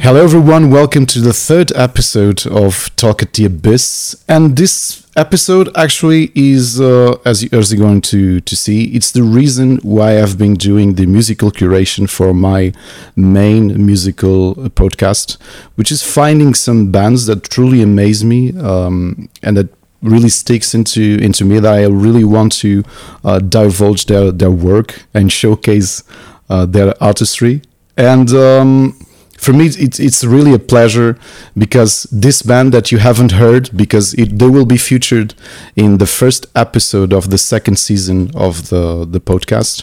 Hello everyone, welcome to the third episode of Talk at the Abyss. And this episode actually is, as you're going to see, it's the reason why I've been doing the musical curation for my main musical podcast, which is finding some bands that truly amaze me and that really sticks into me, that I really want to divulge their work and showcase their artistry. And for me, it's really a pleasure because this band that you haven't heard, because they will be featured in the first episode of the second season of the podcast.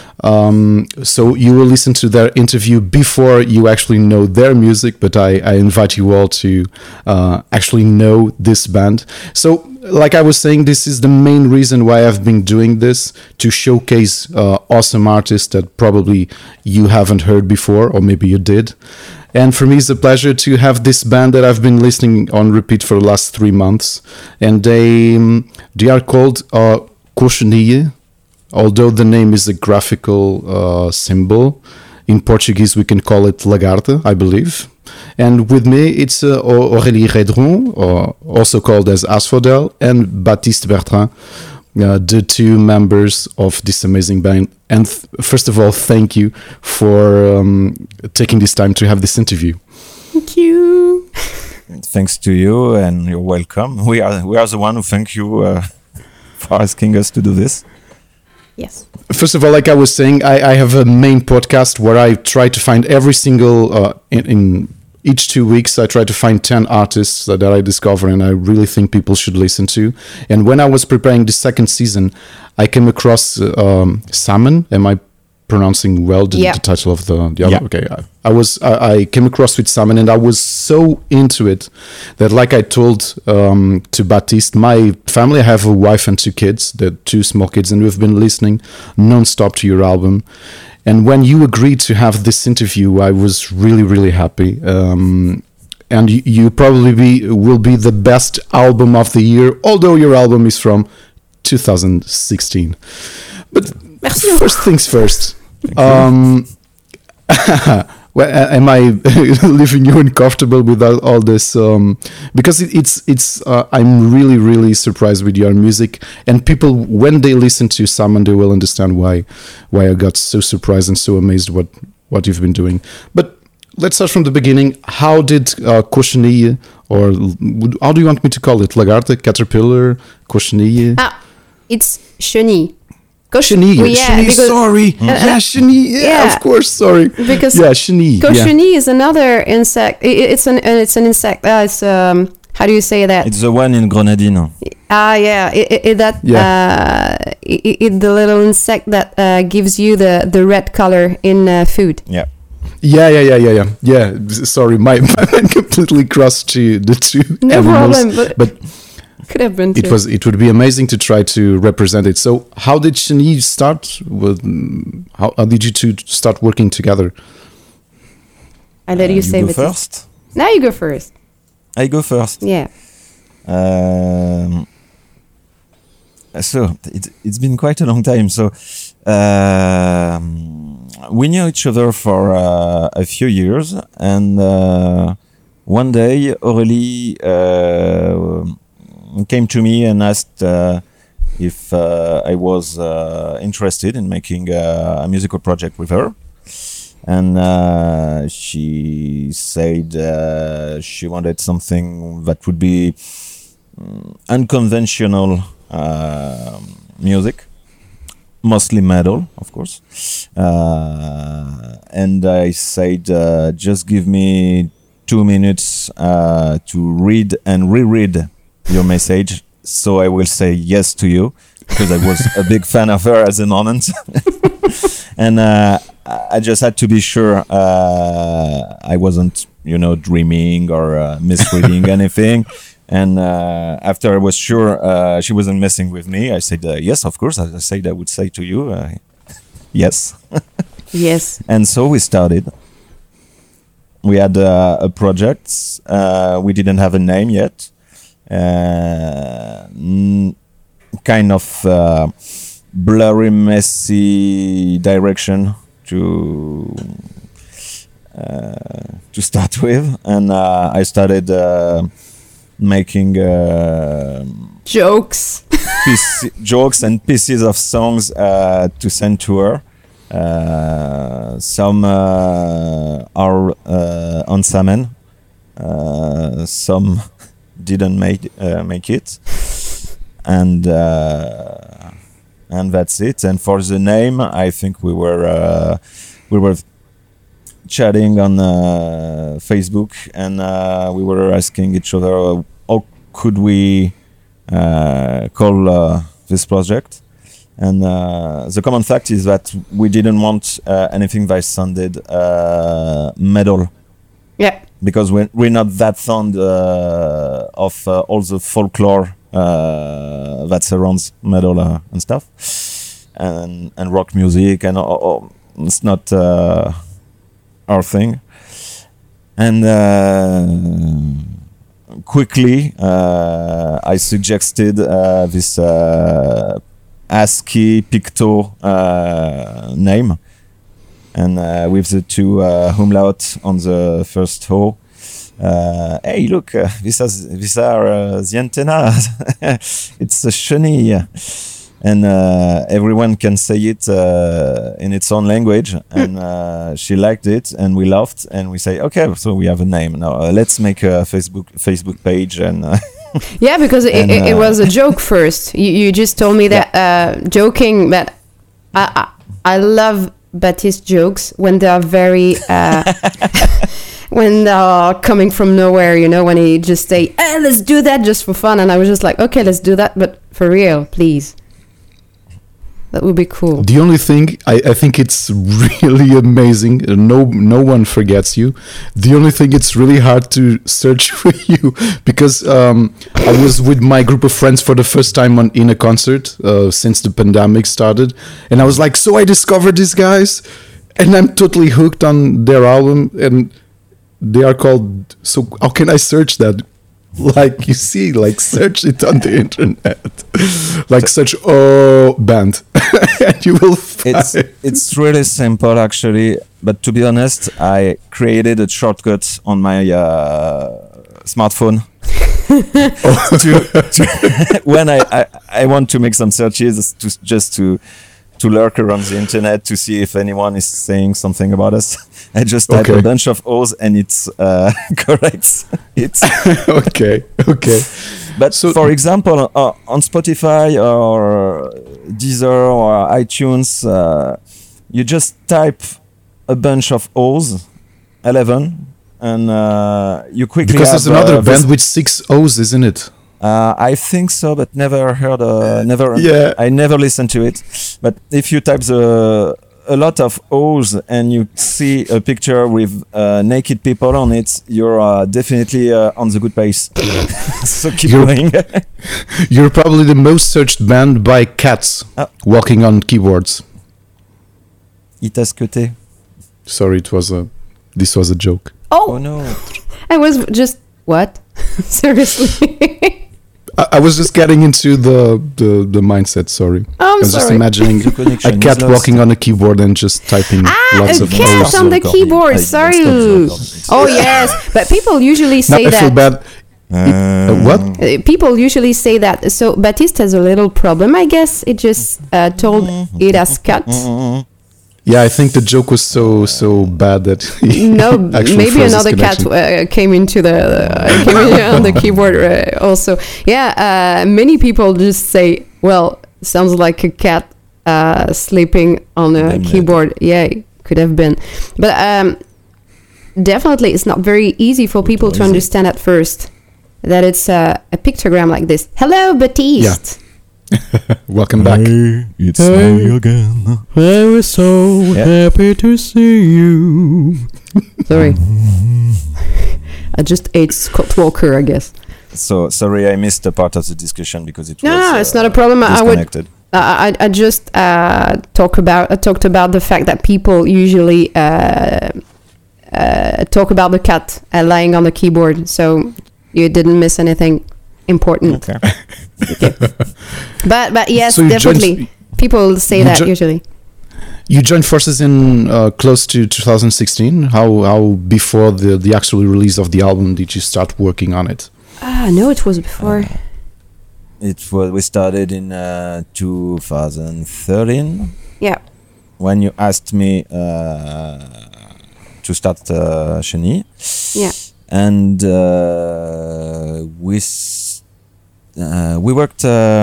So you will listen to their interview before you actually know their music, but I invite you all to actually know this band. So like I was saying, this is the main reason why I've been doing this, to showcase awesome artists that probably you haven't heard before, or maybe you did. And for me, it's a pleasure to have this band that I've been listening on repeat for the last 3 months. And they are called Cochenille, although the name is a graphical symbol. In Portuguese, we can call it Lagarta, I believe. And with me, it's Aurélie Redron, also called as Asphodel, and Baptiste Bertrand, the two members of this amazing band. And first of all, thank you for taking this time to have this interview. Thank you. Thanks to you, and you're welcome. We are the one who thank you for asking us to do this. Yes. First of all, like I was saying, I have a main podcast where I try to find every single, in each 2 weeks, I try to find 10 artists that I discover and I really think people should listen to. And when I was preparing the second season, I came across Salmon. Am I pronouncing well the title of the album? Yeah. Okay. I came across with Salmon and I was so into it that, like I told to Baptiste, my family, I have a wife and 2 kids, they're 2 small kids, and we've been listening non-stop to your album. And when you agreed to have this interview, I was really, really happy. And you probably will be the best album of the year, although your album is from 2016. But first things first. Well, am I leaving you uncomfortable with all this? Because it's I'm really, really surprised with your music, and people, when they listen to Salmon, they will understand why I got so surprised and so amazed what you've been doing. But let's start from the beginning. How did Cochenille, or how do you want me to call it? Lagarta, caterpillar, Cochenille? It's chenille. Chenille. Chenille, sorry. Chenille. Yeah, of course. Sorry. Because chenille. Cochenille is another insect. It's an insect. It's how do you say that? It's the one in Grenadine. Yeah. It the little insect that gives you the red color in food. Yeah. Yeah. Sorry, my mind completely crossed to the two animals. No problem, but could have been too. It would be amazing to try to represent it. So how did Chenille start? How did you two start working together? I let you say go first. Now you go first. I go first. Yeah. So it's been quite a long time. So we knew each other for a few years, and one day Aurélie came to me and asked if I was interested in making a musical project with her. And she said she wanted something that would be unconventional music, mostly metal, of course. And I said, just give me 2 minutes to read and reread your message, so I will say yes to you, because I was a big fan of her at the moment. And I just had to be sure I wasn't, dreaming or misreading anything. And after I was sure she wasn't messing with me, I said, yes, of course. I said I would say to you, yes. Yes. And so we started. We had a project. We didn't have a name yet. Kind of blurry, messy direction to to start with, and I started making Jokes. jokes and pieces of songs to send to her. Some are on Samen, some didn't make it, and that's it. And for the name, I think we were chatting on Facebook, and we were asking each other how could we call this project. And the common fact is that we didn't want anything that sounded metal. Yeah. Because we're not that fond of all the folklore that surrounds metal and stuff, and rock music, and it's not our thing. And quickly, I suggested this ASCII Picto name, and with the two umlaut on the first O. Hey, look, these are the antennas. It's a chenille, and everyone can say it in its own language. And she liked it, and we laughed, and we say, okay, so we have a name now. Let's make a Facebook page, and. Yeah, because it was a joke first. You just told me that joking that I love Baptiste jokes when they are very when they are coming from nowhere, you know, when he just say, hey, let's do that just for fun, and I was just like, okay, let's do that, but for real, please. That would be cool. The only thing, I think it's really amazing. No one forgets you. The only thing, it's really hard to search for you because I was with my group of friends for the first time in a concert since the pandemic started. And I was like, so I discovered these guys and I'm totally hooked on their album. And they are called, so how can I search that? Like, you see, like, search it on the internet, like search band, and you will find. It's really simple, actually. But to be honest, I created a shortcut on my smartphone. When I want to make some searches, to lurk around the internet to see if anyone is saying something about us. I just type a bunch of O's and it's correct. It's okay. But so, for example, on Spotify or Deezer or iTunes, you just type a bunch of O's, 11, and you quickly because have, there's another band with 6 O's, isn't it? I think so, but never heard. Yeah. I never listened to it. But if you type a lot of O's and you see a picture with naked people on it, you're definitely on the good pace. So keep going. You're probably the most searched band by cats walking on keyboards. Itasquete. Sorry, this was a joke. Oh no! I was just what? Seriously. I was just getting into the mindset. Sorry, I was just imagining a cat walking on a keyboard and just typing lots of a cat O's. on the keyboard. Sorry. Oh yes, but people usually say now that. I feel bad. What? People usually say that. So Baptiste has a little problem, I guess. It just told it as cut. Yeah, I think the joke was so bad that maybe another cat came into on the keyboard also. Yeah, many people just say, "Well, sounds like a cat sleeping on a keyboard." Yeah, it could have been, but definitely it's not very easy for people to understand at first that it's a pictogram like this. Hello, Baptiste. Yeah. Welcome back. Hey, it's me again. I was so happy to see you. Sorry. I just ate Scott Walker, I guess. So sorry, I missed a part of the discussion because it was no, it's not a problem. Disconnected. I just talked about the fact that people usually talk about the cat lying on the keyboard, so you didn't miss anything important. Okay. But yes, so definitely people say that usually. You joined forces in close to 2016. How before the actual release of the album did you start working on it? No, it was before. We started in 2013. Yeah. When you asked me to start Chenille. Yeah. And we worked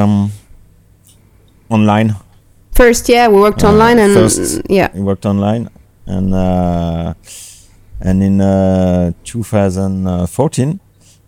online. First, yeah, we worked online, and we worked online, and in 2014,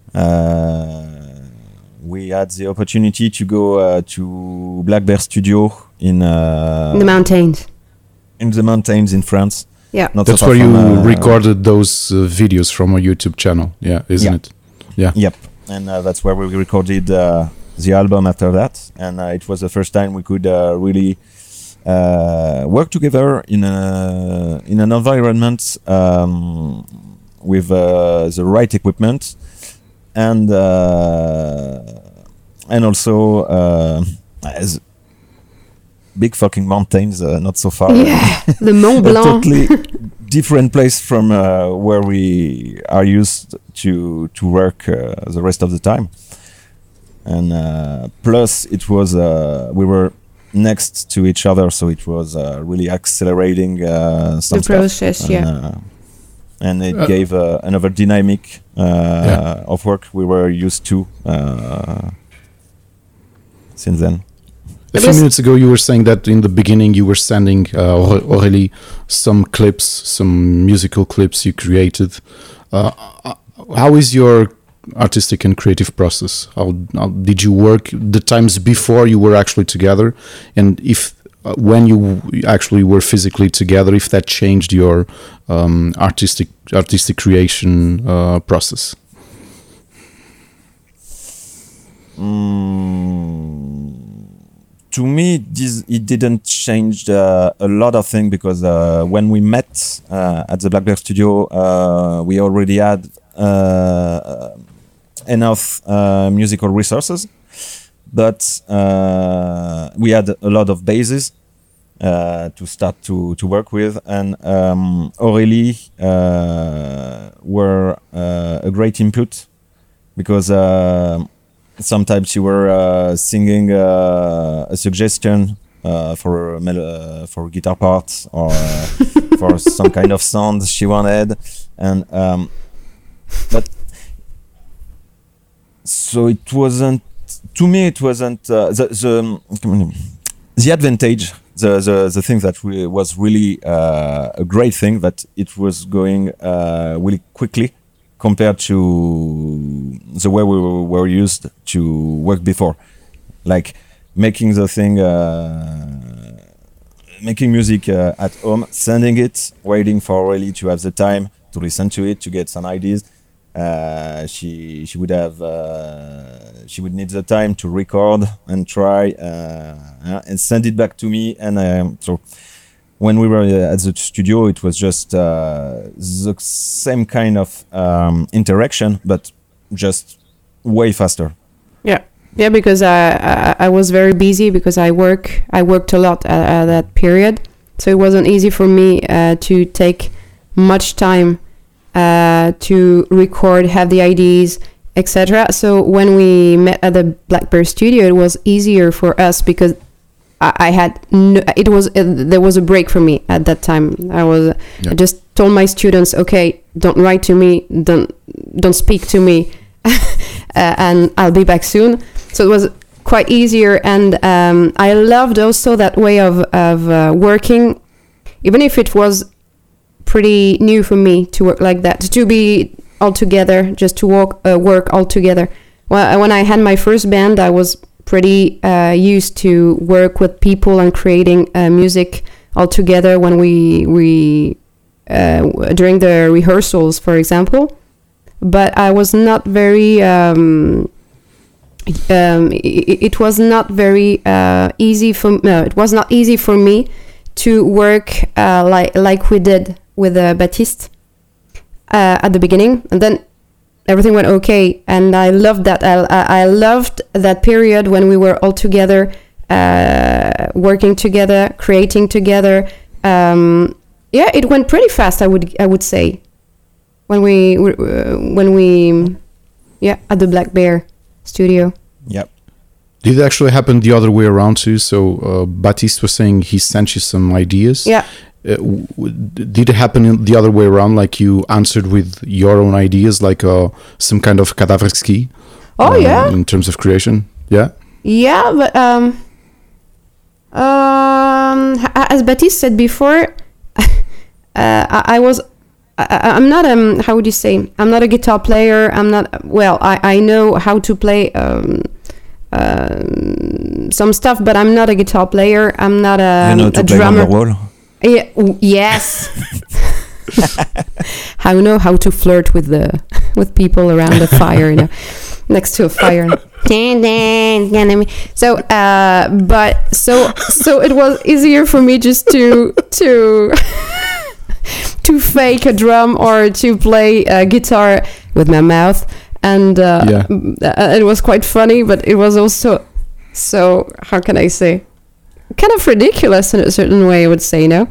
we had the opportunity to go to Black Bear Studio in the mountains. In the mountains in France. Yeah, that's where you recorded those videos from a YouTube channel. Yeah, isn't it? Yeah. Yep, and that's where we recorded the album after that, and it was the first time we could really work together in an environment with the right equipment, and also as big fucking mountains, not so far. Yeah, the Mont Blanc. Totally different place from where we are used to work the rest of the time. And plus, it was we were next to each other, so it was really accelerating some the process. stuff. And it gave another dynamic of work we were used to since then. A few minutes ago, you were saying that in the beginning you were sending Aurélie some clips, some musical clips you created. How is your artistic and creative process? How did you work the times before you were actually together, and if when you actually were physically together, if that changed your artistic creation process? To me, it didn't change a lot of things, because when we met at the Black Bear Studio, we already had enough musical resources, but we had a lot of bases to start to work with, and Aurélie were a great input, because sometimes you were singing a suggestion for guitar parts, or for some kind of sound she wanted, and but so it wasn't, to me it wasn't the advantage, the thing that was really a great thing, that it was going really quickly compared to the way we were used to work before, like making the thing, making music at home, sending it, waiting for Aurélie to have the time to listen to it, to get some ideas. She would need the time to record and try and send it back to me, and so when we were at the studio, it was just the same kind of interaction, but just way faster. Yeah, because I was very busy, because I worked a lot at that period, so it wasn't easy for me to take much time to record, have the ideas, etc. So when we met at the Black Bear Studio, it was easier for us, because I had there was a break for me at that time. I just told my students, okay, don't write to me, don't speak to me, and I'll be back soon. So it was quite easier, and I loved also that way of working, even if it was pretty new for me to work like that, to be all together, just to work all together. Well, when I had my first band, I was pretty used to work with people and creating music all together when we during the rehearsals, for example. But I was not very it was not very easy it was not easy for me to work like we did with Baptiste at the beginning, and then everything went okay, and I loved that. I loved that period when we were all together, working together, creating together, it went pretty fast. I would say when we at the Black Bear studio. Yep. Did it actually happen the other way around too? So Baptiste was saying he sent you some ideas. Yeah. Did it happen the other way around? Like you answered with your own ideas, like some kind of Kadavrski? Oh yeah. In terms of creation, yeah. Yeah, but as Baptiste said before, I'm not how would you say? I'm not a guitar player. I'm not. Well, I know how to play some stuff, but I'm not a guitar player. I'm not a drummer. Wonderwall? Yeah. Yes. I know how to flirt with people around the fire, next to a fire. So, so it was easier for me just to fake a drum or to play a guitar with my mouth, and it was quite funny, but it was also so, how can I say, kind of ridiculous in a certain way, I would say, no?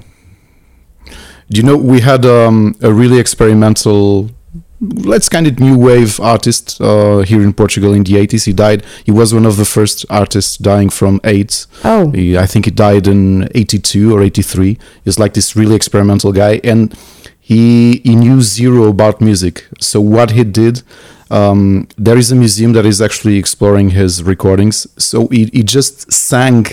We had a really experimental, let's kind of new wave artist here in Portugal in the 80s. He died. He was one of the first artists dying from AIDS. Oh. I think he died in 82 or 83. He's like this really experimental guy, and he knew zero about music. So what he did, there is a museum that is actually exploring his recordings. So he just sang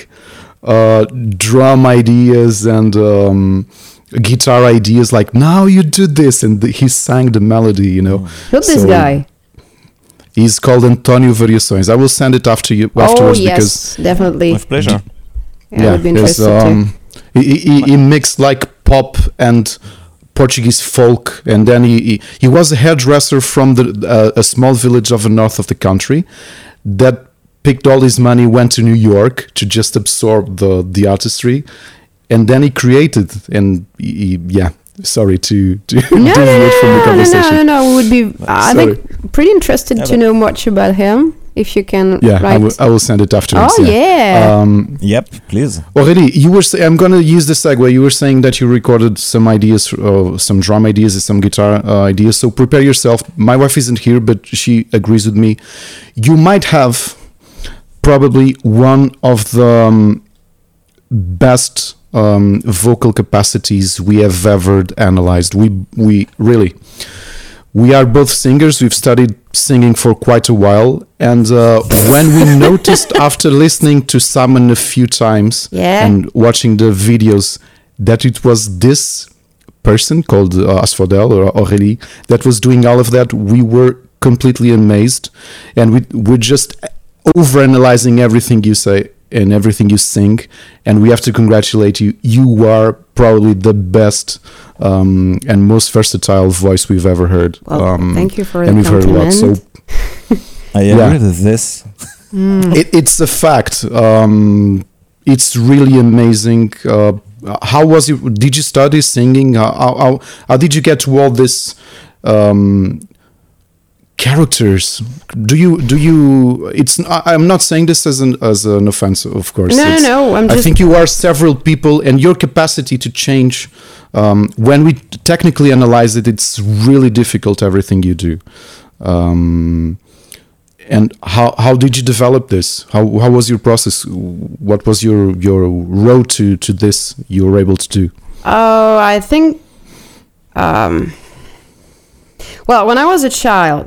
drum ideas and guitar ideas, like, now you do this, and he sang the melody, Who's this guy? He's called Antonio Variações. I will send it afterwards. Oh yes, definitely. With pleasure. Yeah, I would be interested too. He mixed like pop and Portuguese folk, and then he was a hairdresser from a small village of the north of the country that picked all his money, went to New York to just absorb the artistry, and then he created, and sorry to deviate from the conversation. No. We would be, I think, pretty interested to know much about him. If you can write. I will send it afterwards. Oh, yeah. Yep, please. Already, you were I'm going to use the segue. You were saying that you recorded some ideas, some drum ideas and some guitar ideas. So prepare yourself. My wife isn't here, but she agrees with me. You might have probably one of the best vocal capacities we have ever analyzed. We really... We are both singers. We've studied singing for quite a while. And when we noticed after listening to Simon a few times and watching the videos that it was this person called Asphodel or Aurélie that was doing all of that, we were completely amazed. And we're just overanalyzing everything you say and everything you sing. And we have to congratulate you. You are probably the best and most versatile voice we've ever heard. Well, thank you for the compliment. And we've heard a lot. So I agree with this. It's a fact. It's really amazing. How was it? Did you study singing? How did you get to all this characters? Do you? It's. I'm not saying this as an offense, of course. No. I think you are several people, and your capacity to change. When we technically analyze it, it's really difficult, everything you do. And how did you develop this? How was your process? What was your road to this you were able to do? Oh, I think... well, when I was a child,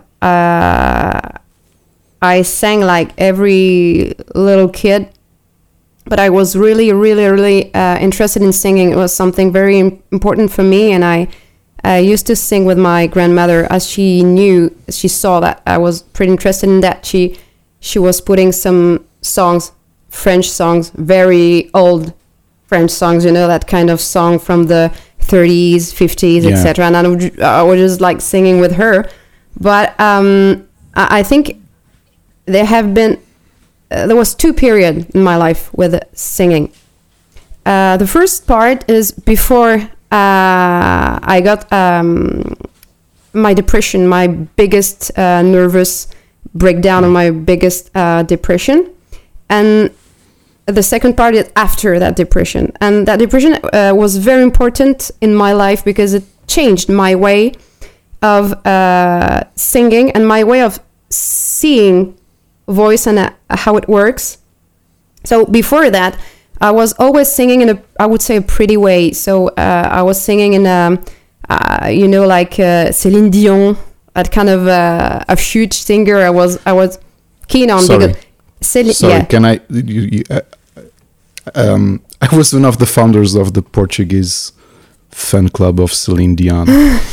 I sang like every little kid. But I was really, really, really interested in singing. It was something very important for me. And I used to sing with my grandmother, as she saw that I was pretty interested in that. She was putting some songs, French songs, very old French songs, that kind of song from the 30s, 50s, etc. And I was just like singing with her. But I think there was two periods in my life with singing. The first part is before I got my depression, my biggest nervous breakdown, and my biggest depression. And the second part is after that depression. And that depression was very important in my life because it changed my way of singing and my way of seeing voice and how it works. So before that, I was always singing in I would say a pretty way. So I was singing in like Céline Dion, that kind of a huge singer. I was keen on. Sorry, yeah. Can I? I was one of the founders of the Portuguese fan club of Céline Dion.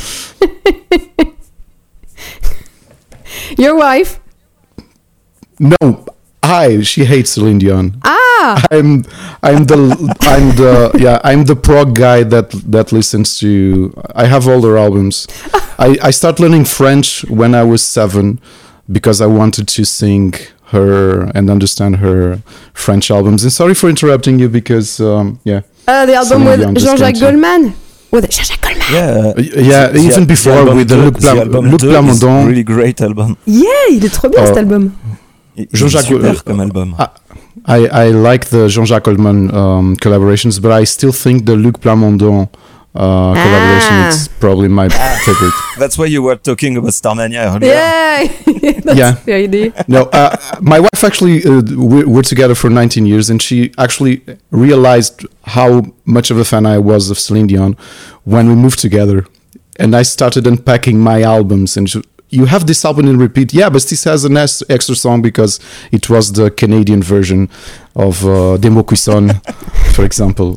Your wife? No, she hates Céline Dion. I'm the prog guy that listens to. I have all their albums. I started learning French when I was 7 because I wanted to sing her and understand her French albums. And sorry for interrupting you because the album with Jean-Jacques Goldman. With Jean-Jacques Goldman. Even before with the Luc Plamondon. Really great album. Yeah, il est trop bien cet album. Jean-Jacques Goldman comme album. I like the Jean-Jacques Goldman collaborations, but I still think the Luc Plamondon collaboration is probably my favorite. That's why you were talking about Starmania earlier. Yeah, that's the idea. No, my wife actually, we're together for 19 years, and she actually realized how much of a fan I was of Celine Dion when we moved together. And I started unpacking my albums, and you have this album in repeat. Yeah, but this has an extra song because it was the Canadian version of Des Mots Cuisson, for example.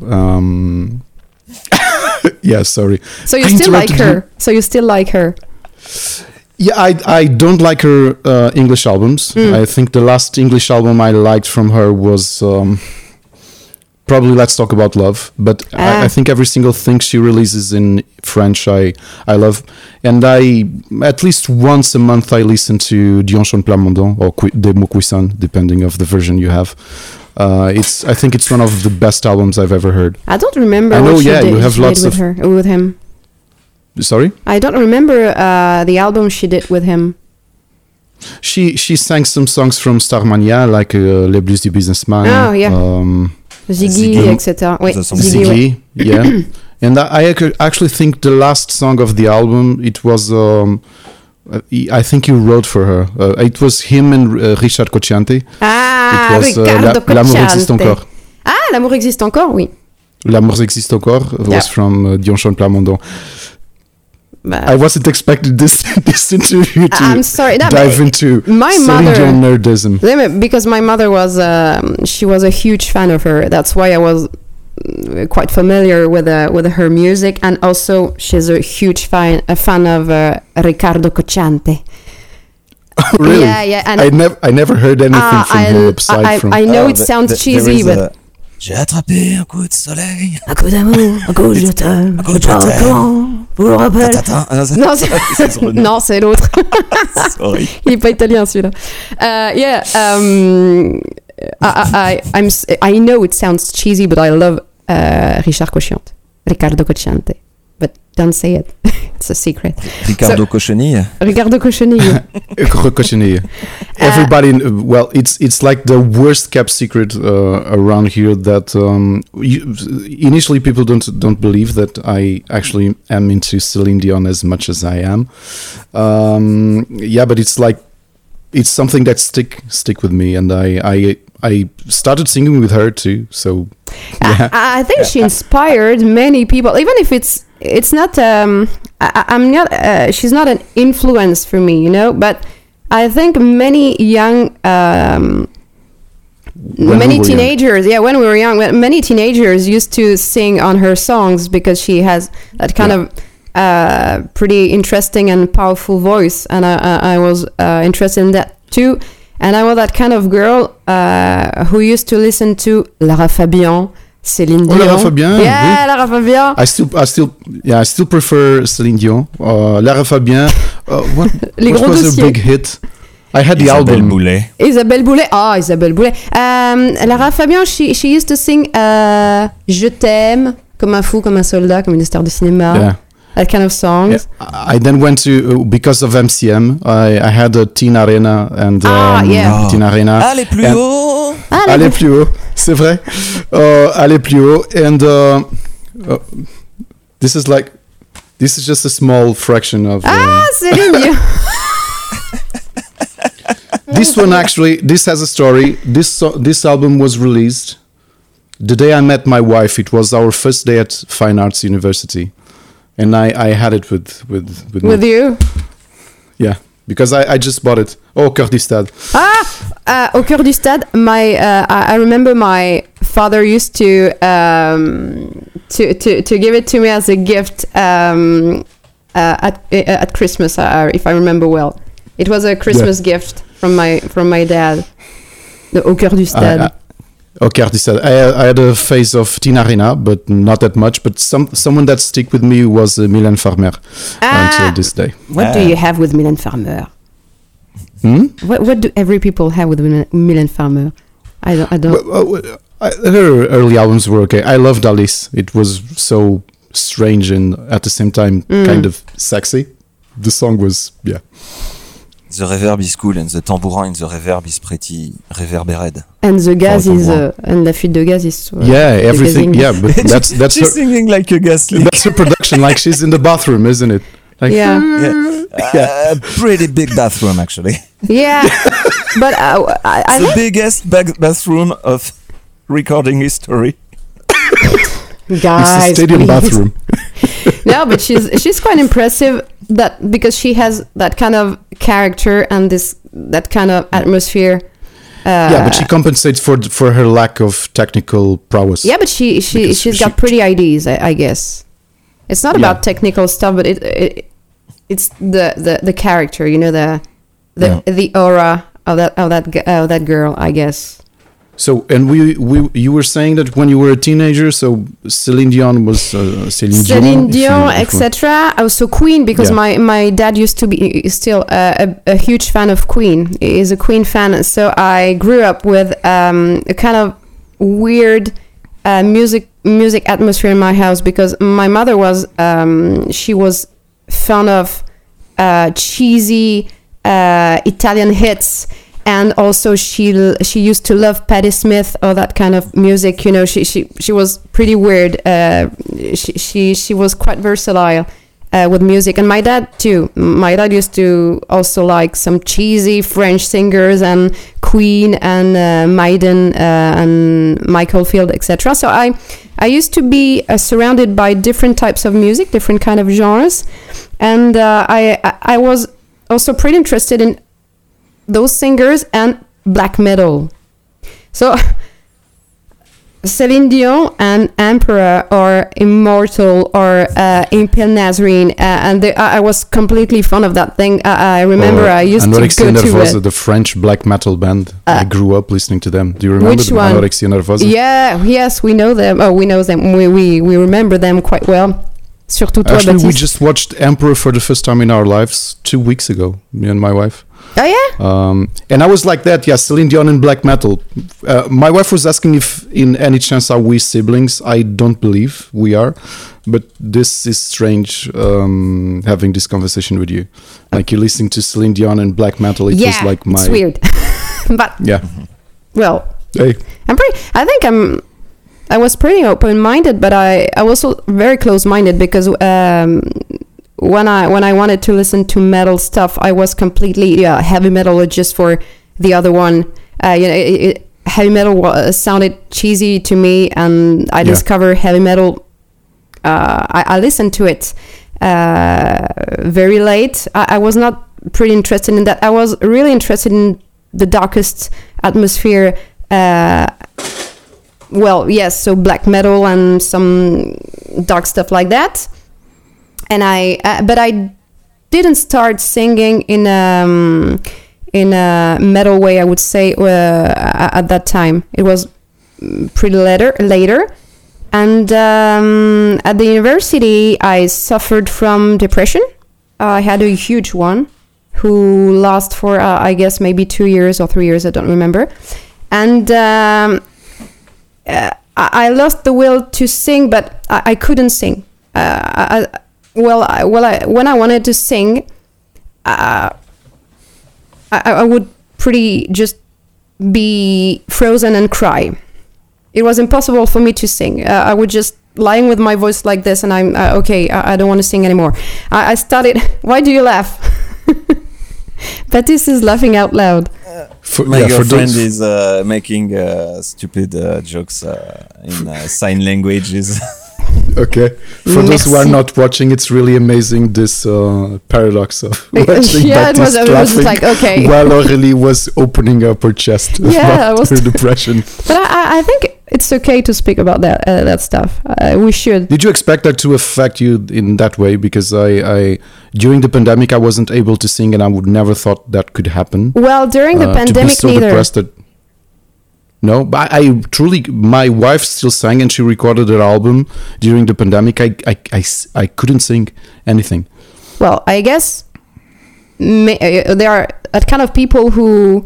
Yeah, sorry. So you still like her? Yeah, I don't like her English albums. I think the last English album I liked from her was probably Let's Talk About Love. But I think every single thing she releases in French I love. And at least once a month I listen to Dion Chante Plamondon or Des Mots Cuisson, depending of the version you have. I think it's one of the best albums I've ever heard. I don't remember what she did, you have lots with him. Sorry? I don't remember the album she did with him. She sang some songs from Starmania, like Les Blues du Businessman. Oh, yeah. Ziggy, etc. Wait, Ziggy, yeah. And I actually think the last song of the album, it was... I think you wrote for her. It was him and Richard Cocciante. Ah, Ricardo Cocciante. L'amour existe encore. Ah, l'amour existe encore, oui. L'amour existe encore was from Dion Chante Plamondon. I wasn't expecting this interview to dive into Celine Dion nerdism. Because my mother she was a huge fan of her. That's why I was quite familiar with her music, and also she's a huge fan of Ricardo Cocciante. Really? Yeah. And I never heard anything from him aside from. I know it sounds cheesy, but. J'ai attrapé un coup de soleil. Un coup d'amour, un coup je t'aime. Je parle comment vous le rappelle. Non, c'est l'autre. Sorry. Il est pas italien celui-là. I know it sounds cheesy, but I love Richard Cocciante, Ricardo Cocciante. But don't say it. It's a secret. Ricardo Cochenille. Ricardo Cochenille. Cochenille. Everybody, it's like the worst kept secret around here that initially people don't believe that I actually am into Celine Dion as much as I am. But it's something that stick with me, and I started singing with her too. So yeah. I think she inspired many people, even if it's not I'm not she's not an influence for me, but I think many young many teenagers when we were young, many teenagers used to sing on her songs because she has that kind of pretty interesting and powerful voice, and I was interested in that too. And I was that kind of girl who used to listen to Lara Fabian, Céline Dion. Lara Fabian. Yeah, oui. Lara Fabian. I still prefer Céline Dion. Lara Fabian. What was her big hit? I had the album. Isabelle Boulay. Oh, Isabelle Boulay. Lara Fabian, she used to sing Je t'aime, comme un fou, comme un soldat, comme une star de cinéma. Yeah. That kind of songs. Yeah. I then went to, because of MCM, I had a Teen Arena and Teen Arena. Allez plus haut. Aller plus haut, c'est vrai. Aller plus haut, and this is just a small fraction of. Céline Dion. This one actually, this has a story. This album was released the day I met my wife. It was our first day at Fine Arts University, and I had it with me. You. Yeah, because I just bought it. Au Cœur du Stade. Au Cœur du Stade. I remember my father used to give it to me as a gift at Christmas, if I remember well. It was a Christmas gift from my dad. The Au Cœur du Stade. Au Cœur du Stade. I had a phase of Tina Arena, but not that much. But someone that stick with me was Mylène Farmer until this day. What do you have with Mylène Farmer? What do every people have with Mylène Farmer? I don't. Her early albums were okay. I loved Alice. It was so strange and at the same time kind of sexy. The song was, yeah. The reverb is cool and the tambourin in the reverb is pretty reverberated. And the gas is and la fuite de gaz is everything. Yeah, but that's she's her, singing like a gas leak. That's her production. Like she's in the bathroom, isn't it? Like, pretty big bathroom actually. Yeah, but I the biggest bathroom of recording history. Guys, it's a stadium bathroom. No, but she's quite impressive. That because she has that kind of character and that kind of atmosphere. But she compensates for her lack of technical prowess. Yeah, but she's got pretty ideas, I guess. It's not about technical stuff, but it's the character, you know, the aura of that girl, I guess. So, and you were saying that when you were a teenager, so Celine Dion was Celine Dion, etc. Also Queen, because my dad used to be still a huge fan of Queen. He is a Queen fan, so I grew up with a kind of weird music atmosphere in my house because my mother was she was fond of cheesy Italian hits. And also she used to love Patti Smith or that kind of music. You know, she was pretty weird. She was quite versatile with music. And my dad too. My dad used to also like some cheesy French singers and Queen and Maiden and Michael Field, etc. So I used to be surrounded by different types of music, different kind of genres, and I was also pretty interested in those singers and black metal. So Celine Dion and Emperor or Immortal or Impale Nazarene, and I was completely fond of that thing. I remember I used to go to the French black metal band. I grew up listening to them. Do you remember which one? Anorexia Nervosa? Yeah, yes, we know them. Oh, we know them. We remember them quite well. Surtout toi, Actually, Baptiste. we just watched Emperor for the first time in our lives 2 weeks ago, me and my wife. Oh, yeah? And I was like that, Celine Dion and black metal. My wife was asking if in any chance are we siblings. I don't believe we are. But this is strange having this conversation with you. Like you're listening to Celine Dion and black metal. It was like my... it's weird. But, well, hey. I was pretty open-minded, but I was also very close-minded because when I wanted to listen to metal stuff, I was completely heavy metal just for the other one. Heavy metal sounded cheesy to me, and I discovered heavy metal. I listened to it very late. I was not pretty interested in that. I was really interested in the darkest atmosphere. So black metal and some dark stuff like that. And but I didn't start singing in a metal way, I would say, at that time. It was pretty later. And at the university, I suffered from depression. I had a huge one who lasted for, I guess, maybe 2 years or 3 years, I don't remember. And I lost the will to sing, but I couldn't sing. When I wanted to sing, I would pretty just be frozen and cry. It was impossible for me to sing. I would just lying with my voice like this, and I'm okay. I don't want to sing anymore. I started. Why do you laugh? Baptiste is laughing out loud. My girlfriend is making stupid jokes in sign languages. Okay. For those who are not watching, it's really amazing, this paradox of watching Baptiste it was like, okay. while Aurélie was opening up her chest about her depression. But I think it's okay to speak about that stuff. We should. Did you expect that to affect you in that way? Because I during the pandemic, I wasn't able to sing, and I would never thought that could happen. Well, during the pandemic, to be so depressed that, no, but I truly, my wife still sang, and she recorded her album during the pandemic. I couldn't sing anything. Well, I guess there are a kind of people who,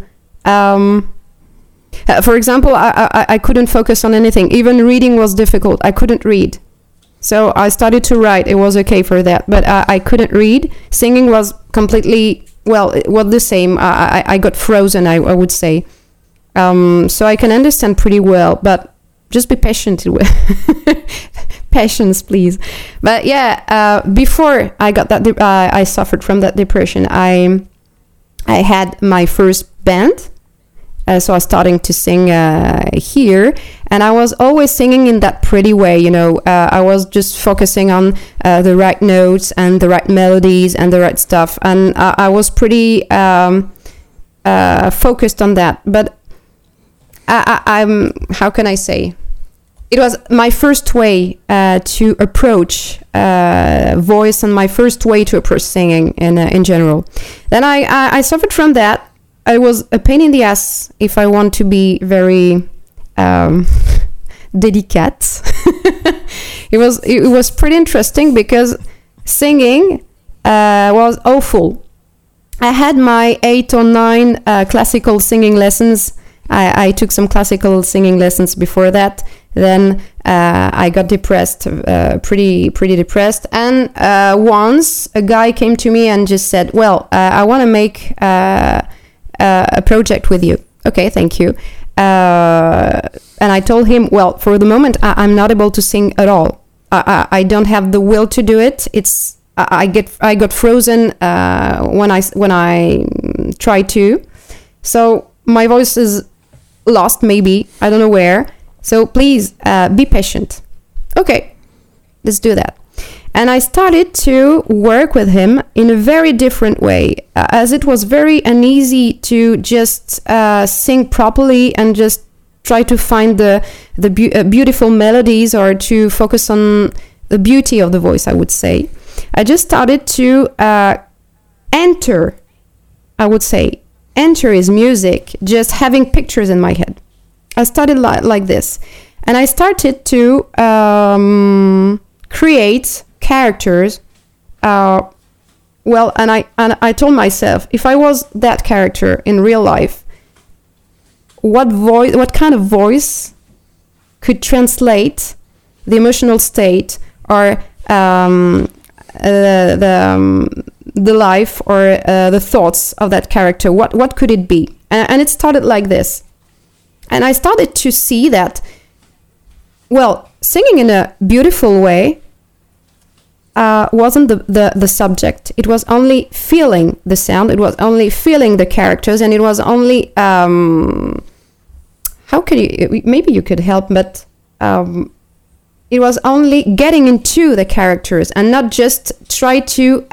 for example, I couldn't focus on anything. Even reading was difficult. I couldn't read. So I started to write. It was okay for that. But I couldn't read. Singing was completely, well, it was the same. I got frozen, I would say. So I can understand pretty well, but just be patient. Patience, please. But yeah, before I got that, I suffered from that depression. I had my first band, so I was starting to sing here, and I was always singing in that pretty way. You know, I was just focusing on the right notes and the right melodies and the right stuff, and I was pretty focused on that, but. I'm how can I say? It was my first way to approach voice, and my first way to approach singing in general. Then I suffered from that. I was a pain in the ass, if I want to be very delicate. It was pretty interesting because singing was awful. I had my 8 or 9 classical singing lessons. I took some classical singing lessons before that. Then I got depressed, pretty depressed. And once a guy came to me and just said, well, I want to make a project with you. Okay, thank you. And I told him, well, for the moment, I'm not able to sing at all. I don't have the will to do it. I got frozen when I try to. So my voice is lost, maybe, I don't know where, so please be patient. Okay, let's do that. And I started to work with him in a very different way, as it was very uneasy to just sing properly and just try to find the beautiful melodies, or to focus on the beauty of the voice, I would say. I just started to enter his music, just having pictures in my head. I started like this, and I started to create characters. And I told myself, if I was that character in real life, what kind of voice could translate the emotional state, or the life, or the thoughts of that character? What could it be? And it started like this. And I started to see that, well, singing in a beautiful way wasn't the subject. It was only feeling the sound. It was only feeling the characters. And it was only, how could you, maybe you could help, but it was only getting into the characters and not just try to...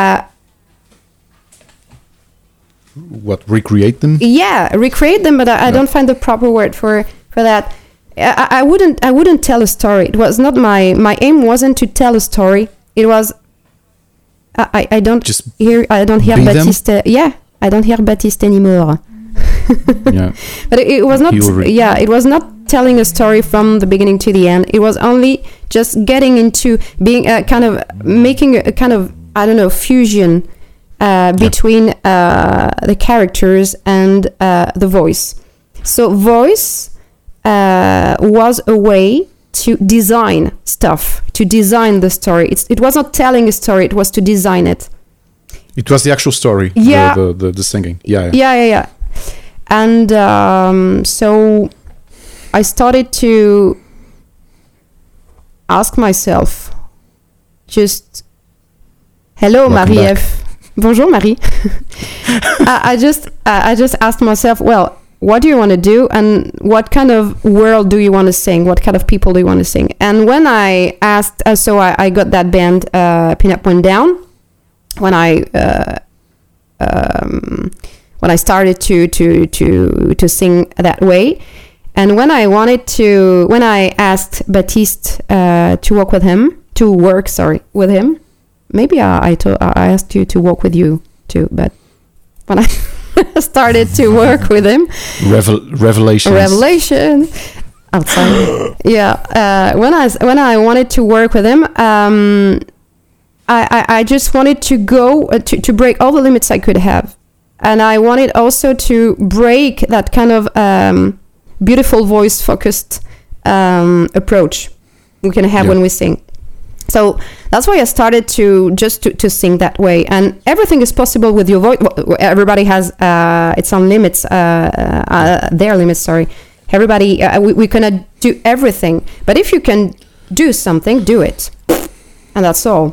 recreate them? Yeah, recreate them, but I don't find the proper word for that. I wouldn't tell a story. It was not my aim wasn't to tell a story. It was I don't just hear Baptiste. Yeah, I don't hear Baptiste anymore. Yeah. But it was not it was not telling a story from the beginning to the end. It was only just getting into being kind of making a kind of, I don't know, fusion between the characters and the voice. So voice was a way to design stuff, to design the story. It was not telling a story, it was to design it. It was the actual story, yeah. the singing. Yeah. And so I started to ask myself, just, hello, Marie-Ève. Bonjour, Marie. I just asked myself, well, what do you want to do, and what kind of world do you want to sing? What kind of people do you want to sing? And when I asked, so I got that band, Pin Up One Down, when I started to sing that way, and when I asked Baptiste to work with him, maybe I asked you to work with you too, but when I started to work with him, revelation outside. Yeah, when I wanted to work with him, I just wanted to go to break all the limits I could have, and I wanted also to break that kind of beautiful voice focused approach we can have when we sing. So that's why I started to sing that way, and everything is possible with your voice. Everybody has its own limits, their limits. Sorry, everybody. We cannot do everything, but if you can do something, do it, and that's all.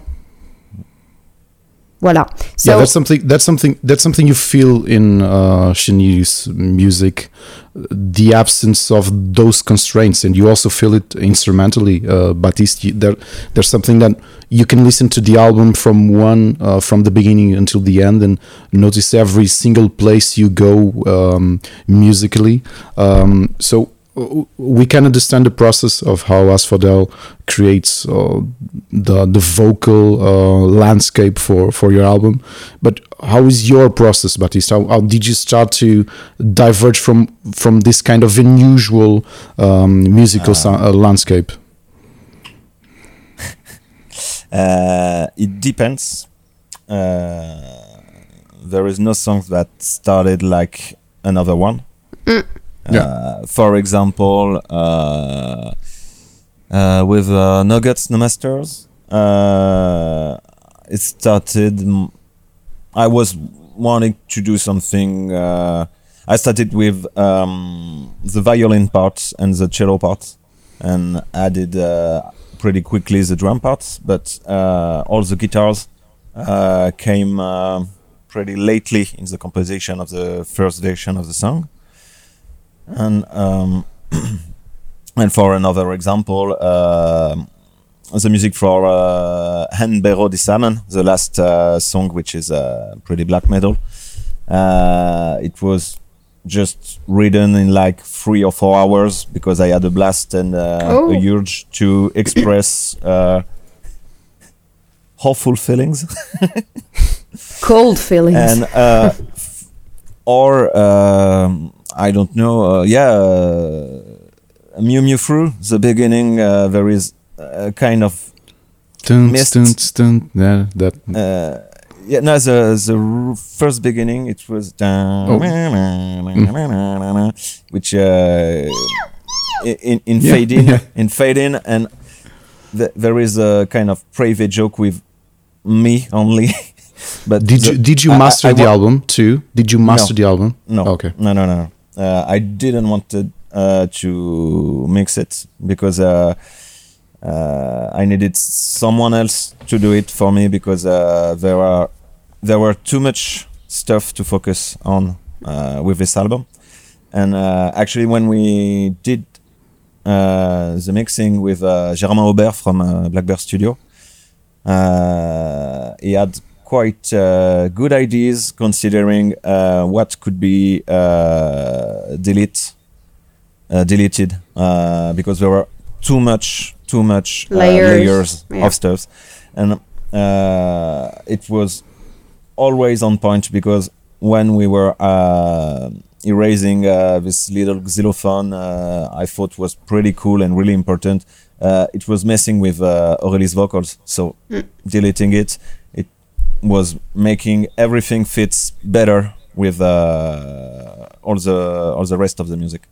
Voila. So yeah, that's something you feel in Chenille's music, the absence of those constraints, and you also feel it instrumentally. Baptiste, there's something that you can listen to the album from the beginning until the end, and notice every single place you go musically. So we can understand the process of how Asphodel creates the vocal landscape for your album, but how is your process, Baptiste? How did you start to diverge from this kind of unusual musical landscape? It depends. There is no song that started like another one. For example, with Nuggets, No Masters, it started. I was wanting to do something. I started with the violin part and the cello part, and added pretty quickly the drum parts. But all the guitars came pretty lately in the composition of the first version of the song. And and for another example, the music for Hen Bero di Salmon, the last song, which is pretty black metal. It was just written in like 3 or 4 hours because I had a blast and a urge to express hopeful feelings, cold feelings, and I don't know. Mew Mew Through the beginning, there is a kind of mist. Yeah, that. The first beginning it was which in fade in, and there is a kind of private joke with me only. But did you master the album too? Did you master the album? No. Okay. No. I didn't want to mix it because I needed someone else to do it for me because there were too much stuff to focus on with this album. And actually, when we did the mixing with Germain Aubert from Blackbird Studio, he had quite good ideas considering what could be deleted because there were too much layers of stuff, and it was always on point because when we were erasing this little xylophone, I thought was pretty cool and really important. It was messing with Aurélie's vocals, so deleting it was making everything fits better with all the rest of the music,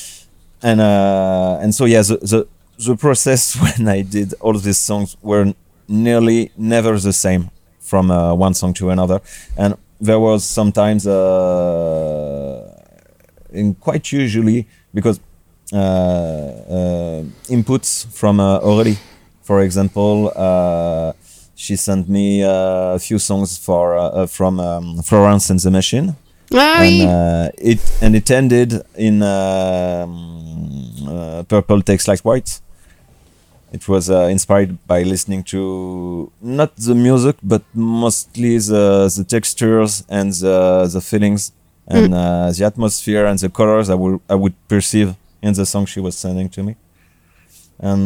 and so the process when I did all of these songs were nearly never the same from one song to another, and there was sometimes quite usually because inputs from Aurélie, for example, she sent me a few songs from Florence and the Machine. It ended in Purple Takes Like White. It was inspired by listening to not the music, but mostly the textures and the feelings and the atmosphere and the colors I would perceive in the song she was sending to me. And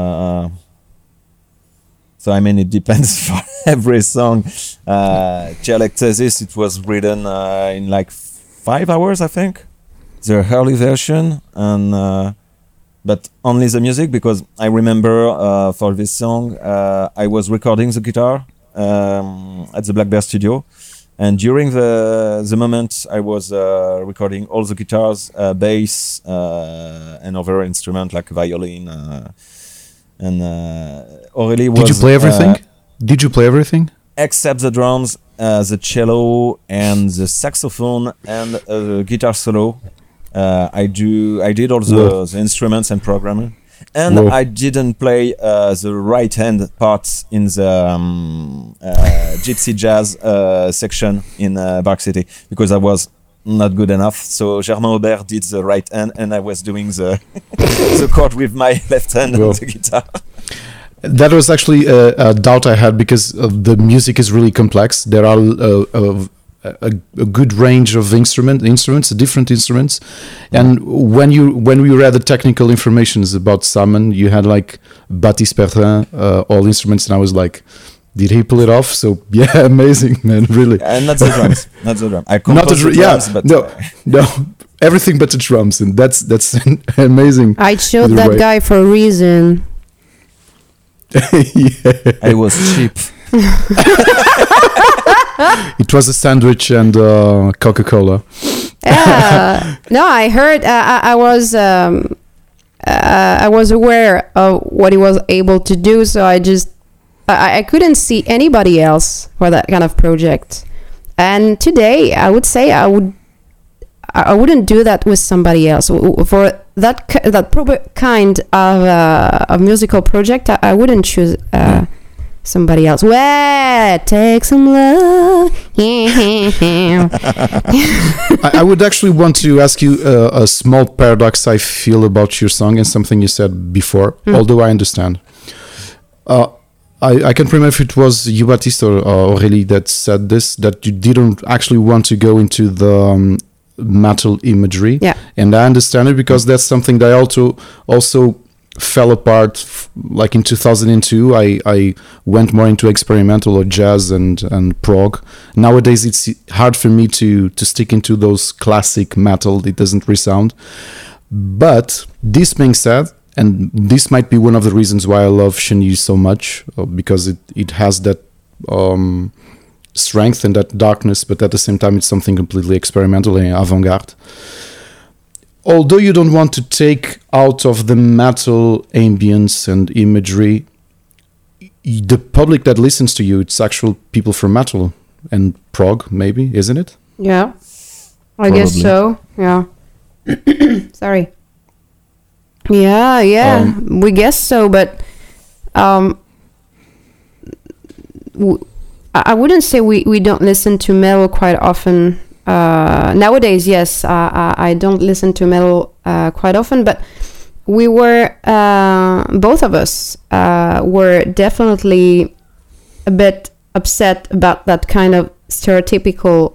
so I mean, it depends for every song. Dialectasis, it was written in like 5 hours, I think, the early version, and but only the music, because I remember for this song I was recording the guitar at the Black Bear studio, and during the moment I was recording all the guitars, bass, and other instruments like violin. And Aurélie was... Did you play everything? Did you play everything? Except the drums, the cello, and the saxophone, and the guitar solo. I did all the instruments and programming. And I didn't play the right hand parts in the gypsy jazz section in Bark City, because I was not good enough. So Germain Aubert did the right hand, and I was doing the the chord with my left hand on the guitar. That was actually a doubt I had, because the music is really complex. There are a good range of instruments, different instruments, and when we read the technical informations about Salmon, you had like Baptiste Perrin, all instruments, and I was like, did he pull it off? So yeah, amazing, man, really. And not the drums, not the drum. I composed the drums, but no, everything but the drums, and that's amazing. I chose that way. guy for a reason. Yeah. I was cheap. It was a sandwich and Coca-Cola. No, I heard. I was aware of what he was able to do, so I couldn't see anybody else for that kind of project. And today, I would say I wouldn't do that with somebody else. For that kind of musical project, I wouldn't choose somebody else. Well, take some love. I would actually want to ask you a small paradox I feel about your song and something you said before, although I understand. I can't remember if it was you, Baptiste, or Aurélie that said this, that you didn't actually want to go into the metal imagery. Yeah. And I understand it, because that's something that I also fell apart. Like in 2002, I went more into experimental or jazz and prog. Nowadays, it's hard for me to stick into those classic metal. It doesn't resound. But this being said, and this might be one of the reasons why I love Chenille so much, because it has that strength and that darkness, but at the same time it's something completely experimental and avant-garde. Although you don't want to take out of the metal ambience and imagery, the public that listens to you, it's actual people from metal and prog, maybe, isn't it? Yeah, I guess so. Yeah. Sorry. Yeah, we guess so, but I wouldn't say we don't listen to metal quite often. Nowadays, yes, I don't listen to metal quite often, but we were, both of us were definitely a bit upset about that kind of stereotypical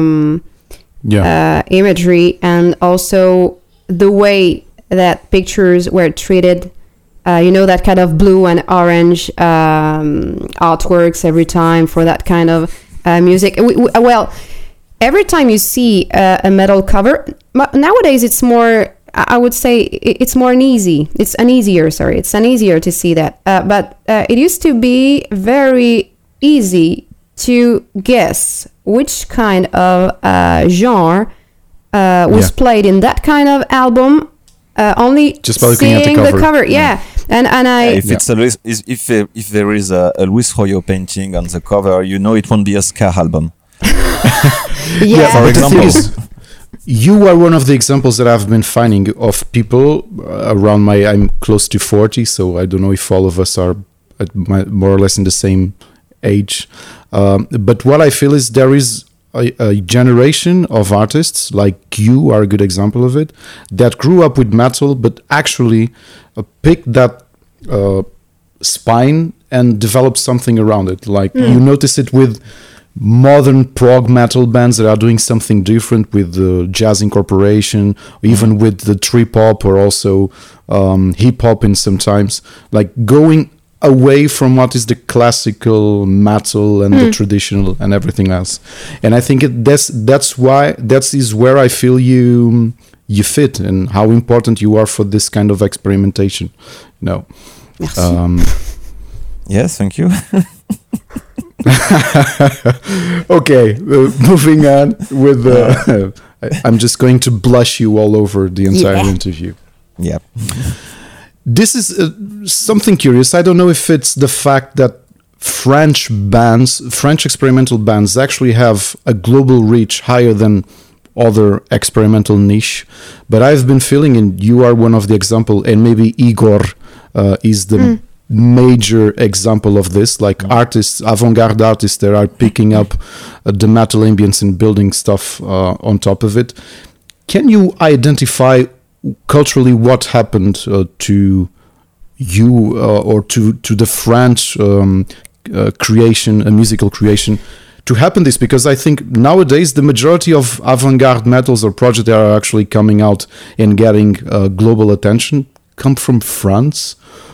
imagery, and also the way that pictures were treated. That kind of blue and orange artworks every time for that kind of music. Well, every time you see a metal cover, nowadays it's more, I would say it's more uneasy. It's uneasier to see that. But it used to be very easy to guess which kind of genre was played in that kind of album. Only just by looking at the cover. Yeah. And if there is a Luis Royo painting on the cover, it won't be a ska album. Yeah. For example. you are one of the examples that I've been finding of people around I'm close to 40, so I don't know if all of us are more or less in the same age. But what I feel is there is a generation of artists, like you are a good example of it, that grew up with metal, but actually picked that spine and developed something around it. Like you notice it with modern prog metal bands that are doing something different with the jazz incorporation, even with the trip hop or also hip hop in sometimes, like going away from what is the classical metal and the traditional and everything else. And I think that's where I feel you fit and how important you are for this kind of experimentation. No. Yes, thank you. Okay, moving on with I'm just going to blush you all over the entire interview. Yeah. This is something curious. I don't know if it's the fact that French experimental bands actually have a global reach higher than other experimental niche, but I've been feeling, and you are one of the example, and maybe Igor is the major example of this, like artists, avant-garde artists that are picking up the metal ambience and building stuff on top of it. Can you identify culturally what happened to you or to the French musical creation to happen this? Because I think nowadays the majority of avant-garde metals or projects that are actually coming out and getting global attention come from France.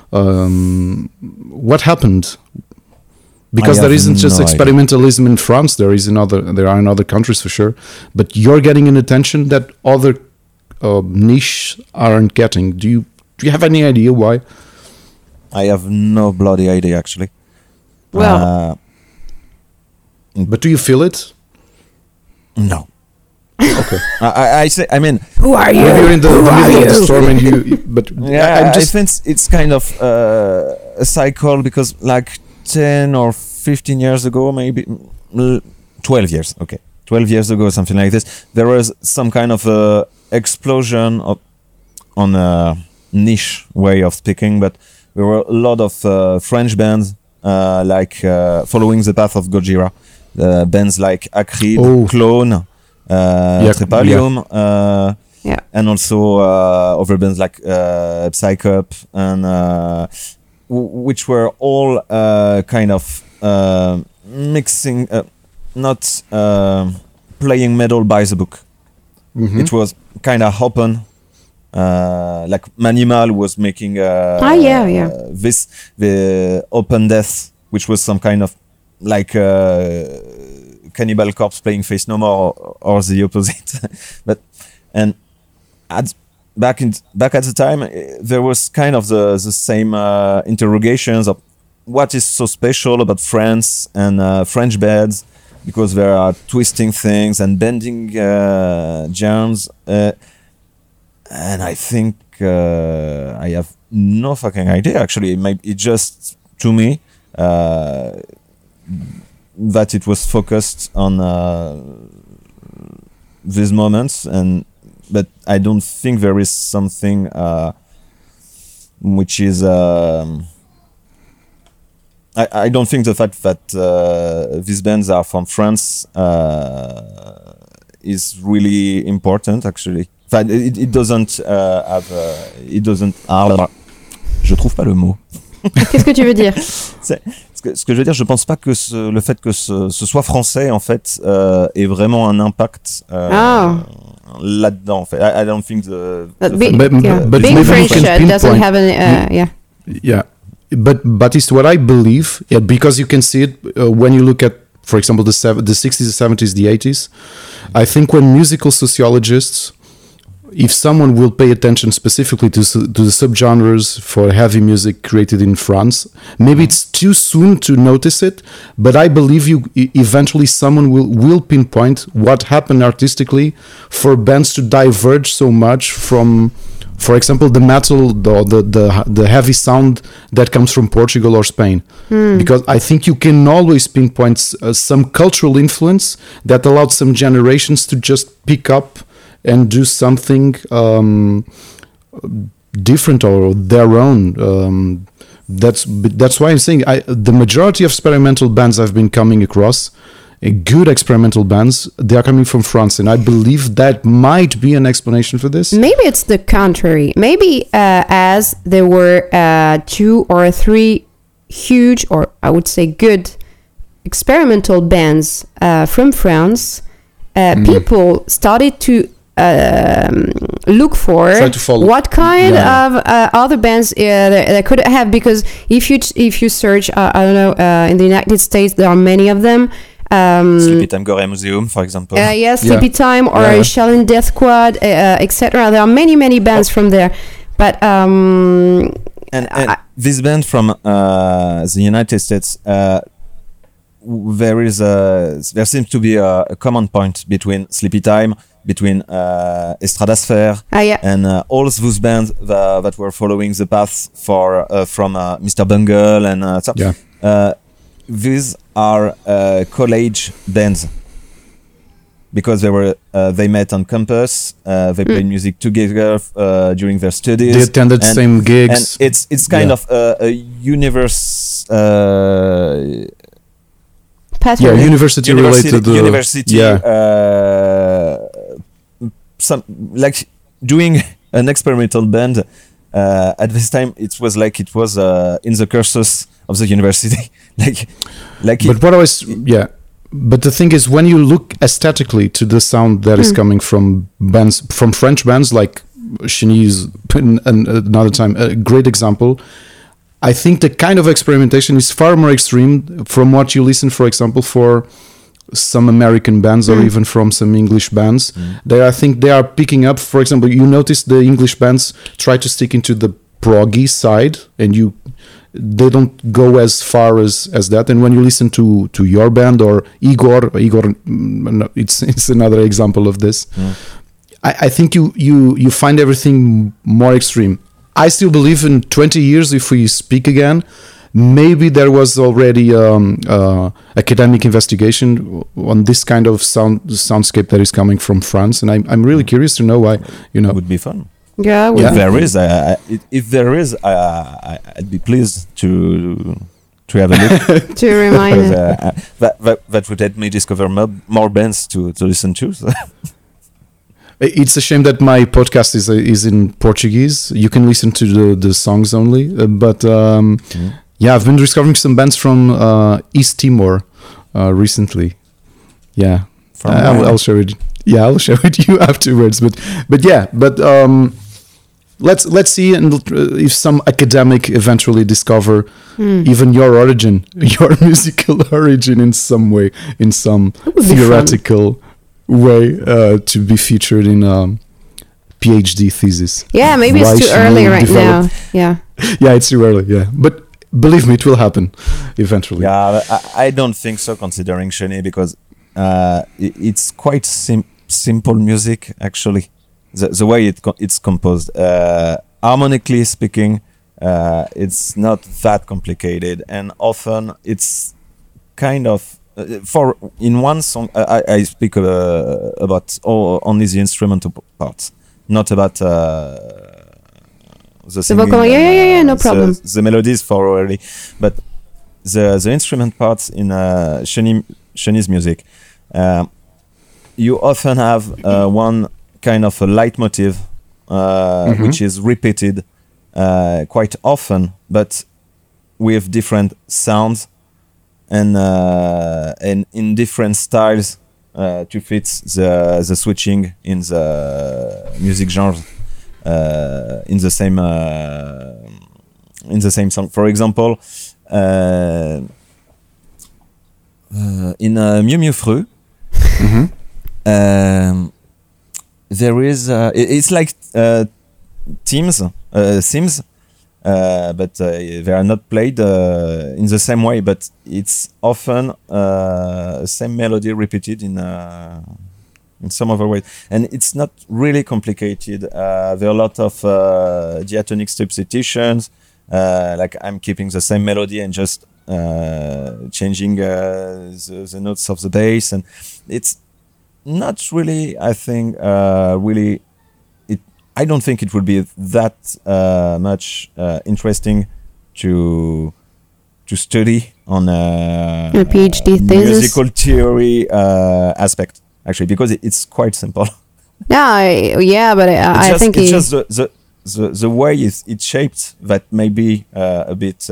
What happened? Because there isn't just experimentalism in France. There are in other countries for sure. But you're getting an attention that other niche aren't getting. Do you have any idea why? I have no bloody idea, actually. Well, but do you feel it? No. Okay. I mean, who are you? You're in the middle of the storm, and but yeah, I think it's kind of a cycle, because like 10 or 15 years ago, maybe 12 years. Okay, 12 years ago, something like this. There was some kind of explosion on a niche way of speaking, but there were a lot of French bands like following the path of Gojira, bands like Acrid, Clone, Trepalium, and also other bands like Psycup, and which were all kind of mixing, not playing metal by the book. It was kind of open. Like Manimal was making the Open Death, which was some kind of like Cannibal Corpse playing Face No More, or the opposite. But back at the time, there was kind of the same interrogations of what is so special about France and French bands, because they are twisting things and bending genres. And I think I have no fucking idea, actually. It just, to me, that it was focused on these moments, but I don't think there is something which is... I don't think the fact that these bands are from France is really important, actually. It doesn't have... it doesn't... je trouve pas le mot. Qu'est-ce que tu veux dire? Ce que je veux dire, je pense pas que le fait que ce soit français, en fait, ait vraiment un impact là-dedans. En fait, I don't think but being French doesn't have any. Yeah, but it's what I believe. Yeah, because you can see it when you look at, for example, the 60s, the 70s, the 80s. I think when musical sociologists, if someone will pay attention specifically to the subgenres for heavy music created in France, maybe it's too soon to notice it, but I believe eventually someone will pinpoint what happened artistically for bands to diverge so much from, for example, the metal, the heavy sound that comes from Portugal or Spain. Because I think you can always pinpoint some cultural influence that allowed some generations to just pick up and do something different or their own. That's why I'm saying the majority of experimental bands I've been coming across, good experimental bands, they are coming from France, and I believe that might be an explanation for this. Maybe it's the contrary. Maybe as there were 2 or 3 huge, or I would say good, experimental bands from France, people started to look for what kind of other bands they could have, because if you search, I don't know, in the United States there are many of them. Sleepy Time Gore Museum, for example. Sleepy Time or Shaolin Death Squad, etc. There are many bands from there, but and this band from the United States, there seems to be a common point between Sleepy Time, between Estradasphere, and all those bands that were following the path from Mr. Bungle and so. These are college bands because they met on campus. They played music together during their studies. They attended the same gigs. And it's kind of a universe. University related. Some like doing an experimental band. At this time, it was in the cursus of the university. But the thing is, when you look aesthetically to the sound that is coming from French bands like Chenise, another time, a great example. I think the kind of experimentation is far more extreme from what you listen, for example, for some American bands or even from some English bands. I think they are picking up, for example, you notice the English bands try to stick into the proggy side, and they don't go as far as that. And when you listen to your band or Igor, it's another example of this. I think you find everything more extreme. I still believe in 20 years, if we speak again, maybe there was already academic investigation on this kind of soundscape that is coming from France, and I'm really curious to know why. It would be fun. Yeah. If there is, I'd be pleased to have a look. To remind that would help me discover more bands to listen to. So. It's a shame that my podcast is in Portuguese. You can listen to the songs only, but I've been discovering some bands from East Timor recently. Yeah, I'll share it. Yeah, I'll share with you afterwards. But let's see if some academic eventually discover even your origin, your musical origin in some way, in some theoretical way to be featured in a PhD thesis. Yeah, maybe it's too early right now. Yeah, it's too early. Yeah, but believe me, it will happen eventually. Yeah, I don't think so, considering Chenille, because it's quite simple music actually. The way it's composed, harmonically speaking, it's not that complicated, and often it's kind of. In one song, I speak about only the instrumental parts, not about the singing. No problem. The melodies for already, but the instrument parts in Chenille's music, you often have one kind of a leitmotiv, which is repeated quite often, but with different sounds. And in different styles to fit the switching in the music genre in the same song. For example, in Mieux Mieux Freux, there is it's like themes, but they are not played in the same way, but it's often same melody repeated in some other way, and it's not really complicated. There are a lot of diatonic substitutions, like I'm keeping the same melody and just changing the notes of the bass, and it's not really. I think really, I don't think it would be that much interesting to study on a PhD thesis, musical theory aspect, actually, because it's quite simple. Yeah, but I think it's just the way it's shaped that may be a bit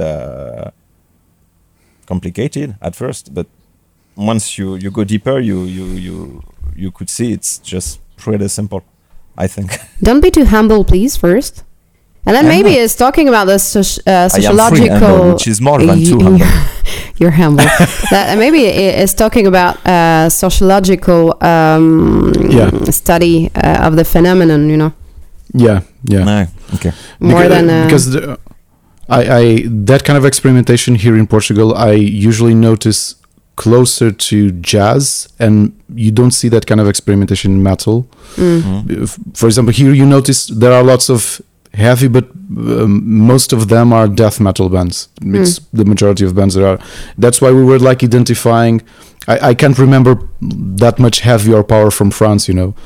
complicated at first, but once you go deeper, you could see it's just pretty simple, I think. Don't be too humble, please, first. And then maybe it's talking about the sociological... humble, which is more than too humble. You're humble. Maybe it's talking about sociological study of the phenomenon, you know? Yeah. No, okay. More than... because I that kind of experimentation here in Portugal, I usually notice closer to jazz, and you don't see that kind of experimentation in metal. For example, here you notice there are lots of heavy, but most of them are death metal bands. It's the majority of bands that are. That's why we were like identifying. I can't remember that much heavy or power from France, you know,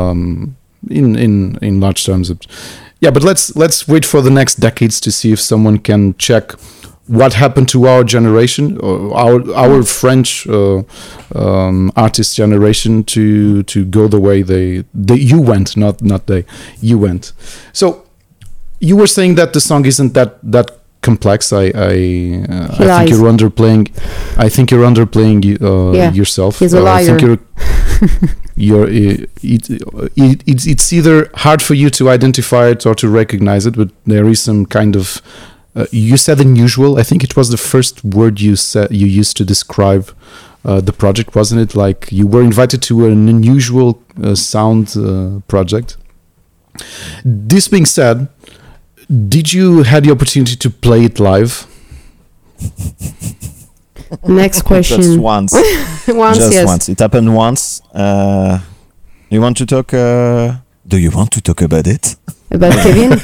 in large terms. Yeah, but let's wait for the next decades to see if someone can check what happened to our generation, or our French artist generation, to go the way you went, not they, you went. So you were saying that the song isn't that complex. I think you're underplaying. I think you're underplaying yourself. He's a liar. I think it's either hard for you to identify it or to recognize it, but there is some kind of you said unusual. I think it was the first word you used to describe the project, wasn't it? Like you were invited to an unusual sound project. This being said, did you had the opportunity to play it live? Next question. Just once. Once. It happened once. You want to talk? Do you want to talk about it? About Kevin?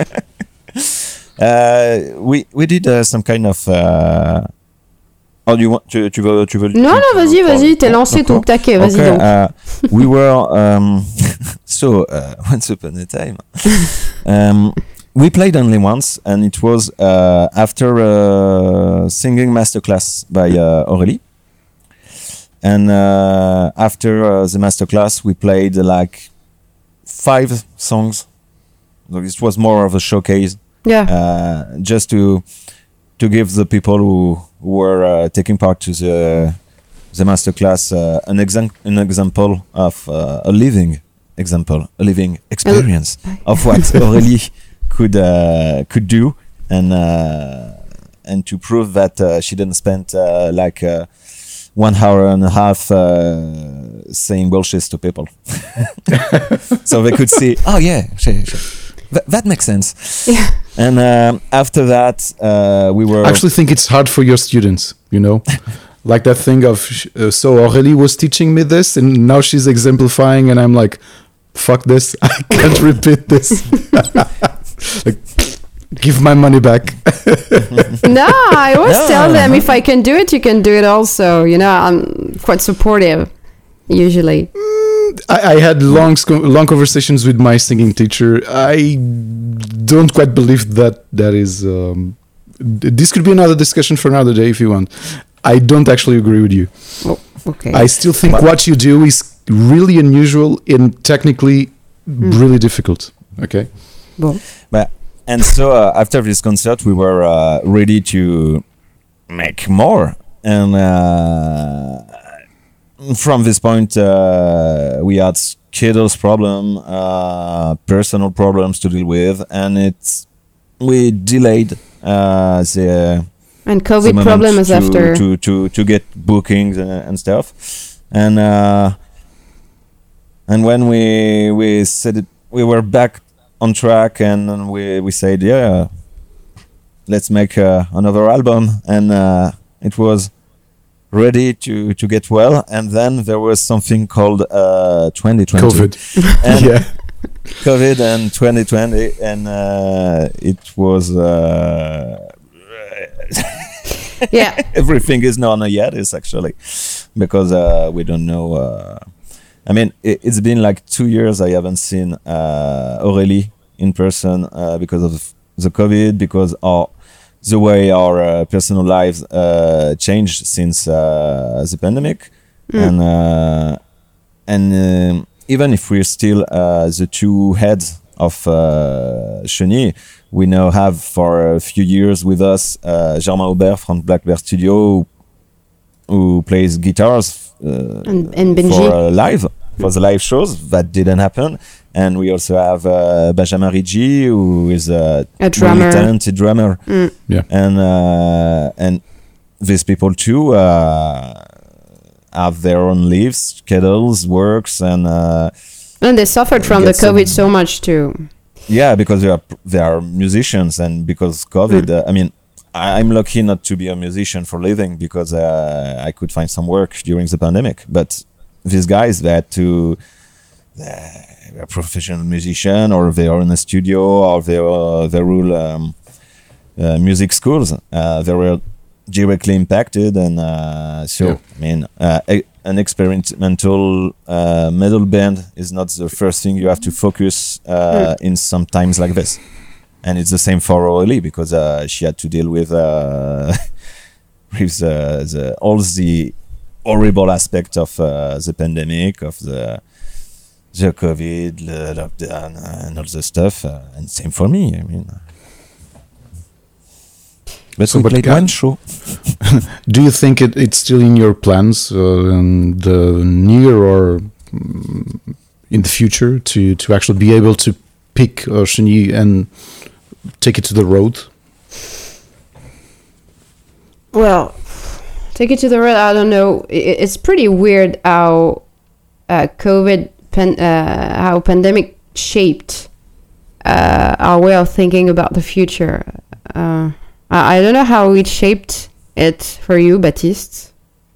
We did some kind of. Oh, you want tu veux Non, vas-y, t'es lancé ton taquet, vas-y donc. We were so once upon a time. We played only once, and it was after a singing masterclass by Aurélie. And after the masterclass, we played like 5 songs. So it was more of a showcase. Yeah. Just to give the people who were taking part to the masterclass an example of a living experience of what Aurélie could do, and to prove that she didn't spend like 1 hour and a half saying bullshit to people. So they could see, oh yeah, that makes sense. Yeah. And after that, we were... I actually think it's hard for your students, you know? Like that thing of, so Aurélie was teaching me this, and now she's exemplifying, and I'm like, fuck this, I can't repeat this. Like, give my money back. No, I always tell them, if I can do it, you can do it also. You know, I'm quite supportive, usually. I had long conversations with my singing teacher. I don't quite believe that is... this could be another discussion for another day if you want. I don't actually agree with you. Oh, okay. I still think what you do is really unusual and technically really difficult. Okay? Bon. And so after this concert, we were ready to make more. And from this point, we had schedules problem, personal problems to deal with, and we delayed the... And COVID problem is after... To get bookings and stuff. And when we said it, we were back on track, and we said, yeah, let's make another album, and it was ready to get well, and then there was something called 2020 COVID. And yeah, COVID and 2020, and it was yeah, everything is not yet, is actually, because we don't know I mean, it's been like 2 years I haven't seen Aurélie in person because of the COVID, because the way our personal lives changed since the pandemic. And even if we're still the two heads of Chenille, we now have for a few years with us Germain Aubert from Black Bear Studio, who plays guitars and Benji for the live shows. That didn't happen. And we also have Benjamin Ricci, who is a drummer. Really talented drummer. Yeah. And these people too have their own lives, schedules, works, and they suffered from the COVID so much too. Yeah, because they are musicians, and because COVID. I mean, I'm lucky not to be a musician for living, because I could find some work during the pandemic. But these guys, they had to. They're a professional musician, or they are in a studio, or they rule music schools. They were directly impacted, and I mean, an experimental metal band is not the first thing you have to focus in some times like this. And it's the same for Aurélie, because she had to deal with all the horrible aspect of the pandemic, of the COVID, the lockdown, and all the stuff. And same for me. I mean, but we played one show. Do you think it's still in your plans in the near or in the future to actually be able to pick Chenille and take it to the road? Well, take it to the road, I don't know. It's pretty weird how how pandemic shaped our way of thinking about the future. I don't know how it shaped it for you, Baptiste.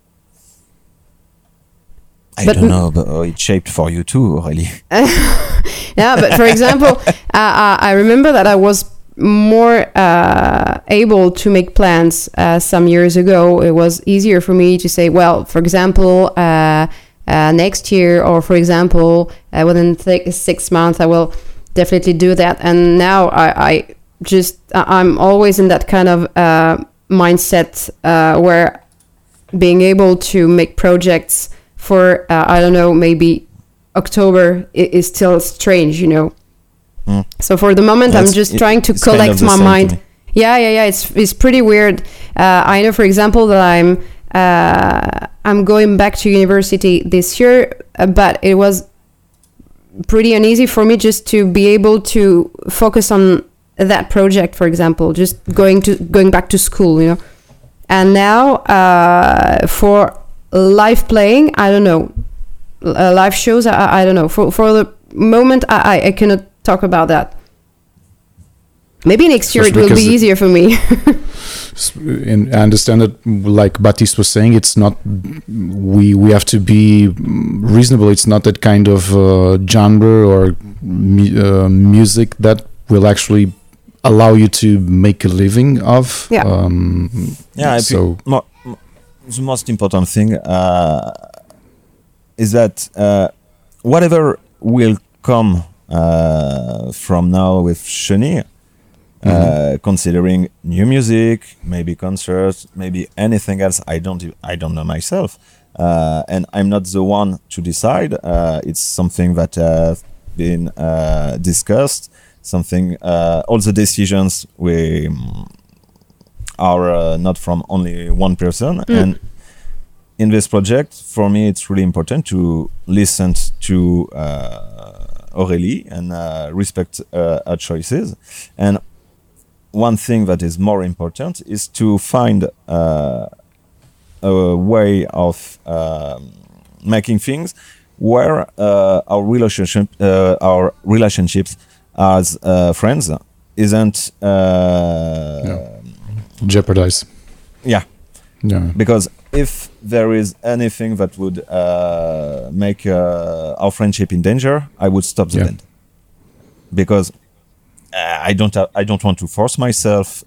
I don't know, but it shaped for you too, Aurélie. Yeah, but for example, I remember that I was more able to make plans some years ago. It was easier for me to say, well, for example, next year, or for example, within 6 months, I will definitely do that. And now I'm always in that kind of mindset where being able to make projects for I don't know, maybe October is still strange, you know. So for the moment, I'm just trying to collect my mind. Yeah. It's pretty weird. I know, for example, that I'm going back to university this year, but it was pretty uneasy for me just to be able to focus on that project, for example, just going back to school, you know. And now for live playing, I don't know, live shows, I don't know. For the moment, I cannot talk about that. Maybe next year it will be easier for me. And I understand that, like Baptiste was saying, it's not, we have to be reasonable. It's not that kind of genre or music that will actually allow you to make a living of. So the most important thing is that whatever will come from now with Chenille, considering new music, maybe concerts, maybe anything else, I don't know myself, and I'm not the one to decide. It's something that has been discussed. Something, all the decisions are not from only one person. And in this project, for me, it's really important to listen to Aurélie and respect her choices. And one thing that is more important is to find a way of making things where our relationships as friends isn't jeopardized. Yeah. Because if there is anything that would make our friendship in danger, I would stop the band. Because I don't want to force myself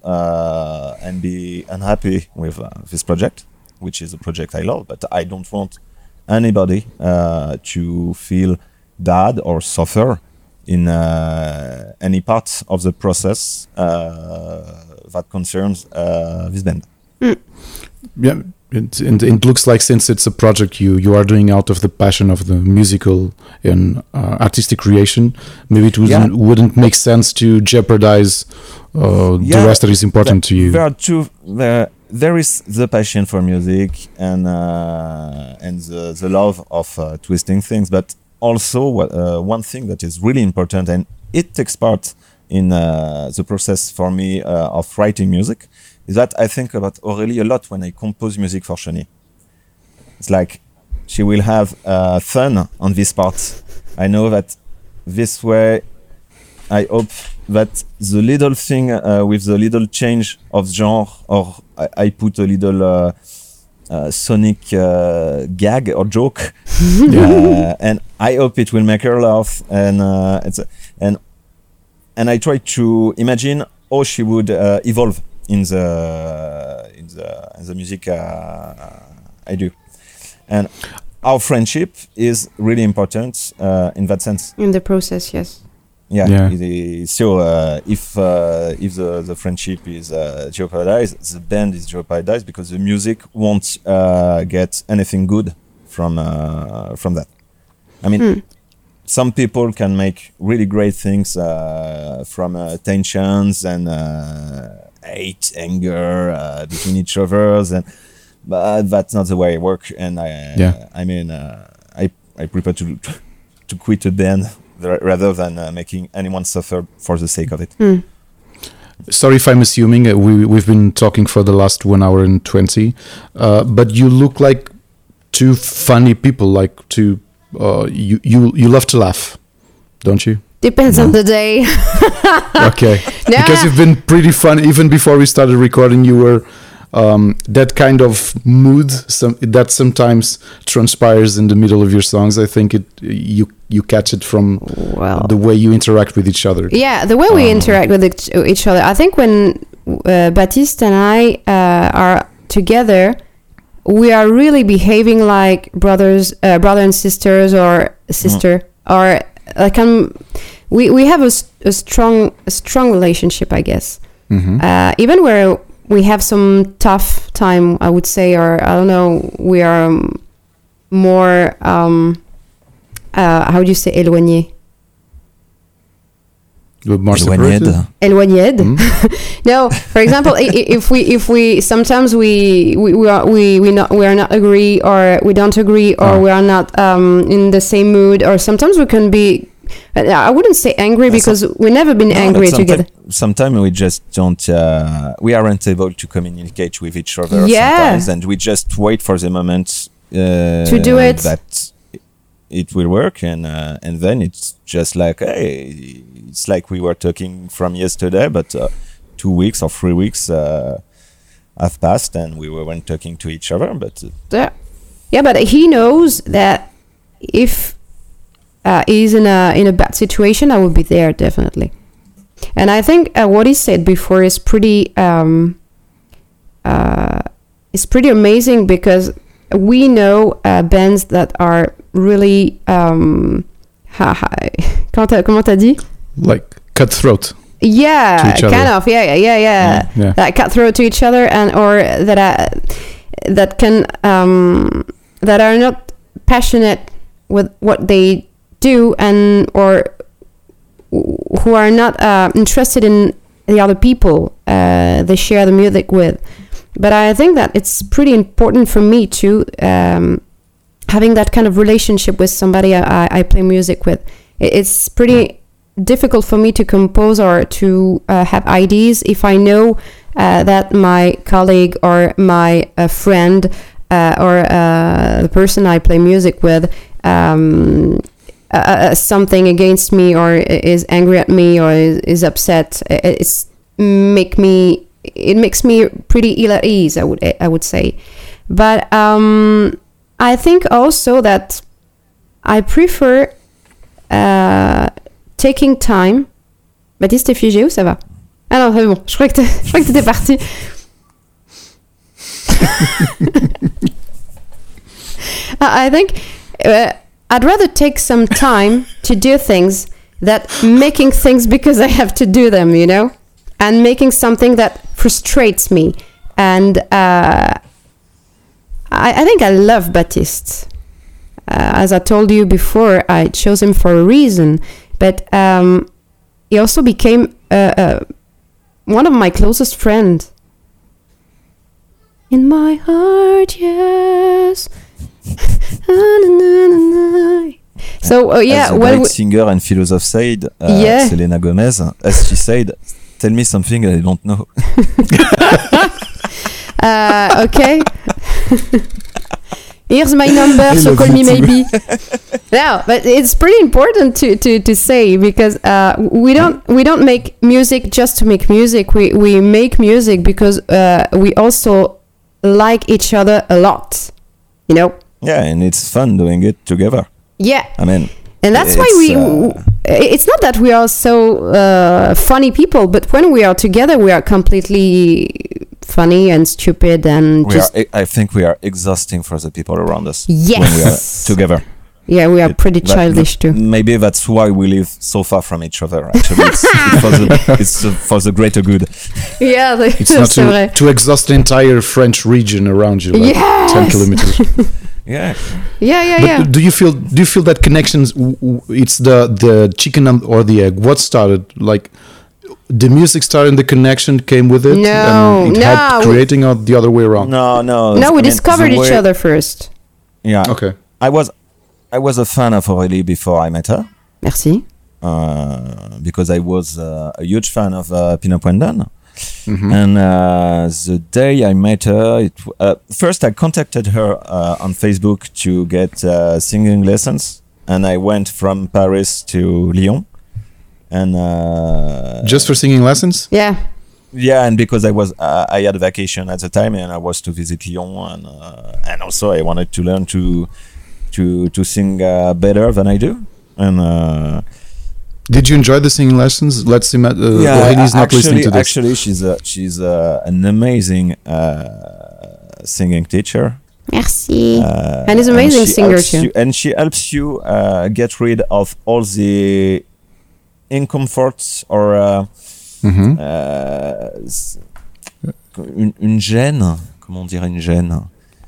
and be unhappy with this project, which is a project I love, but I don't want anybody to feel bad or suffer in any part of the process that concerns this band. Yeah, it looks like, since it's a project you are doing out of the passion of the musical and artistic creation, maybe it wouldn't make sense to jeopardize the rest that is important to you. There are two. There is the passion for music and the love of twisting things, but also one thing that is really important, and it takes part in the process for me of writing music, is that I think about Aurélie a lot when I compose music for Chenille. It's like she will have fun on this part. I know that this way, I hope that the little thing with the little change of genre, or I put a little sonic gag or joke, and I hope it will make her laugh. And I try to imagine how she would evolve in the music I do, and our friendship is really important in that sense. In the process, yes. Yeah. So if the friendship is jeopardized, the band is jeopardized, because the music won't get anything good from that. I mean, some people can make really great things from tensions and hate, anger between each others, but that's not the way I work. And I prefer to quit a band rather than making anyone suffer for the sake of it. Sorry if I'm assuming. We've been talking for the last 1 hour and 20, but you look like two funny people. Like two, you love to laugh, don't you? Depends on the day. Okay, because you've been pretty funny even before we started recording. You were that kind of mood that sometimes transpires in the middle of your songs. I think you catch it from the way you interact with each other. Yeah, the way we interact with each other. I think when Baptiste and I are together, we are really behaving like brother and sisters, or sister, or like we have a strong relationship, I guess. Even where we have some tough time, I would say, or I don't know, we are more how do you say éloigné? More separated? Éloigné. No, for example, if we sometimes we are not agree, or we don't agree, or we are not in the same mood, or sometimes we can be. I wouldn't say angry, because we've never been angry together. Sometimes we just don't. We aren't able to communicate with each other. Sometimes, and we just wait for the moment to do it. That it will work, and then it's just like, hey, it's like we were talking from yesterday, but 2 weeks or 3 weeks have passed, and we weren't talking to each other. But but he knows that if he's in a bad situation, I will be there definitely. And I think what he said before is pretty amazing, because we know bands that are really comment t'as dit? Like cutthroat. Yeah, kind of. Yeah. Like cutthroat to each other, and or that can that are not passionate with what they do, and or who are not interested in the other people they share the music with. But I think that it's pretty important for me to having that kind of relationship with somebody I play music with. It's pretty difficult for me to compose or to have ideas if I know that my colleague or my friend or the person I play music with something against me, or is angry at me, or is upset. It makes me pretty ill at ease, I would say. But I think also that I prefer taking time. Baptiste, t'es figé ou ça va? Ah non, c'est bon. Je crois que t'étais parti. I think I'd rather take some time to do things that making things because I have to do them, you know, and making something that frustrates me. And I think I love Baptiste. As I told you before, I chose him for a reason, but he also became one of my closest friends. In my heart, yes. So as a great singer and philosopher said, Selena Gomez, as she said, tell me something I don't know. Okay. Here's my number, so call me maybe. No, but it's pretty important to say, because we don't make music just to make music. We make music because we also like each other a lot, you know. Yeah, and it's fun doing it together. Yeah, I mean, and that's why it's not that we are so funny people, but when we are together, we are completely funny and stupid, and I think we are exhausting for the people around us. Yes, when we are together. Yeah, we are pretty childish too. Maybe that's why we live so far from each other. Actually, it's for the greater good. Yeah, it's not to exhaust the entire French region around you, like 10 kilometers. Yeah. But do you feel that connections? It's the chicken or the egg. What started? Like the music started, and the connection came with it. No, and it had creating, or the other way around. No. We discovered each other first. Yeah. Okay. I was a fan of Aurélie before I met her. Merci. Because I was a huge fan of Pina Puendon. Mm-hmm. And the day I met her, first I contacted her on Facebook to get singing lessons, and I went from Paris to Lyon, and just for singing lessons. Yeah, and because I had a vacation at the time, and I was to visit Lyon, and also I wanted to learn to sing better than I do, and. Did you enjoy the singing lessons? Let's see. Aurélie not listening to this. Actually, she's an amazing singing teacher. Merci. And he's an amazing singer too. And she helps you get rid of all the incomforts or une gêne. Comment dire une gêne?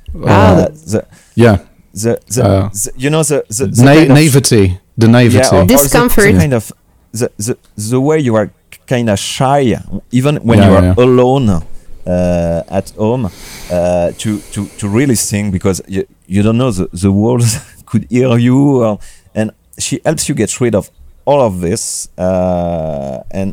You know the naivety. The naivety, discomfort, kind of the way you are kind of shy, even when you are alone at home, to really sing, because you don't know the world could hear you, and she helps you get rid of all of this, and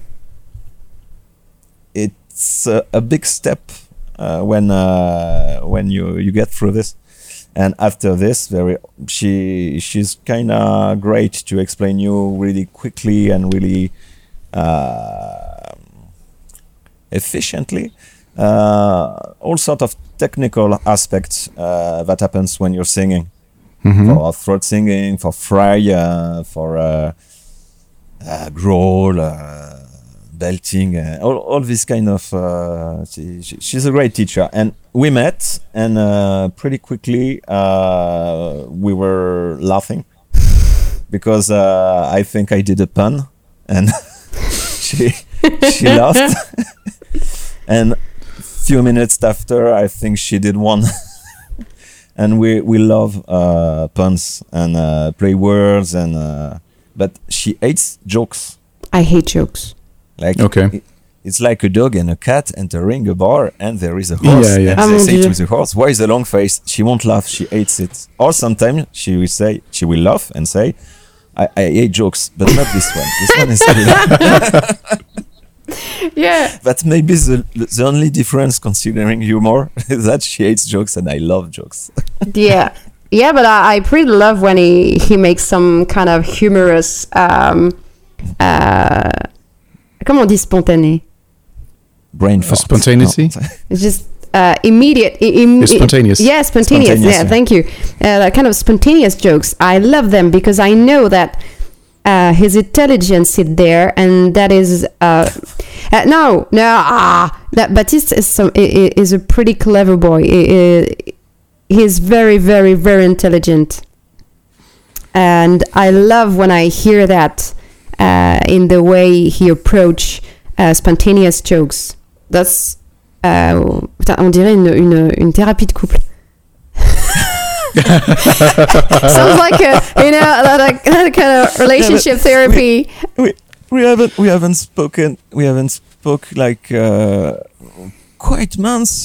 it's a big step when you get through this. And after this, she's kind of great to explain you really quickly and really efficiently all sort of technical aspects that happens when you're singing, for throat singing, for fry, for growl, belting, all this kind of. She's a great teacher, and we met, and pretty quickly we were laughing because I think I did a pun, and she laughed, and few minutes after I think she did one. And we love puns and play words, and but she hates jokes. I hate jokes. Like, okay. It's like a dog and a cat entering a bar, and there is a horse. Yeah. And they say to the horse, "Why is the long face?" She won't laugh. She hates it. Or sometimes she will laugh and say, "I hate jokes, but not this one. This one is Yeah. That may be the only difference, considering humor, is that she hates jokes and I love jokes. Yeah, but I pretty love when he makes some kind of humorous. Comment on dit spontané? Brain fart. Spontaneity? No. It's just immediate. Spontaneous. Yeah, spontaneous. Yeah, thank you. That kind of spontaneous jokes. I love them because I know that his intelligence is there, and that is that Baptiste is a pretty clever boy. he's very, very, very intelligent. And I love when I hear that in the way he approach spontaneous jokes. That's on dirait une thérapie de couple. Sounds like that kind of relationship therapy. We haven't spoke like quite months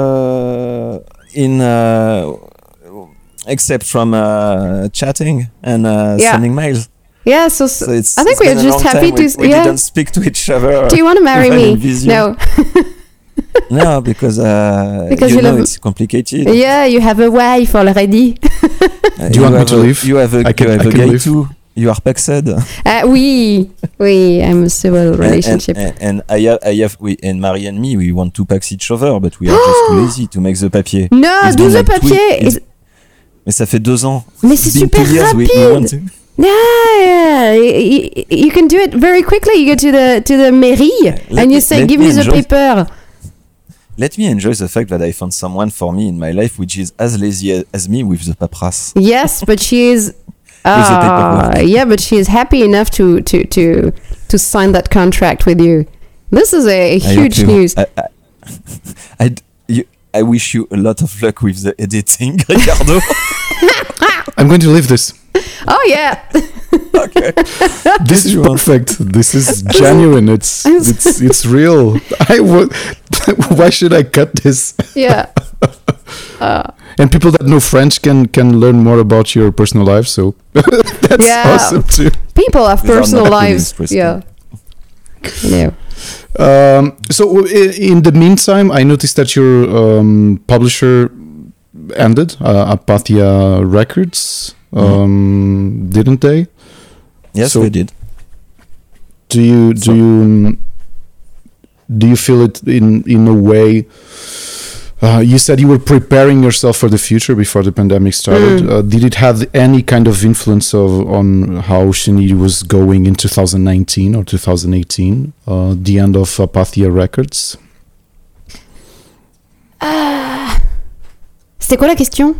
except from chatting and sending mails. Yeah, so it's, I think we're just happy to. We didn't speak to each other. Do you want to marry me? No. No, because you know it's complicated. Yeah, you have a wife already. Do you want me to leave? You have a guy too. You are paxed. Oui, I'm a civil relationship. And I have and Marie and me, we want to pax each other, but we are just too lazy to make the papier. No, do the papier. Mais ça fait 2 ans. Mais c'est super rapide. Yeah, you can do it very quickly. You go to the mairie and you say, "Give me the paper." Let me enjoy the fact that I found someone for me in my life which is as lazy as me with the papras. Yes, but she is. Yeah, but she is happy enough to sign that contract with you. This is a huge news. I wish you a lot of luck with the editing, Ricardo. I'm going to leave this. Oh yeah. Okay. This is perfect. This is genuine. It's real. Why should I cut this? Yeah. And people that know French can learn more about your personal life. So that's awesome too. People have personal lives. Yeah. Yeah. So in the meantime, I noticed that your publisher ended, Apathia Records, didn't they? Yes, so we did. Do you feel it in a way? You said you were preparing yourself for the future before the pandemic started. Did it have any kind of influence on how Chenille was going in 2019 or 2018, the end of Apathia Records? C'était quoi la question?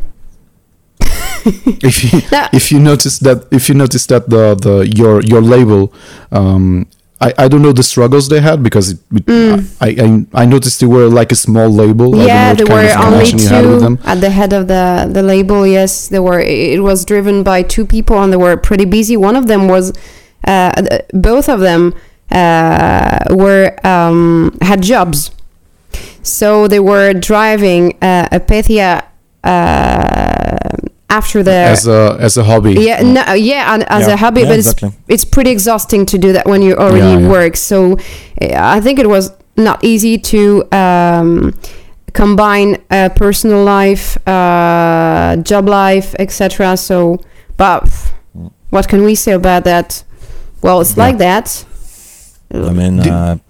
If you notice that your label, I don't know the struggles they had because I noticed they were like a small label. Yeah, there were only 2 at the head of the label. Yes, there were. It was driven by 2 people, and they were pretty busy. One of them was, both of them had jobs, so they were driving Apathia after the as a hobby. Yeah, as a hobby, but exactly. It's pretty exhausting to do that when you already work. So I think it was not easy to combine personal life, job life, etc. So, but what can we say about that? Well, it's like that. I mean,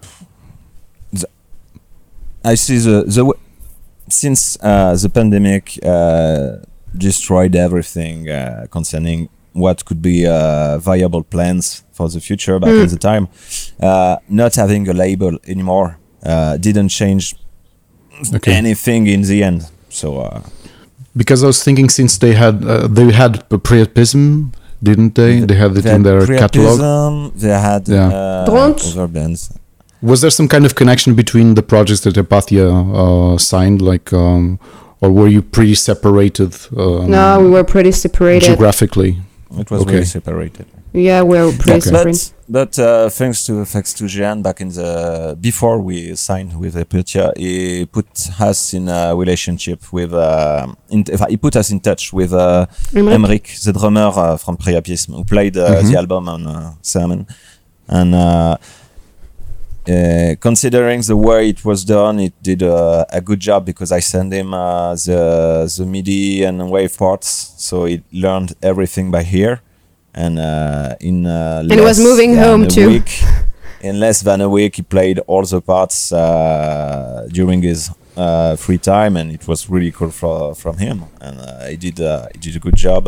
I see the since the pandemic destroyed everything concerning what could be viable plans for the future back in the time. Not having a label anymore didn't change anything in the end. So because I was thinking, since they had Priapism, didn't they? They had it in their catalog. They had other bands. Was there some kind of connection between the projects that Apathia signed, like, or were you pretty separated? No, we were pretty separated geographically. It was really separated. Yeah, we were pretty separated. But thanks to Jean, back in the before we signed with Apathia, he put us in a relationship with. He put us in touch with Emric, the drummer from Priapism, who played the album on Sermon, and. Considering the way it was done, it did a good job because I sent him the MIDI and wave parts, so he learned everything by ear. And and it was moving home too. In less than a week, he played all the parts during his free time, and it was really cool from him. And he did a good job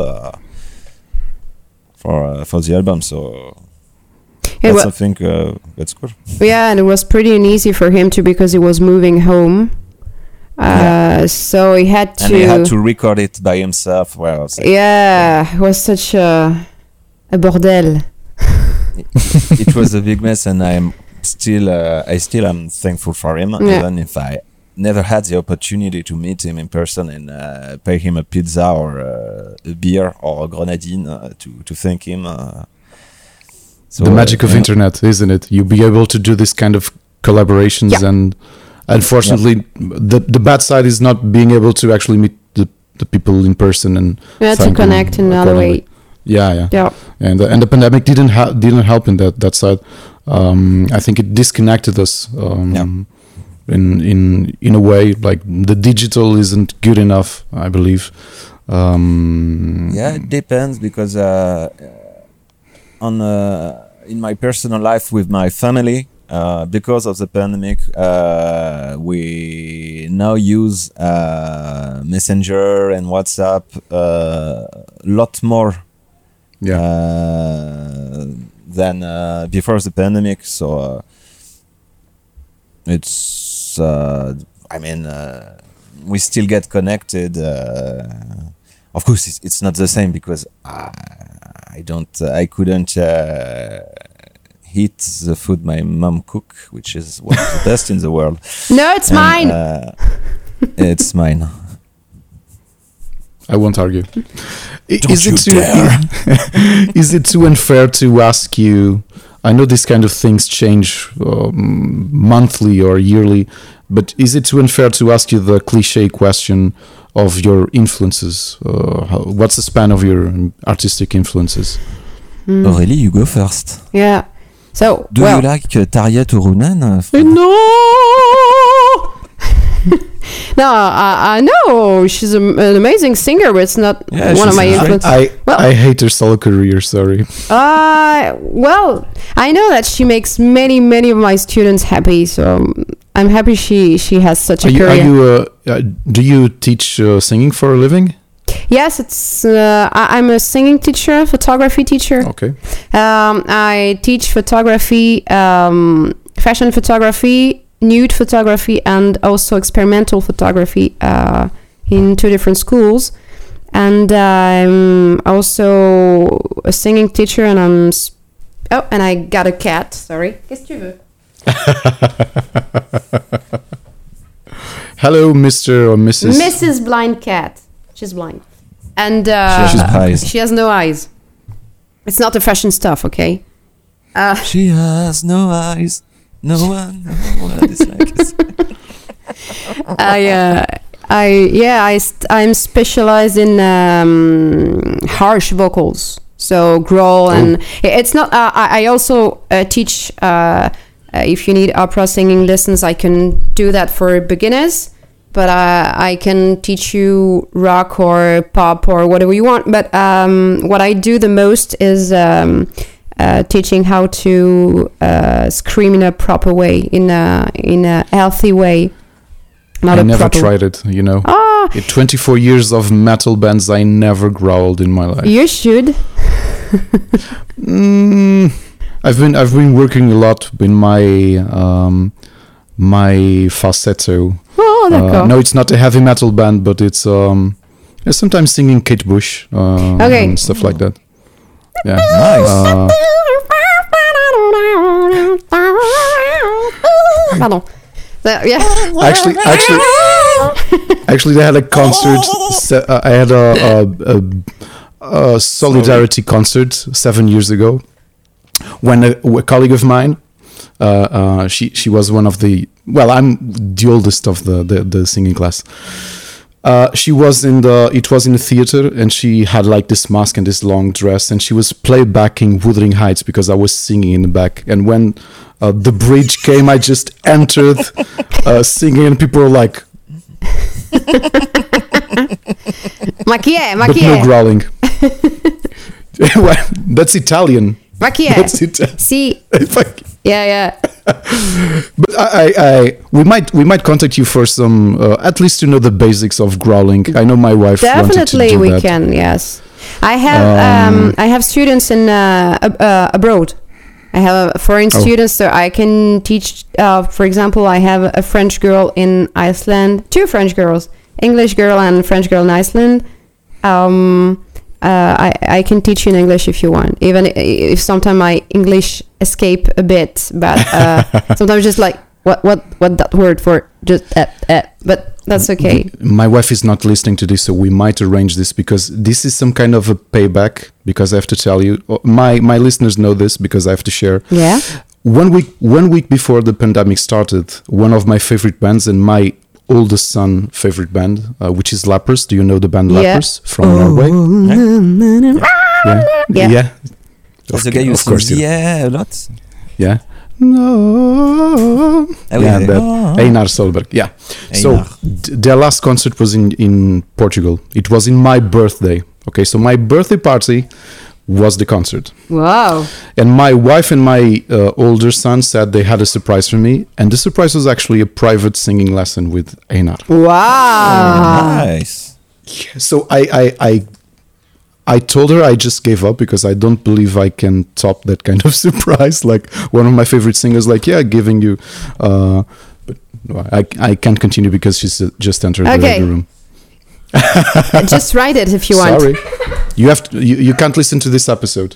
for the album. So. That's something that's good. Yeah, and it was pretty easy for him too because he was moving home. So he had to. And he had to record it by himself. Well, it was such a bordel. It was a big mess, and I still am thankful for him, even if I never had the opportunity to meet him in person and pay him a pizza or a beer or a grenadine to thank him. So the magic of internet, isn't it? You'll be able to do this kind of collaborations, and unfortunately, the bad side is not being able to actually meet the people in person and to connect in another way. Yeah. And the pandemic didn't help in that side. I think it disconnected us in a way. Like the digital isn't good enough, I believe. It depends because in my personal life with my family, because of the pandemic, we now use Messenger and WhatsApp a lot more than before the pandemic. So it's we still get connected. Of course, it's not the same because I couldn't eat the food my mom cook, which is one of the best in the world. No, it's mine. It's mine. I won't argue. Is it too unfair to ask you? I know these kind of things change monthly or yearly, but is it too unfair to ask you the cliche question of your influences? What's the span of your artistic influences? Aurélie, you go first. Yeah. So, do you like Tarja Turunen? No! No, I know she's an amazing singer, but it's not one of my influences. I hate her solo career. Sorry. Well, I know that she makes many of my students happy, so I'm happy she has such a career. Do you teach singing for a living? Yes, it's. I'm a singing teacher, photography teacher. Okay. I teach photography, fashion photography, nude photography, and also experimental photography in 2 different schools. And I'm also a singing teacher, and and I got a cat. Sorry. Qu'est-ce que tu veux? Hello, Mr. or Mrs. Mrs. Blind Cat. She's blind. And she has no eyes. It's not the fashion stuff, okay? She has no eyes. No one is like this. I'm specialized in harsh vocals, so growl, and it's not. I also teach. If you need opera singing lessons, I can do that for beginners. But I can teach you rock or pop or whatever you want. But what I do the most is teaching how to scream in a proper way, in a healthy way. I never tried it, you know. In 24 years of metal bands, I never growled in my life. You should. I've been working a lot in my falsetto. No, it's not a heavy metal band, but it's sometimes singing Kate Bush and stuff like that. Yeah, nice. Pardon. Actually, they had a concert. I had a solidarity concert 7 years ago when a colleague of mine. She was one of the. Well, I'm the oldest of the singing class. She was it was in a theater, and she had like this mask and this long dress, and she was playbacking Wuthering Heights because I was singing in the back. And when the bridge came, I just entered singing, and people were like, "Ma chi è? But no growling." That's Italian. Ma chi è? That's Italian. Sì. Yeah. But we might contact you for some at least to know the basics of growling. I know my wife wanted to do we that. Can. Yes, I have students in abroad. I have a foreign student, so I can teach. For example, I have a French girl in Iceland, 2 French girls, English girl and French girl in Iceland. I can teach you in English if you want, even if sometimes my English escape a bit, but sometimes just like what that word for, just but that's okay. My wife is not listening to this, so we might arrange this, because this is some kind of a payback, because I have to tell you, my listeners know this because I have to share. Yeah. 1 week before the pandemic started, one of my favorite bands and my oldest son favorite band, which is Lappers. Do you know the band Lappers from Norway? Yeah. That's the guy who sings a lot. Yeah. No. Einar Solberg. Yeah. Einar. So their last concert was in Portugal. It was in my birthday. Okay, so my birthday party was the concert. Wow. And my wife and my older son said they had a surprise for me, and the surprise was actually a private singing lesson with Einar. Wow. Nice. Yeah, so I told her I just gave up, because I don't believe I can top that kind of surprise. Like one of my favorite singers, like, yeah, giving you, but no, I can't continue because she's just entered the room. Just write it if you want. Sorry, you have to, you can't listen to this episode.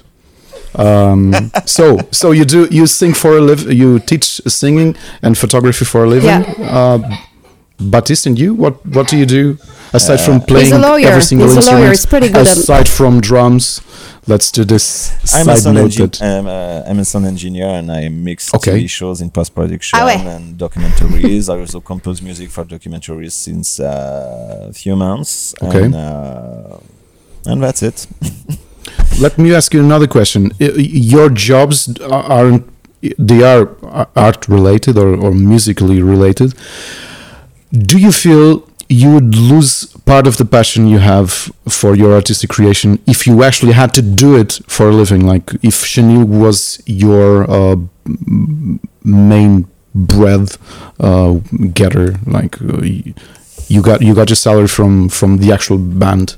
So you sing for a living, you teach singing and photography for a living. Yeah. Baptiste, and you, what do you do aside from playing every single instrument? He's a lawyer. It's pretty good. Aside from drums, let's do this. I'm a sound engineer, and I mix TV shows in post-production and documentaries. I also compose music for documentaries since a few months. Okay. And that's it. Let me ask you another question. Your jobs are art related or musically related. Do you feel you would lose part of the passion you have for your artistic creation if you actually had to do it for a living? Like if chenille was your main bread getter, like you got your salary from the actual band?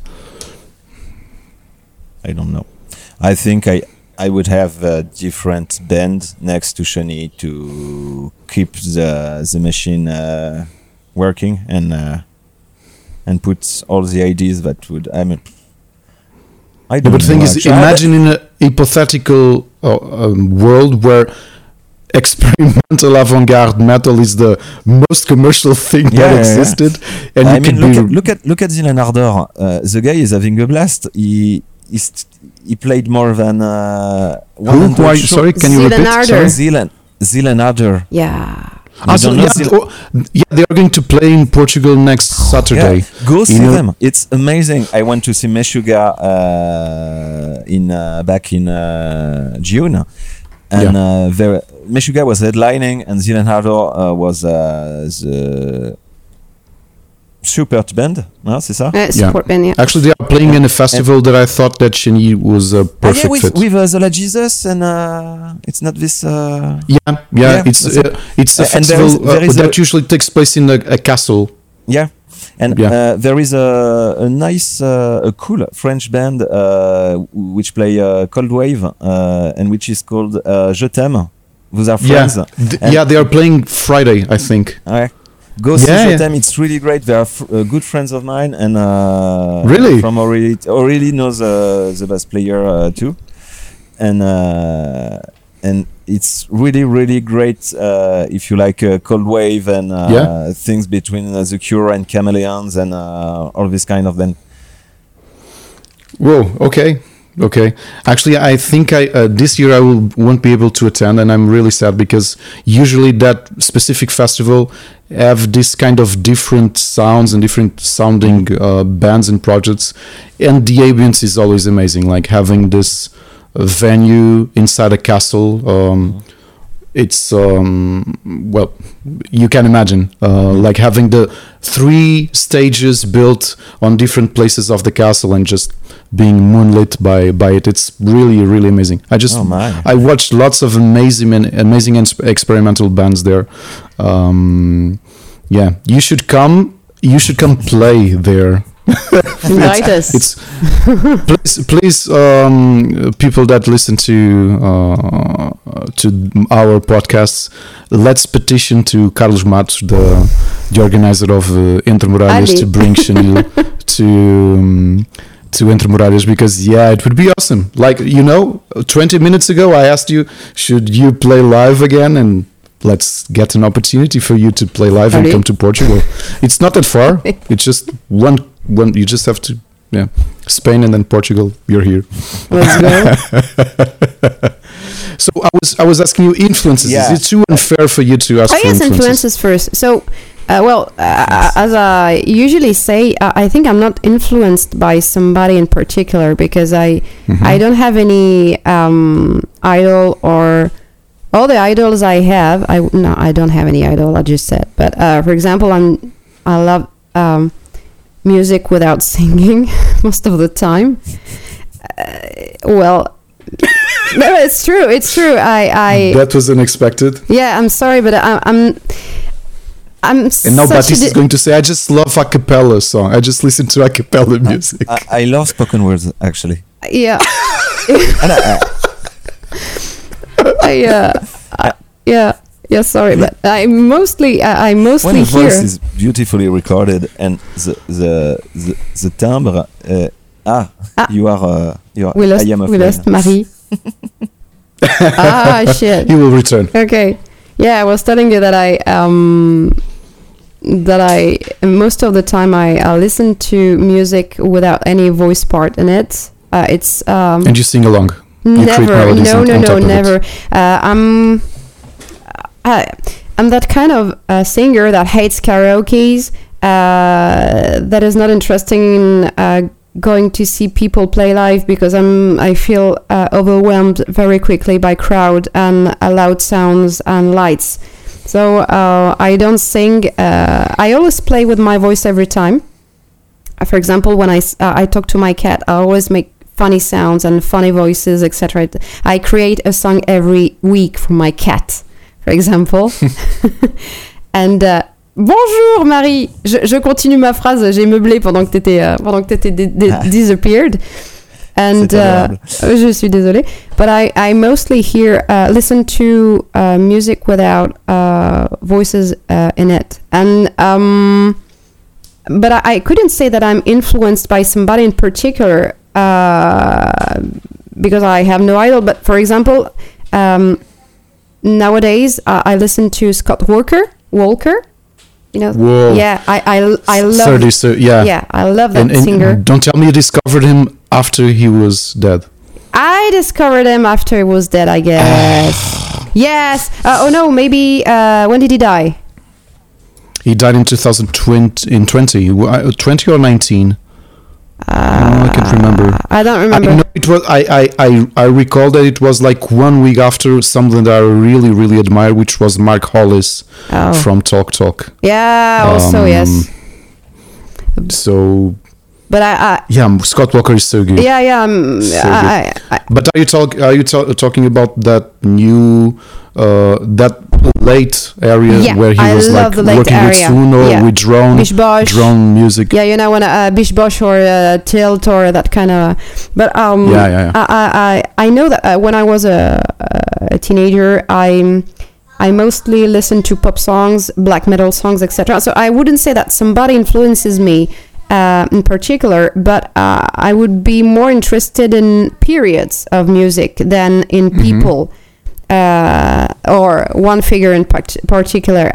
I don't know. I think I would have a different band next to chenille to keep the machine working and put all the ideas that would. I don't know. But the thing is, imagine in a hypothetical world where experimental avant-garde metal is the most commercial thing that existed, and I mean, look at Zilen Ardor. The guy is having a blast. He played more than 100 shows. Sorry, can you repeat? Zilen Ardor. Yeah. They are going to play in Portugal next Saturday. Yeah. Go see them. It's amazing. I went to see Meshuggah back in June, and Meshuggah was headlining, and Zilen Ardor was the support band. No, c'est ça? Support band, yeah. Actually, they are playing in a festival that I thought that chenille was a perfect fit. With Zola Jesus, and it's not this. It's a festival that usually takes place in a castle. Yeah, and there is a nice, a cool French band which play Cold Wave, and which is called Je t'aime. Vous are friends. They are playing Friday, I think. Go see them. It's really great. They are good friends of mine, and really from Aurélie knows the bass player too, and it's really, really great if you like Cold Wave and things between The Cure and Chameleons and all this kind of band. Whoa! Okay. Actually, I think this year I won't be able to attend, and I'm really sad because usually that specific festival have this kind of different sounds and different sounding bands and projects, and the ambience is always amazing. Like having this venue inside a castle. It's well, you can imagine like having the 3 stages built on different places of the castle and just being moonlit by it. It's really, really amazing. I watched lots of amazing experimental bands there. You should come play there Invite us. Please, people that listen to our podcasts, let's petition to Carlos Matos, the organizer of Entre Muralhas, to bring Chanel to Entre Muralhas, because it would be awesome. Like, 20 minutes ago I asked you, should you play live again, and let's get an opportunity for you to play live and come to Portugal. It's not that far. It's just one. You just have to, Spain and then Portugal. You're here. Let's go. So I was asking you influences. Yeah. Is it too unfair for you to ask for influences first. So, as I usually say, I think I'm not influenced by somebody in particular, because I don't have any idol, or all the idols I have. I don't have any idol. I just said, but for example, I love music without singing most of the time. No, it's true. It's true. That was unexpected. Yeah, I'm sorry, but I'm. And now Baptiste is going to say, I just love a cappella song. I just listen to a cappella music. I love spoken words, actually. Yeah. Yeah, sorry, but I mostly when a hear. voice is beautifully recorded and the timbre. You are. We I am afraid. lost Marie. Shit. He will return. Okay. Yeah, I was telling you that I most of the time I listen to music without any voice part in it. It's and you sing along. Never. No, never. I'm that kind of singer that hates karaoke's, that is not interested in going to see people play live, because I feel overwhelmed very quickly by crowd and loud sounds and lights. So I don't sing. I always play with my voice every time. For example, when I talk to my cat, I always make funny sounds and funny voices, etc. I create a song every week for my cat, for example. And bonjour Marie, je continue ma phrase, j'ai meublé pendant que t'étais disappeared. And je suis désolée, but I mostly listen to music without voices in it, and but I couldn't say that I'm influenced by somebody in particular, because I have no idol. But for example, nowadays I listen to Scott Walker. Whoa. Yeah, I love 30, so yeah, I love that singer. Don't tell me you discovered him after he was dead. I discovered him after he was dead, I guess. Yes. Maybe when did he die? He died in 2020. 20 or 19. I can't remember. I don't remember. I know it was. I recall that it was like 1 week after something that I really, really admire, which was Mark Hollis from Talk Talk. Yeah. Also, yes. So. But Scott Walker is so good. Yeah. But are you talking about that new that late area where he was like working with Swoon or with drone music? Yeah, when Bish Bosch or Tilt or that kind of. But I know that when I was a teenager, I mostly listened to pop songs, black metal songs, etc. So I wouldn't say that somebody influences me in particular, but I would be more interested in periods of music than in people, or one figure in particular.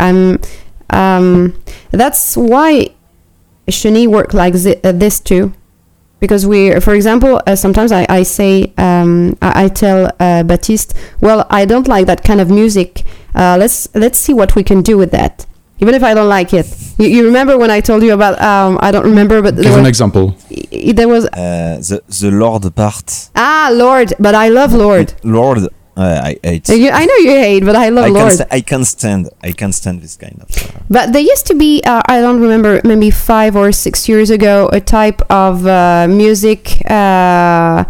That's why Chenille worked like this too, because for example, sometimes I say, I tell Baptiste, well, I don't like that kind of music. Let's see what we can do with that. Even if I don't like it. You remember when I told you about, I don't remember, but... Give an example. There was... the Lord part. Lord, but I love Lord. Lord, I hate. I know you hate, but I love Lord. I can't stand this kind of... But there used to be, I don't remember, maybe 5 or 6 years ago, a type of music, kind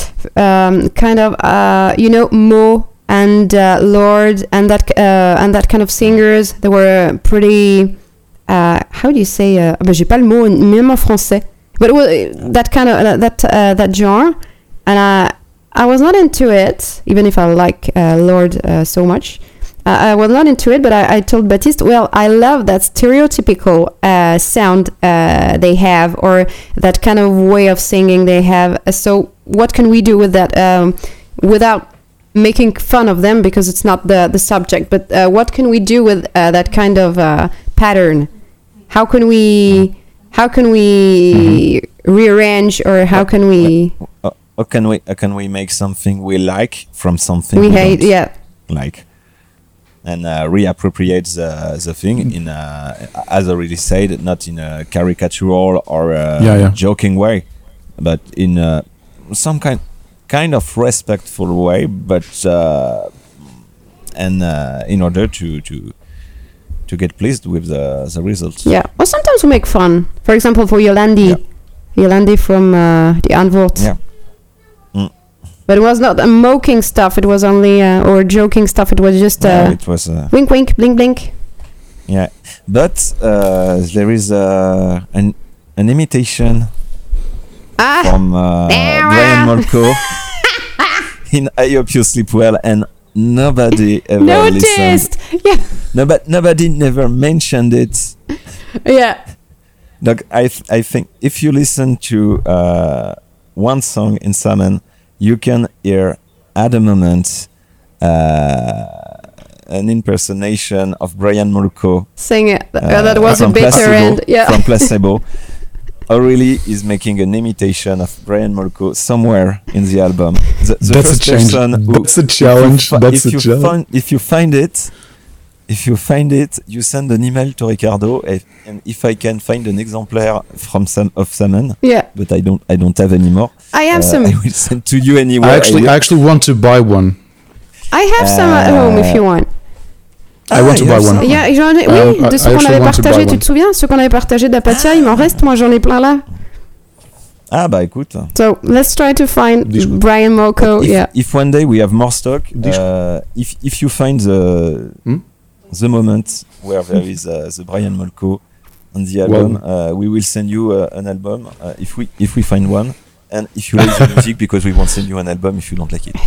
of, Mo and Lord and that kind of singers. They were pretty how do you say j'ai pas le mot même en français. But it was that kind of that genre, and I was not into it, even if I like Lorde so much. I was not into it, but I told Baptiste, well, I love that stereotypical sound they have, or that kind of way of singing they have. So what can we do with that without making fun of them, because it's not the subject, but what can we do with that kind of pattern? How can we rearrange, or how can we make something we like from something we hate? Yeah, like, and reappropriate the thing in as already said, not in a caricatural or joking way, but in some kind of respectful way, but in order to get pleased with the results. Yeah, or sometimes we make fun. For example, for Yolandi from the Antwoord. Yeah. But it was not mocking stuff. It was only or joking stuff. It was just it was wink, wink, blink, blink. Yeah, but there is an imitation from Brian Molko in I Hope You Sleep Well, and nobody ever noticed. Yeah. Nobody never mentioned it. Yeah. Look, I think if you listen to one song in Salmon, you can hear at a moment an impersonation of Brian Molko. Sing it. That was a bitter end. Yeah. From Placebo. Aurélie is making an imitation of Brian Molko somewhere in the album. That's a change. That's a challenge. If you find it, you send an email to Ricardo, and if I can find an exemplar of Salmon, but I don't have anymore. I have some. I will send to you anyway. I actually want to buy one. I have some at home if you want. I want to buy one. Oui, de ceux qu'on avait partagé, tu te souviens? Ceux qu'on avait partagé d'Apatia, il m'en reste, moi j'en ai plein là. Ah bah écoute. So let's try to find Brian Molko. If one day we have more stock, if you find the moment where there is the Brian Molko on the album, we will send you an album if we find one. And if you like the music, because we won't send you an album if you don't like it.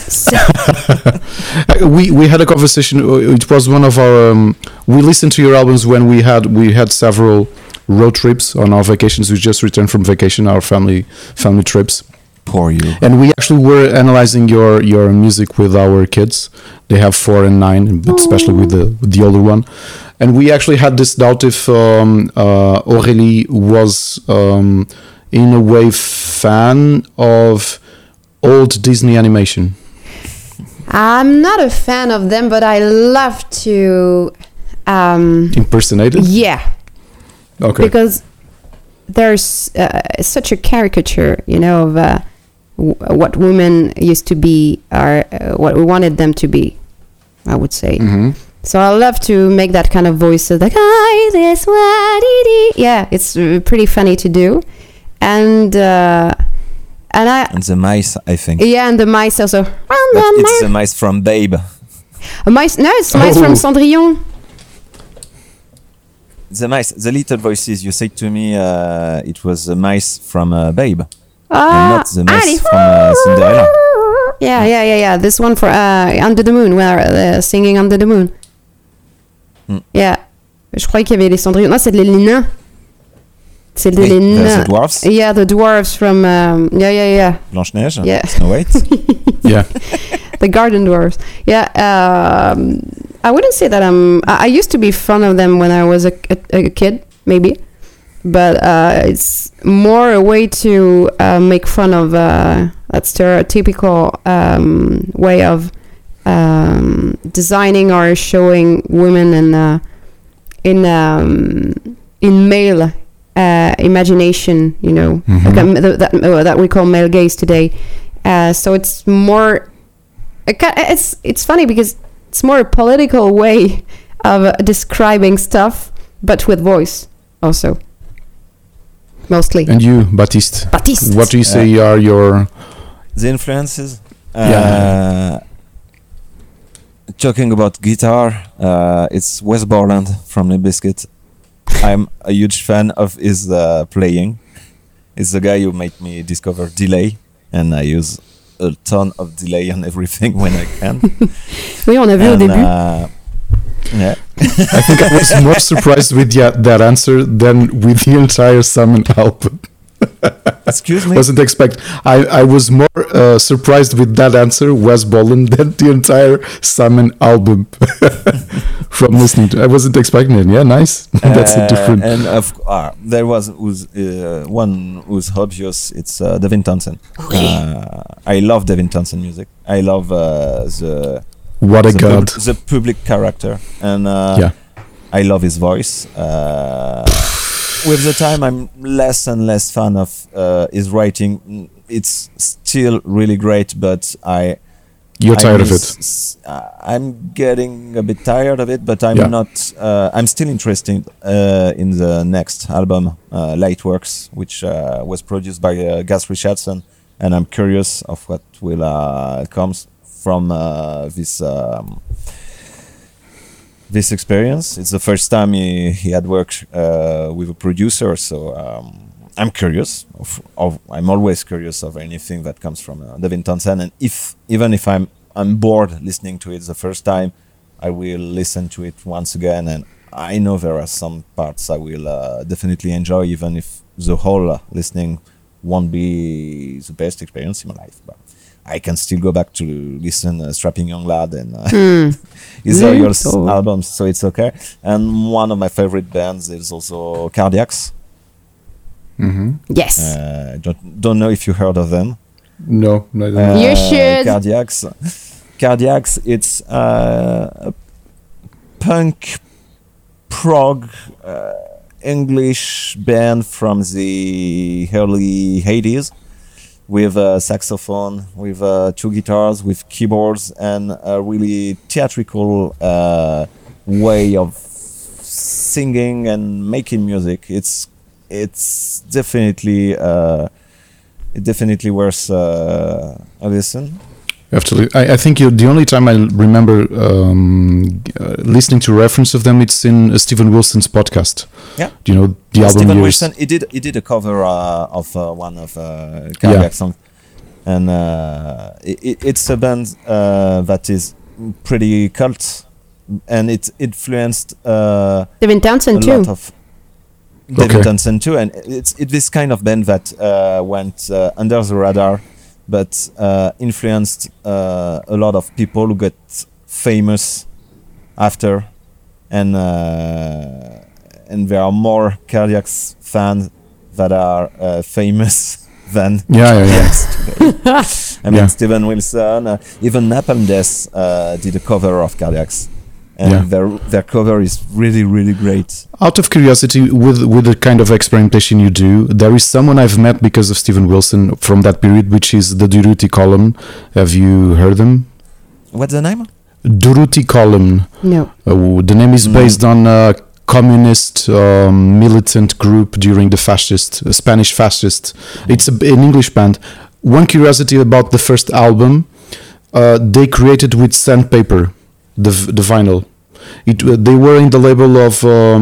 we had a conversation. It was one of our. We listened to your albums when we had several road trips on our vacations. We just returned from vacation, our family trips. Poor you. And we actually were analyzing your music with our kids. They have 4 and 9, but especially with the older one. And we actually had this doubt if Aurélie was. In a way, fan of old Disney animation. I'm not a fan of them, but I love to impersonate it. Yeah. Okay. Because there's such a caricature, of what women used to be, or what we wanted them to be, I would say. Mm-hmm. So I love to make that kind of voice, like, "Hi, this what it is." Yeah, it's pretty funny to do. And the mice, I think. Yeah, and the mice also. It's the mice from Babe. It's mice from Cendrillon. The little voices. You said to me it was the mice from Babe, and not the mice from Cinderella. Yeah. This one for Under the Moon, where they're singing Under the Moon. Yeah. Je croyais qu'il y avait les Cendrillon. Non, c'est les nains. C'est les nains. The dwarfs. Yeah, the dwarves from. Yeah. Blanche-Neige. Yeah. Snow White. Yeah. The garden dwarves. Yeah. I wouldn't say that I used to be fond of them when I was a kid, maybe, but it's more a way to make fun of that stereotypical way of designing or showing women in male imagination, mm-hmm. that we call male gaze today. So it's more. It's funny because it's more a political way of describing stuff, but with voice also. Mostly. And you, Baptiste? What do you say are your... The influences? Talking about guitar, it's Wes Borland from Limp Bizkit. I'm a huge fan of his playing. It's the guy who made me discover delay, and I use a ton of delay on everything when I can. Oui, on a vu au début. Yeah. I think I was more surprised with that answer than with the entire Summon album. Excuse me? Wasn't expect. I was more surprised with that answer, Wes Bolland, than the entire Summon album. From listening to, I wasn't expecting it. Yeah, nice. That's a different. And there was one who's obvious. It's Devin Townsend. I love Devin Townsend music. I love the public character, and I love his voice. With the time, I'm less and less fan of his writing. It's still really great, but You're tired of it. I'm getting a bit tired of it, but I'm not. I'm still interested in the next album, Lightworks, which was produced by Gus Richardson, and I'm curious of what will come from this experience. It's the first time he had worked with a producer, so I'm curious. I'm always curious of anything that comes from Devin Townsend, and even if I'm bored listening to it the first time, I will listen to it once again, and I know there are some parts I will definitely enjoy, even if the whole listening won't be the best experience in my life. But I can still go back to listen Strapping Young Lad and his earlier albums, so it's okay. And one of my favorite bands is also Cardiacs. Mm-hmm. Yes. Don't know if you heard of them. No, I don't. You should. Cardiacs. It's a punk prog English band from the early 80s. With a saxophone, with 2 guitars, with keyboards, and a really theatrical way of singing and making music. It's definitely worth a listen. Absolutely. I think the only time I remember listening to reference of them, it's in Steven Wilson's podcast. Yeah. Do you know the album? Steven Wilson, he did a cover of one of Cardiac songs, and it's a band that is pretty cult, and it influenced Devin Townsend too. Devin Townsend too, and it's this kind of band that went under the radar, but influenced a lot of people who got famous after, and there are more Cardiacs fans that are famous than Cardiacs today. I mean, Steven Wilson, even Napalm Death did a cover of Cardiacs. And their cover is really, really great. Out of curiosity, with the kind of experimentation you do, there is someone I've met because of Steven Wilson from that period, which is the Durruti Column. Have you heard them? What's the name? Durruti Column. No. The name is based on a communist militant group during the Spanish fascist. It's an English band. One curiosity about the first album, they created with sandpaper. The vinyl. They were in the label of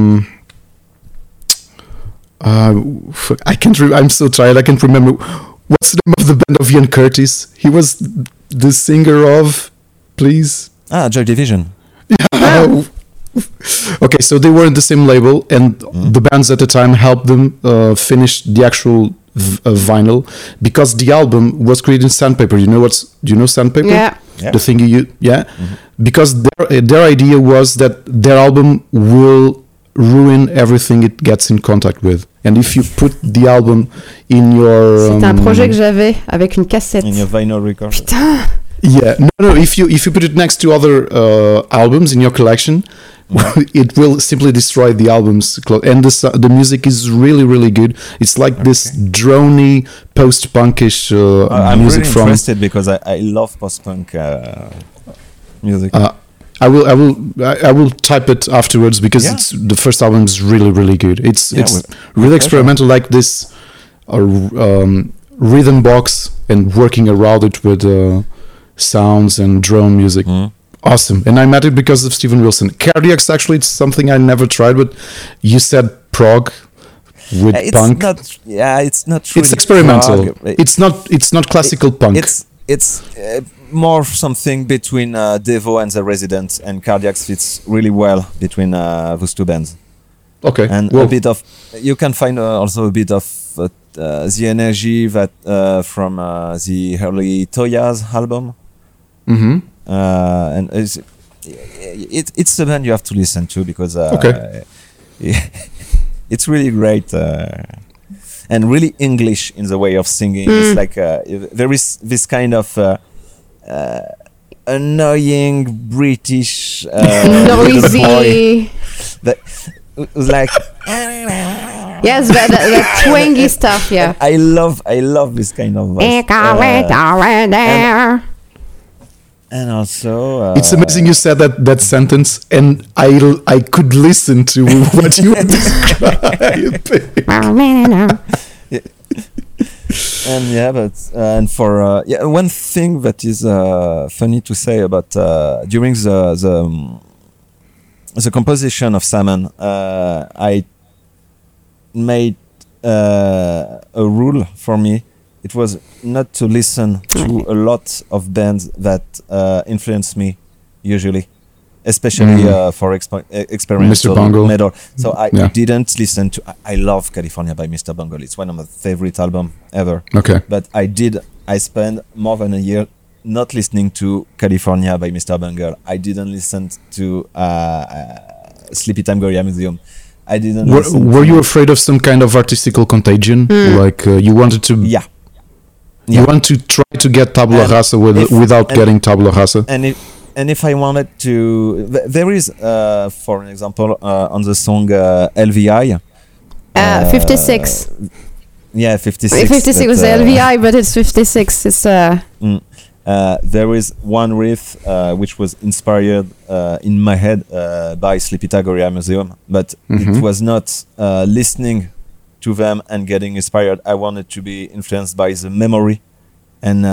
I can't. I'm so tired. I can't remember what's the name of the band of Ian Curtis. He was the singer of. Please. Joy Division. Yeah. Okay, so they were in the same label, and the bands at the time helped them finish the actual vinyl, because the album was created in sandpaper. Do you know sandpaper? Yeah. The thing because their idea was that their album will ruin everything it gets in contact with, and if you put the album in your c'était un projet que j'avais avec une cassette in your vinyl record. Putain. Yeah, no. If you put it next to other albums in your collection, it will simply destroy the album's and the music is really, really good. It's like this drony post-punkish I'm music really interested because I love post-punk music. I will type it afterwards because it's the first album is really, really good. It's really experimental, like this rhythm box and working around it with sounds and drone music. Awesome. And I met it because of Steven Wilson. Cardiacs, actually, it's something I never tried, but you said prog. with punk. It's not. Really it's experimental. It's not classical punk. It's more something between Devo and The Residents, and Cardiacs fits really well between those two bands. Okay, and a bit of you can find also a bit of the energy that from the early Toyas album. Mm-hmm. And it's a band you have to listen to because it's really great and really English in the way of singing. It's like there is this kind of annoying British noisy that was like yes, that twangy stuff. Yeah, I love this kind of voice. And also, it's amazing you said that sentence, and I could listen to what you were describing. And for one thing that is funny to say about during the composition of Salmon, I made a rule for me. It was not to listen to a lot of bands that influence me, usually, especially for experimental metal. So I didn't listen to. I love California by Mr. Bungle. It's one of my favorite albums ever. Okay. But I spent more than a year not listening to California by Mr. Bungle. I didn't listen to Sleepy Time Gorilla Museum. I didn't. Were you afraid of some kind of artistical contagion? Like you wanted to? Yeah. You want to try to get tabula rasa without getting tabula rasa? And if I wanted to, there is, for an example, on the song LVI. 56. Yeah, 56. 56 was LVI, but it's 56. It's there is one riff which was inspired in my head by Sleepy Time Gorilla Museum, but it was not listening to them and getting inspired. I wanted to be influenced by the memory and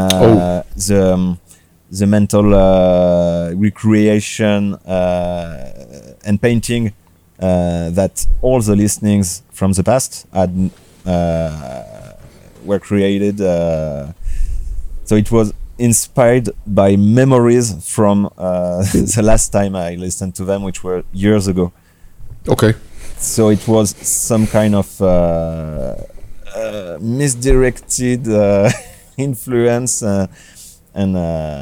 the mental recreation and painting that all the listenings from the past had were created. So it was inspired by memories from the last time I listened to them, which were years ago. Okay. So it was some kind of misdirected influence, and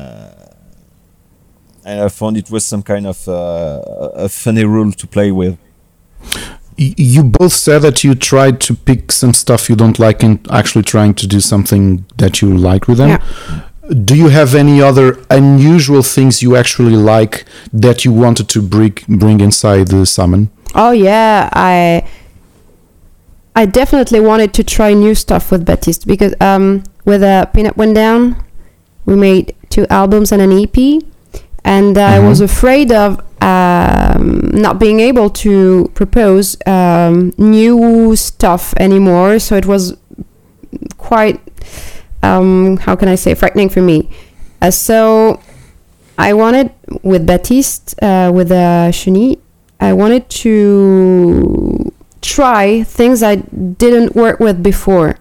I found it was some kind of a funny rule to play with. You both said that you tried to pick some stuff you don't like and actually trying to do something that you like with them. Yeah. Do you have any other unusual things you actually like that you wanted to bring inside the Salmon? Oh yeah, I definitely wanted to try new stuff with Baptiste because with Peanut Went Down, we made 2 albums and an EP, and I was afraid of not being able to propose new stuff anymore. So it was quite, how can I say, frightening for me. So I wanted, with Baptiste, with Chenille, I wanted to try things I didn't work with before.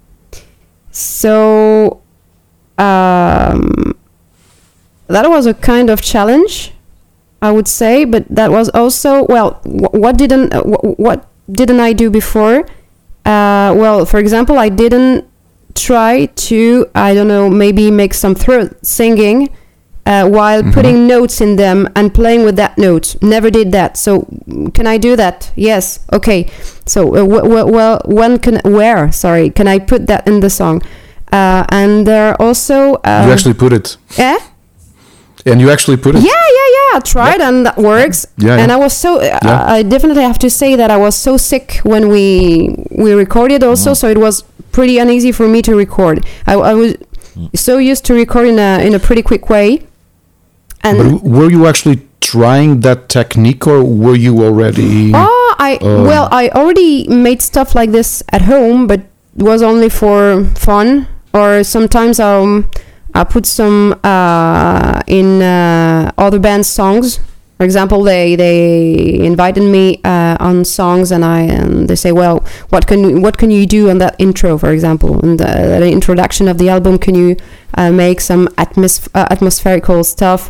So that was a kind of challenge, I would say, but that was also, well, what didn't I do before? Well, for example, I didn't try to, I don't know, maybe make some throat singing while putting notes in them and playing with that note. Never did that. So can I do that? Yes. Okay. So where can I put that in the song? And there are also you actually put it. Yeah. And you actually put it. Yeah. I tried, and that works. Yeah. And I was so. I definitely have to say that I was so sick when we recorded also. So it was pretty uneasy for me to record. I was so used to record in a pretty quick way. And but were you actually trying that technique, or were you already? Well, I already made stuff like this at home, but it was only for fun. Or sometimes I put some in other bands' songs For example, they invited me on songs, and they say, well, what can you do on that intro, for example, and the introduction of the album? Can you make some atmospherical stuff,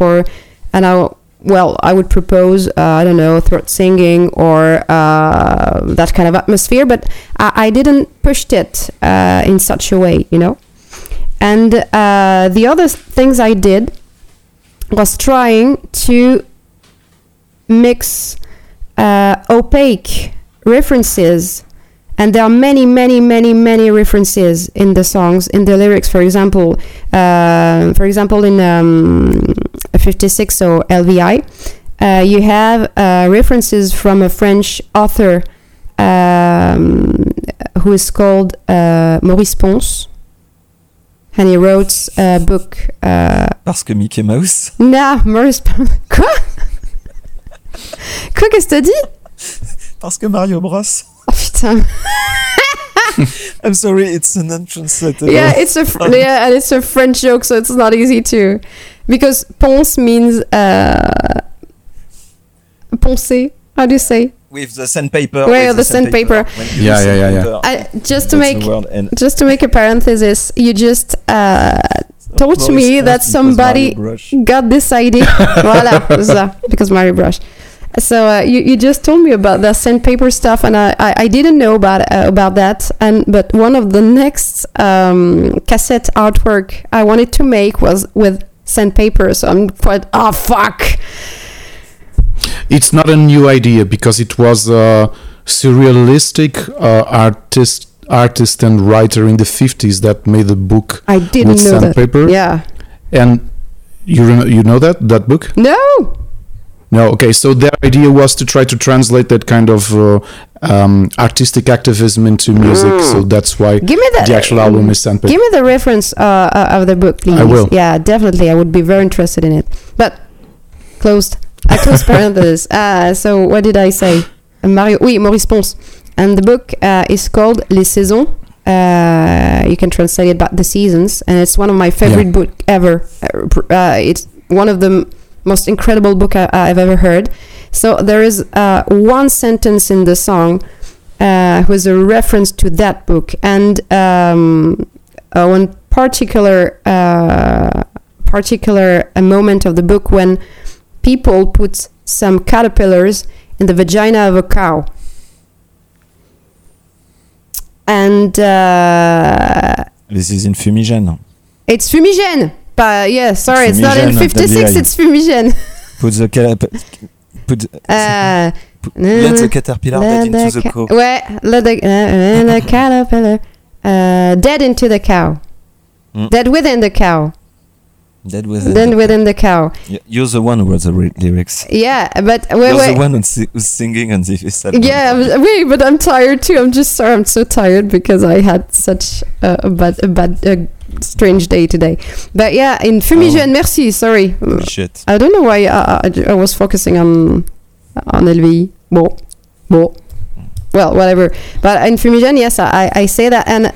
I would propose, I don't know, throat singing or that kind of atmosphere, but I didn't push it in such a way, you know. And the other things I did was trying to mix opaque references, and there are many references in the songs, in the lyrics. For example, in 56, so LVI, you have references from a French author who is called Maurice Ponce, and he wrote a book. Parce que Mickey Mouse. Non, Maurice Ponce. Quoi? Quoi, qu'est-ce que t'as dit? Parce que Mario Bros. Oh putain. I'm sorry, it's an untranslatable. Yeah, and it's a French joke, so it's not easy to, because ponce means poncer. How do you say? With the sandpaper. Well, the sandpaper. Yeah. Just to make a parenthesis, you just told me that somebody got this idea. Voilà, because Mario Brush. So you just told me about the sandpaper stuff, and I didn't know about that. But one of the next cassette artwork I wanted to make was with sandpaper. So I'm quite fuck. It's not a new idea, because it was a surrealistic artist and writer in the 50s that made a book with sandpaper. Yeah. And you know that book? No, okay. So their idea was to try to translate that kind of artistic activism into music. So that's why the actual album is sandpaper. Give me the reference of the book, please. I will. Yeah, definitely. I would be very interested in it. But I close parenthesis. So what did I say? Maurice Ponce. And the book is called Les Saisons. You can translate it by the seasons, and it's one of my favorite book ever. It's one of the most incredible book I've ever heard. So there is one sentence in the song with a reference to that book, and one particular moment of the book when people put some caterpillars in the vagina of a cow. And this is in Fumigène. It's Fumigène. But yeah, sorry, it's not in 56. It's Fumigène. Let the caterpillar dead into the cow. Ouais, let the caterpillar dead into the cow. Dead within the cow. Dead within the cow. You're the one who wrote the lyrics. Yeah, but you're the one who's singing on this album. Yeah, but I'm tired too. I'm just sorry. I'm so tired because I had such a bad strange day today. But yeah, in Fumigène, merci. Sorry. Shit. I don't know why I was focusing on LVI. Bon. Well, whatever. But in Fumigène, yes, I say that, and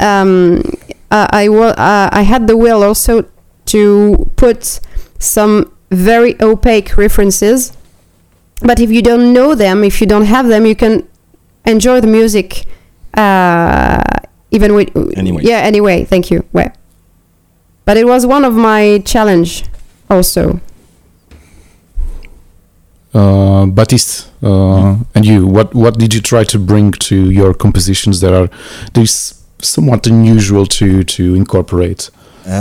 I had the will also to put some very opaque references, but if you don't know them, if you don't have them, you can enjoy the music even with anyway. Thank you. Well, but it was one of my challenge also. Baptiste, and you, what did you try to bring to your compositions that are somewhat unusual to incorporate?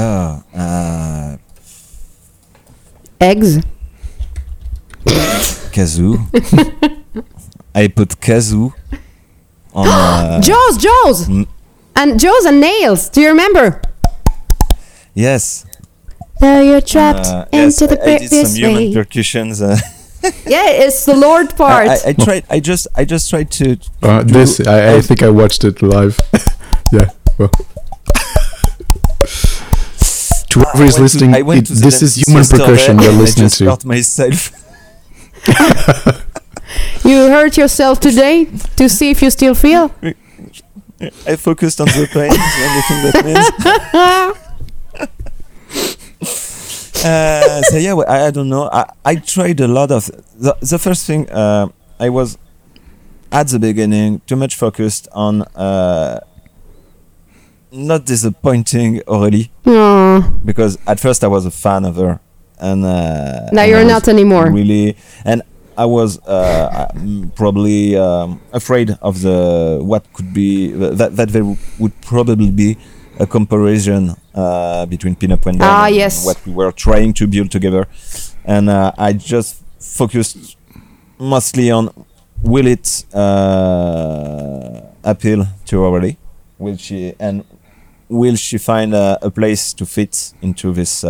Eggs. Kazoo. I put kazoo on Jaws and Jaws and nails. Do you remember? Yes. There you're trapped into the I did some human percussions. Yeah, it's the Lord part. I just tried to. I think I watched it live. Yeah. Well. To whoever is listening, this is human percussion you're listening to. I just hurt myself. You hurt yourself today to see if you still feel? I focused on the pain. Is the only thing that means. So yeah, I don't know. I tried a lot of the first thing. I was at the beginning too much focused on not disappointing Aurélie, because at first I was a fan of her, and now you're not anymore. Really, and I was probably afraid of what could be that there would probably be a comparison between Pin-Up When Down and what we were trying to build together, and I just focused mostly on will it appeal to Aurélie, will she find a place to fit into this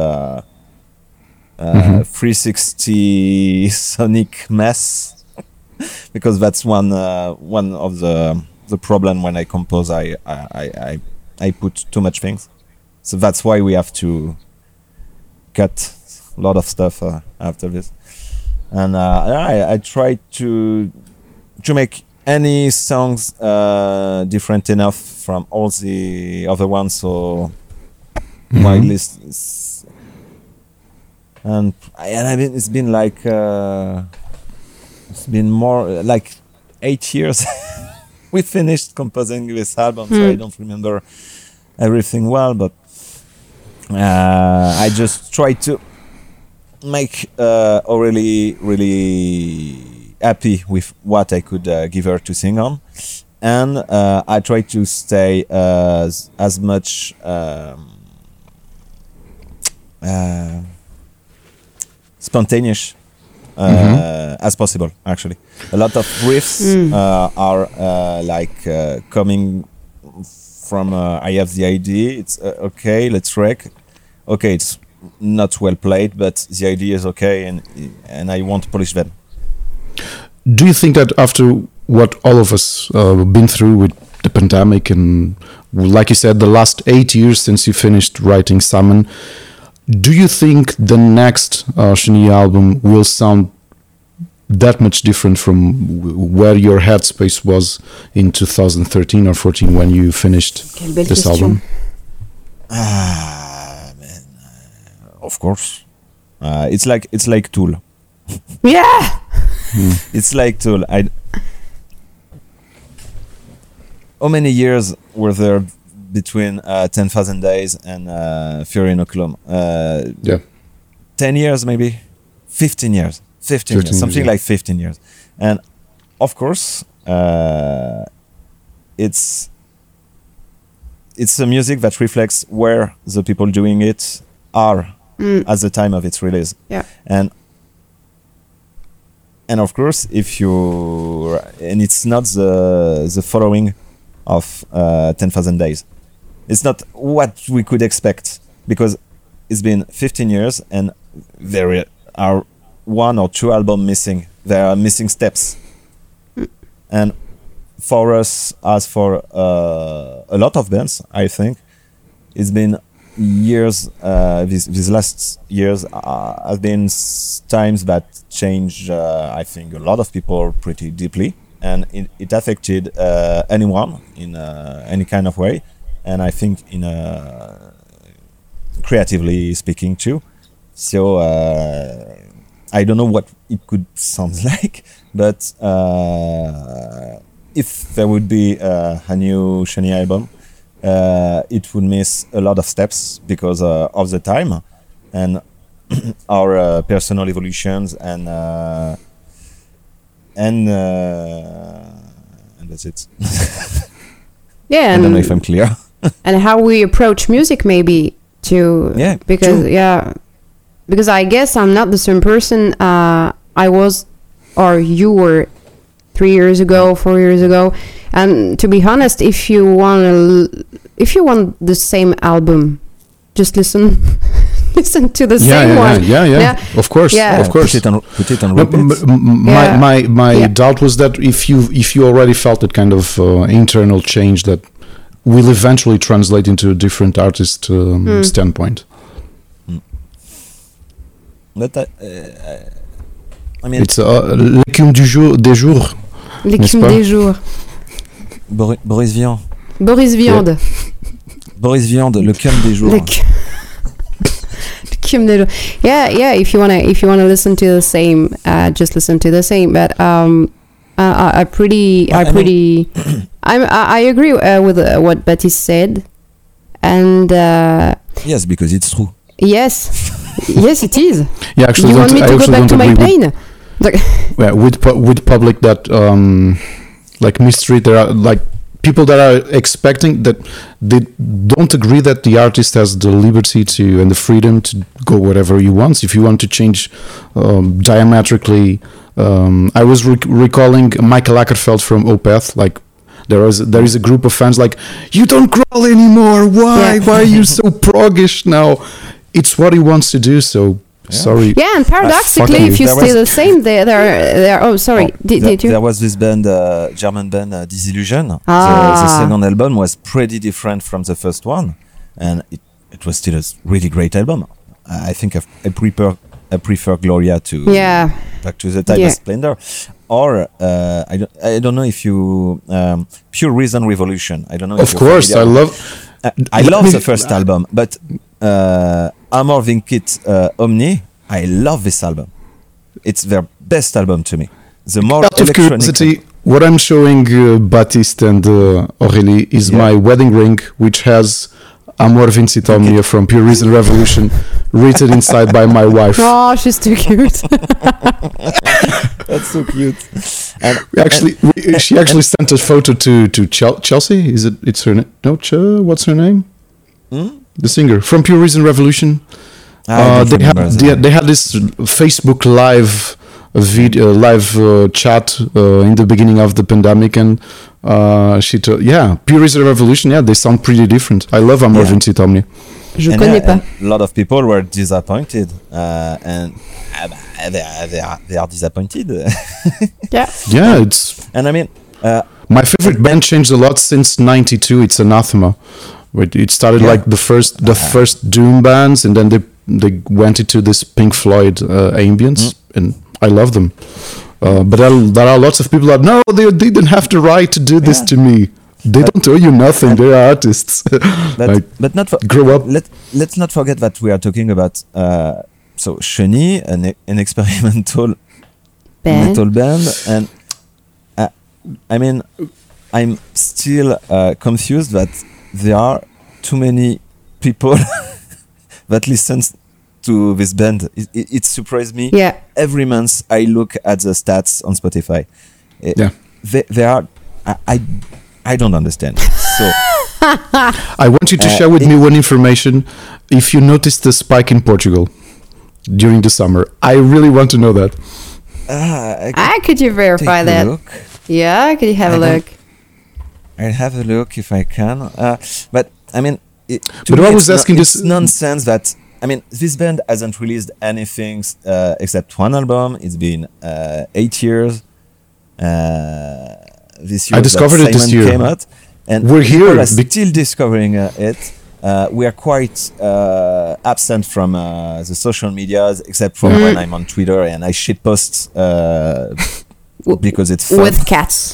360 sonic mess? Because that's one of the problem when I compose. I put too much things, so that's why we have to cut a lot of stuff after this. And I tried to make any songs different enough from all the other ones, so my list is, and I mean it's been like it's been more like 8 years. We finished composing this album, so I don't remember everything well, but I just tried to make Aurélie really happy with what I could give her to sing on, and I tried to stay as much spontaneous as possible. Actually, a lot of riffs are coming from I have the idea, it's okay, let's wreck. Okay, it's not well played, but the idea is okay, and I want to polish them. Do you think that after what all of us been through with the pandemic, and like you said, the last 8 years since you finished writing Salmon, do you think the next Chenille album will sound that much different from where your headspace was in 2013 or 14 when you finished this album? Man, of course, it's like Tool. Yeah. It's like Tool. How many years were there between 10,000 Days and Fury Inoculum? 10 years, maybe 15 years. 15 years, something like 15 years. And of course, it's a music that reflects where the people doing it are at the time of its release. Yeah. And of course, and it's not the following of 10,000 Days. It's not what we could expect, because it's been 15 years and there are 1 or 2 albums missing. There are missing steps. And for us, as for a lot of bands, I think, it's been years, these last years have been times that changed, I think, a lot of people pretty deeply. And it affected anyone in any kind of way. And I think in creatively speaking too. So I don't know what it could sound like, but if there would be a new Chenille album, it would miss a lot of steps because of the time and our personal evolutions, and that's it. Yeah, I don't know if I'm clear. And how we approach music, maybe too. Yeah, because true. Because I guess I'm not the same person I was, or you were 3 years ago, 4 years ago. And to be honest, if you want the same album, just listen to the same one. Yeah. Of course. Put it on repeat. My doubt was that if you already felt that kind of internal change that will eventually translate into a different artist standpoint. But I mean, it's l'écume des jours. L'écume des jours. Boris Vian. Boris Viande. Boris Viande, le cum des jours. Le Yeah. If you wanna listen to the same, just listen to the same. But I agree with what Baptiste said, and yes, because it's true. Yes, it is. Yeah, actually, you want me to go back to my plane? With public that like mistreat, there are like people that are expecting that they don't agree that the artist has the liberty to and the freedom to go whatever he wants. If you want to change diametrically, I was recalling Michael Ackerfeld from Opeth. Like there is a group of fans like, you don't crawl anymore. Why? Yeah. Why are you so proggish now? It's what he wants to do. So. Yeah. Sorry. Yeah, and paradoxically, if you stay the same, there. Oh, sorry. Did you? There was this band, German band, Disillusion. The second album was pretty different from the first one, and it was still a really great album. I think I prefer Gloria to Back to the Time of Splendor, or I don't know if you Pure Reason Revolution. I don't know. Of course, I love the first album, but. Amor Vincit Omni, I love this album. It's their best album to me. The more out of curiosity, what I'm showing Baptiste and Aurélie is my wedding ring, which has Amor Vincit Omni from Pure Reason Revolution written inside by my wife. Oh, she's too cute. That's so cute. She actually sent a photo to Chelsea. It's her name? No, what's her name? The singer from Pure Reason Revolution. They had this Facebook live chat in the beginning of the pandemic, and she told, Pure Reason Revolution. Yeah, they sound pretty different. I love Amor Vincit Omni. Je connais pas. A lot of people were disappointed, and they are disappointed. Yeah, it's. And I mean, my favorite band changed a lot since '92. It's Anathema. It started like the first doom bands, and then they went into this Pink Floyd ambience, and I love them. But there are lots of people that they didn't have the right to do this to me. They don't owe you nothing. They are artists. But not grow up. Let's not forget that we are talking about Chenille, an experimental metal band, and I mean, I'm still confused that there are too many people that listens to this band. It surprised me. Yeah. Every month I look at the stats on Spotify. They are. I don't understand. So I want you to share with me one information. If you noticed the spike in Portugal during the summer, I really want to know that. Could you verify that? Look. Yeah, could you have a look? I'll have a look if I can. But I mean, it's nonsense that, I mean, this band hasn't released anything except one album. It's been 8 years. This year, I discovered it this year. Came out, and we're here. Still discovering it. We are quite absent from the social medias, except for when I'm on Twitter and I shitpost because it's fun. With cats.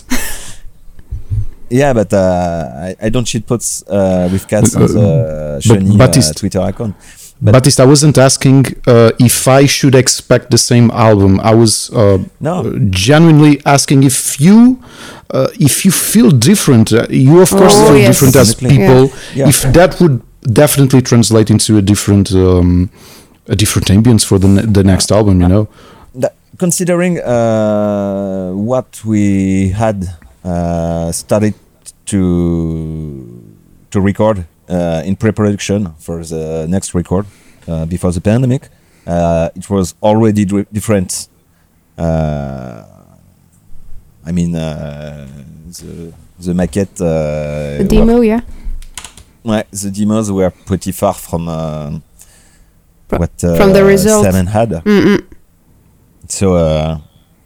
Yeah, but I don't shitpost with cats on the Chenille Twitter account. Baptiste, I wasn't asking if I should expect the same album. I was genuinely asking if you feel different. You of course feel different as people. Yeah. If that would definitely translate into a different ambience for the next album, you know. Considering what we had started to record in pre-production for the next record before the pandemic, it was already different. I mean, the maquette. The demo, the demos were pretty far from what from the result Seven had. So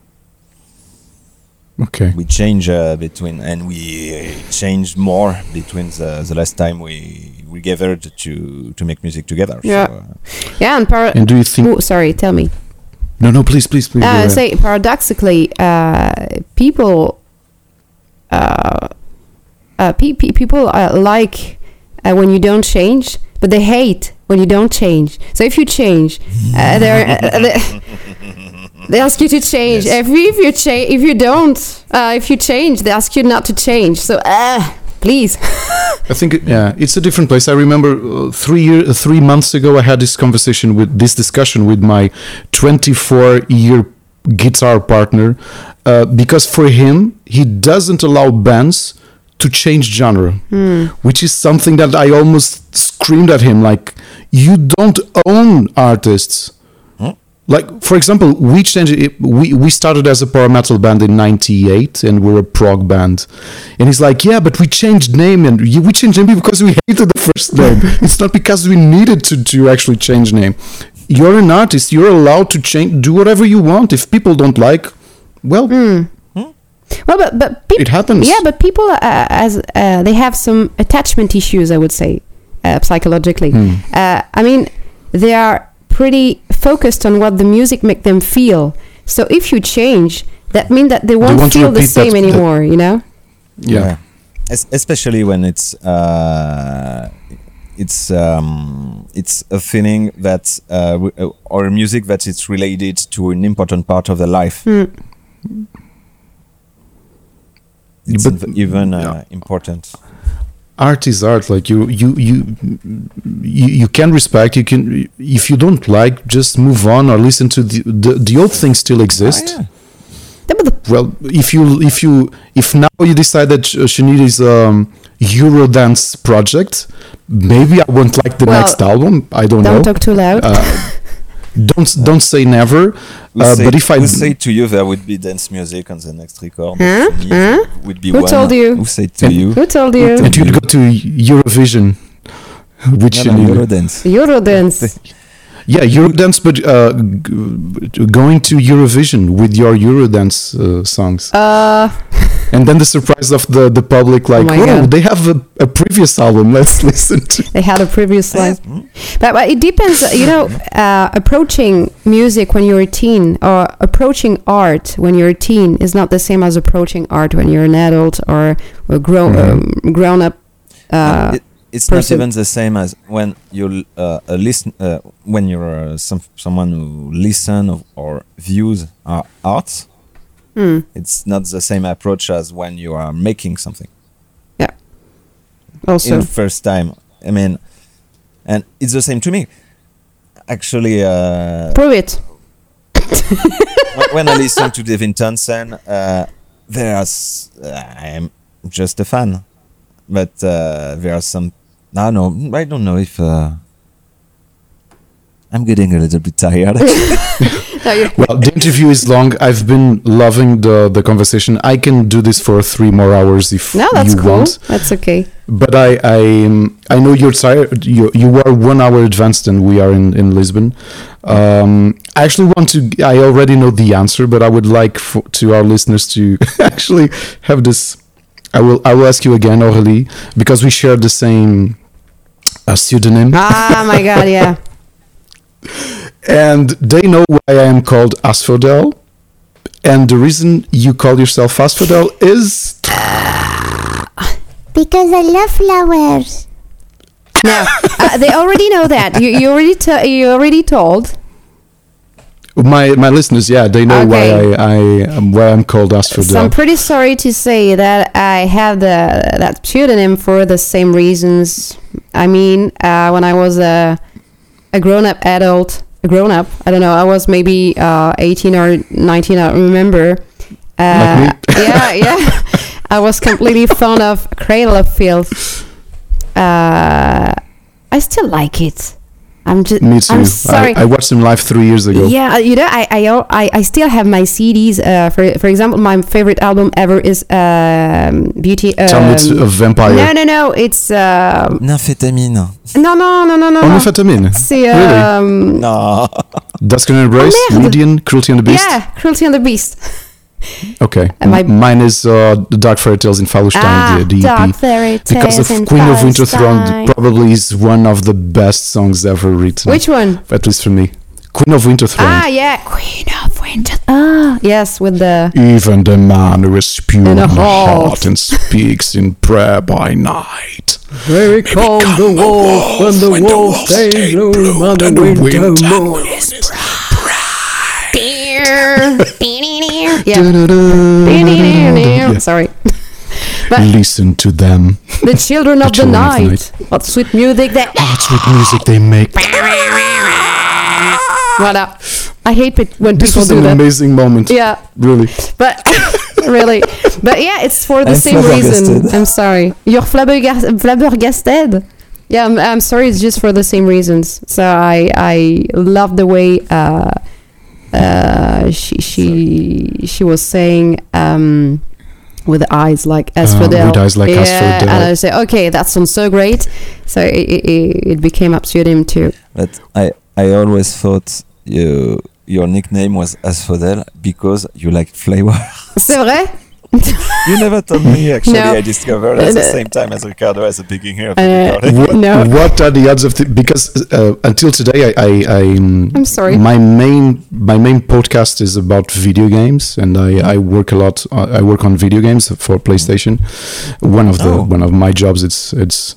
we change we changed more between the last time we gathered to make music together. Yeah, so, and do you think? Oh, sorry, tell me. No, please. Say paradoxically, people like when you don't change, but they hate when you don't change. So if you change, they ask you to change. Yes. If you change, they ask you not to change. So please. I think it's a different place. I remember 3 months ago I had this discussion with my 24-year guitar partner, because for him he doesn't allow bands to change genre, which is something that I almost screamed at him, like, you don't own artists. Like, for example, we started as a power metal band in 98 and we're a prog band. And he's like, yeah, but we changed name, and we changed name because we hated the first name. It's not because we needed to actually change name. You're an artist. You're allowed to do whatever you want. If people don't like, well... Well, but it happens. Yeah, but people, they have some attachment issues, I would say, psychologically. I mean, they are pretty focused on what the music make them feel. So if you change, that means that they won't feel the same anymore, you know? Yeah. Especially when it's a feeling that or music that it's related to an important part of their life. It's even important. Art is art. Like you can respect. You can, if you don't like, just move on or listen to the old things still exist. Yeah. Well, if now you decide that Sinead is Eurodance project, maybe I won't like the next album. I don't know. Don't talk too loud. Don't say never. But if I say to you there would be dance music on the next record, would be Who told you? Who said to you? Who told you? And you'd go to Eurovision, which Eurodance. Yeah, Eurodance, but going to Eurovision with your Eurodance songs. And then the surprise of the public, like, whoa, they have a previous album, let's listen to. They had a previous one. But it depends, approaching music when you're a teen or approaching art when you're a teen is not the same as approaching art when you're an adult or a grown up it's person. not even the same as when you listen. When you're someone who listen or views art, it's not the same approach as when you are making something. Yeah. Also, in the first time, I mean, and it's the same to me. Actually, prove it. when I listen to Devin Townsend, I am just a fan, but there are some. I don't know if I'm getting a little bit tired. Well, the interview is long. I've been loving the conversation. I can do this for 3 more hours if you want. That's okay. But I know you're tired. You are 1 hour advanced than we are in Lisbon. I actually I already know the answer, but I would like to our listeners to actually have this. I will ask you again, Aurélie, because we share the same pseudonym. Ah, my God, yeah. And they know why I am called Asphodel. And the reason you call yourself Asphodel is... Because I love flowers. No, they already know that. You already told. My listeners, they know why I'm called Asphodel. So I'm pretty sorry to say that I have that pseudonym for the same reasons. I mean, when I was a grown-up, I don't know, I was maybe 18 or 19, I don't remember. Like me? Yeah. I was completely fond of Cradle of Filth. I still like it. Me too. I'm sorry. I watched them live 3 years ago. Yeah, I still have my CDs. For example, my favorite album ever is Beauty. Tell me it's a vampire. No, it's Nymphétamine. No. Nymphétamine. C'est Really? No. Dusk and Embrace, Median, Cruelty and the Beast. Yeah, Cruelty and the Beast. Okay. Mine is The Dark Fairy Tales in Fallenstein, the EP. Dark Fairy Tales because of Queen of Winter Throne probably is one of the best songs ever written. Which one? At least for me. Queen of Winter Throne. Ah, yeah. Queen of Winter Throne. Yes, with the... Even the man who is pure In in a heart and speaks in prayer by night. Very cold the wolf when the wolf stays bloom on the winter moon is bright. Sorry. But listen to them. The children of the children of the night. What sweet music they... What sweet music they make. Voilà. I hate it when This people was do an that. amazing moment. Yeah, Really. but really, but yeah, it's for the I'm same reason. flabbergasted. I'm sorry. You're flabbergasted. Yeah, I'm sorry. It's just for the same reasons. So I love the way she was saying with eyes like Asphodel. With eyes like Asphodel. And I say, okay, that sounds so great. So it became up to him too. But I always thought your nickname was Asphodel because you like flavor. C'est vrai? You never told me, actually. No. I discovered at the same time as Ricardo as the beginning of the recording. What are the odds of because until today I'm sorry. My main podcast is about video games, and I work a lot. I work on video games for PlayStation. One of my jobs it's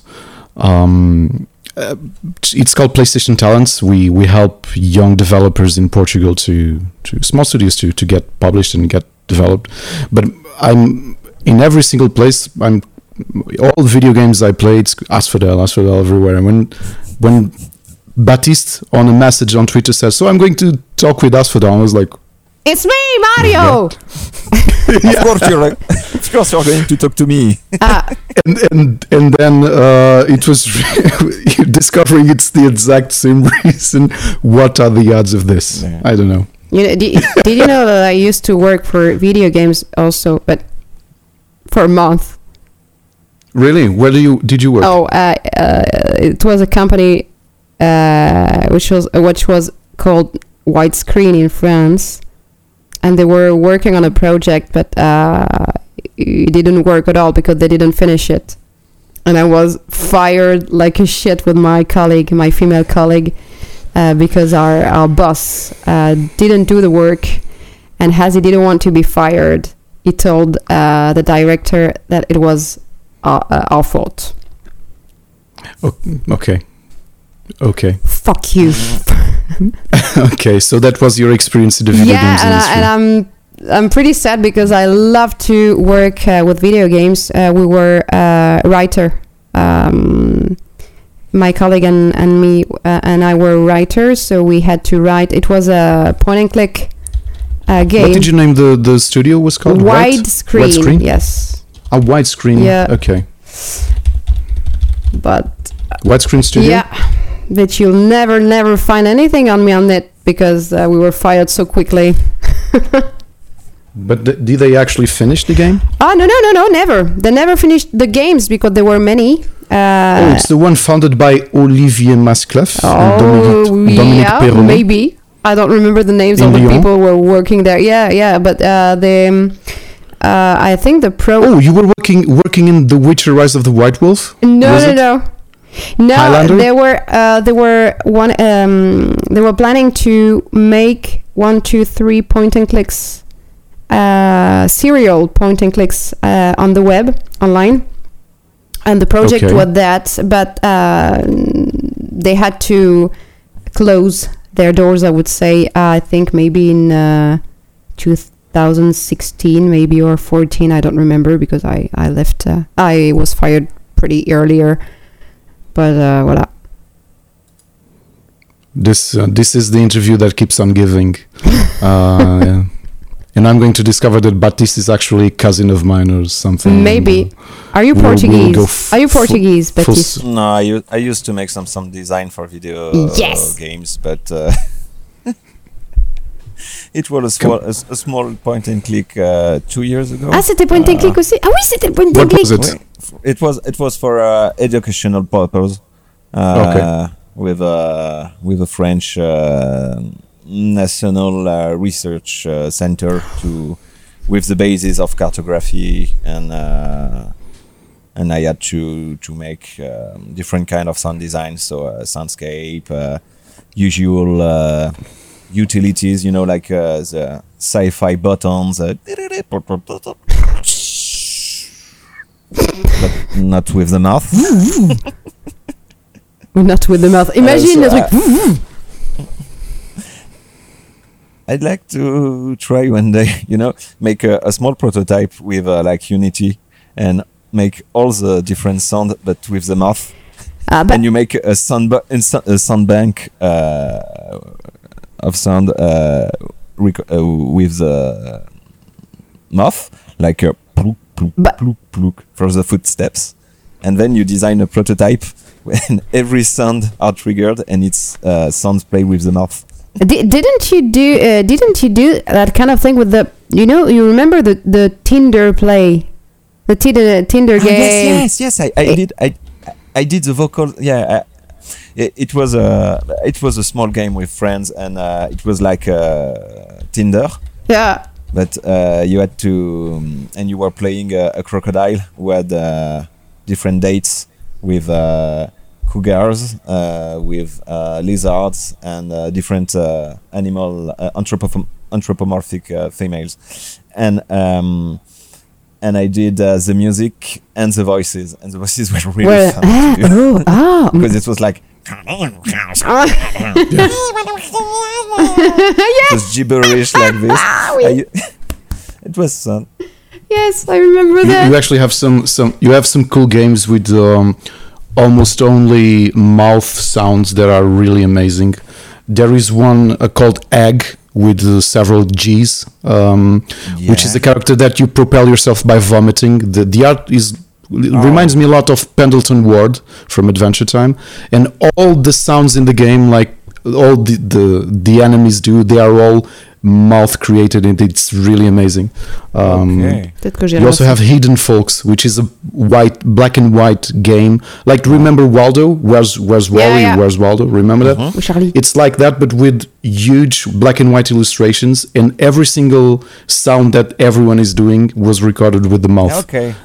called PlayStation Talents. We help young developers in Portugal to small studios to get published and get developed. But I'm in every single place. I'm all video games I play. It's Asphodel everywhere. And when Baptiste on a message on Twitter says, "So I'm going to talk with Asphodel," I was like, It's me, Mario. Of course you're going to talk to me. and then it was discovering it's the exact same reason. What are the odds of this? Yeah. I don't know. Did you know that I used to work for video games also, but for a month? Really? Where did you work? Oh, it was a company which was called Widescreen in France, and they were working on a project, but it didn't work at all because they didn't finish it, and I was fired like a shit with my female colleague. Because our boss didn't do the work, and as he didn't want to be fired, he told the director that it was our fault. Okay. Fuck you. Okay, so that was your experience in the video games industry. and I'm pretty sad because I love to work with video games. We were writer. My colleague and me and I were writers, so we had to write. It was a point and click game. What did you name the studio was called? Widescreen. Yes. A Widescreen. Yeah. Okay. But Widescreen studio. yeah, but you'll never find anything on me on it because we were fired so quickly. But did they actually finish the game? Oh no, never. They never finished the games because there were many. It's the one founded by Olivier Masclef and Dominique Perronnet. Maybe. I don't remember the names of the people who were working there. Yeah, but I think the pro... Oh, you were working in The Witcher: Rise of the White Wolf? No. Highlander? They were planning to make 1, 2, 3 point and clicks, serial point and clicks on the web, online. And the project was that, but they had to close their doors, I would say, I think maybe in 2016, maybe, or 14, I don't remember, because I left, I was fired pretty earlier, but voilà. This is the interview that keeps on giving. Yeah. And I'm going to discover that Baptiste is actually a cousin of mine or something. Maybe. Are you Portuguese? Are you Portuguese, Baptiste? No, I used to make some design for video games, but it was a small point and click 2 years ago. Ah, c'était point and click aussi? Ah oui, c'était point and click. What was it? It was for educational purpose. With a French national research center with the basis of cartography, and I had to make different kind of sound design, so soundscape, usual utilities, like the sci-fi buttons, but not with the mouth. Not with the mouth. Imagine le truc. I'd like to try one day, make a small prototype with like Unity and make all the different sound, but with the mouth. And you make a sound bank of sound with the mouth, like a pluk, pluk, pluk, pluk for the footsteps. And then you design a prototype when every sound are triggered and it's sounds play with the mouth. Didn't you do that kind of thing with the you remember the Tinder play, the Tinder game? Yes, I did the vocal. Yeah, it was a small game with friends, and it was like Tinder. Yeah. But you had to, and you were playing a crocodile who had different dates with cougars, with lizards, and different animal anthropomorphic females, and I did the music and the voices were really fun to do. Because it was like it was gibberish like this. It was fun. Yes, I remember that. You actually have some cool games with almost only mouth sounds that are really amazing. There is one called Egg with several G's, which is a character that you propel yourself by vomiting. The art reminds me a lot of Pendleton Ward from Adventure Time, and all the sounds in the game, like all the enemies do, they are all mouth created, and it's really amazing. You also have Hidden Folks, which is a black and white game. Like, remember Waldo? Where's Wally? Yeah. Where's Waldo? Remember that? Charlie. It's like that, but with huge black and white illustrations, and every single sound that everyone is doing was recorded with the mouth. Okay.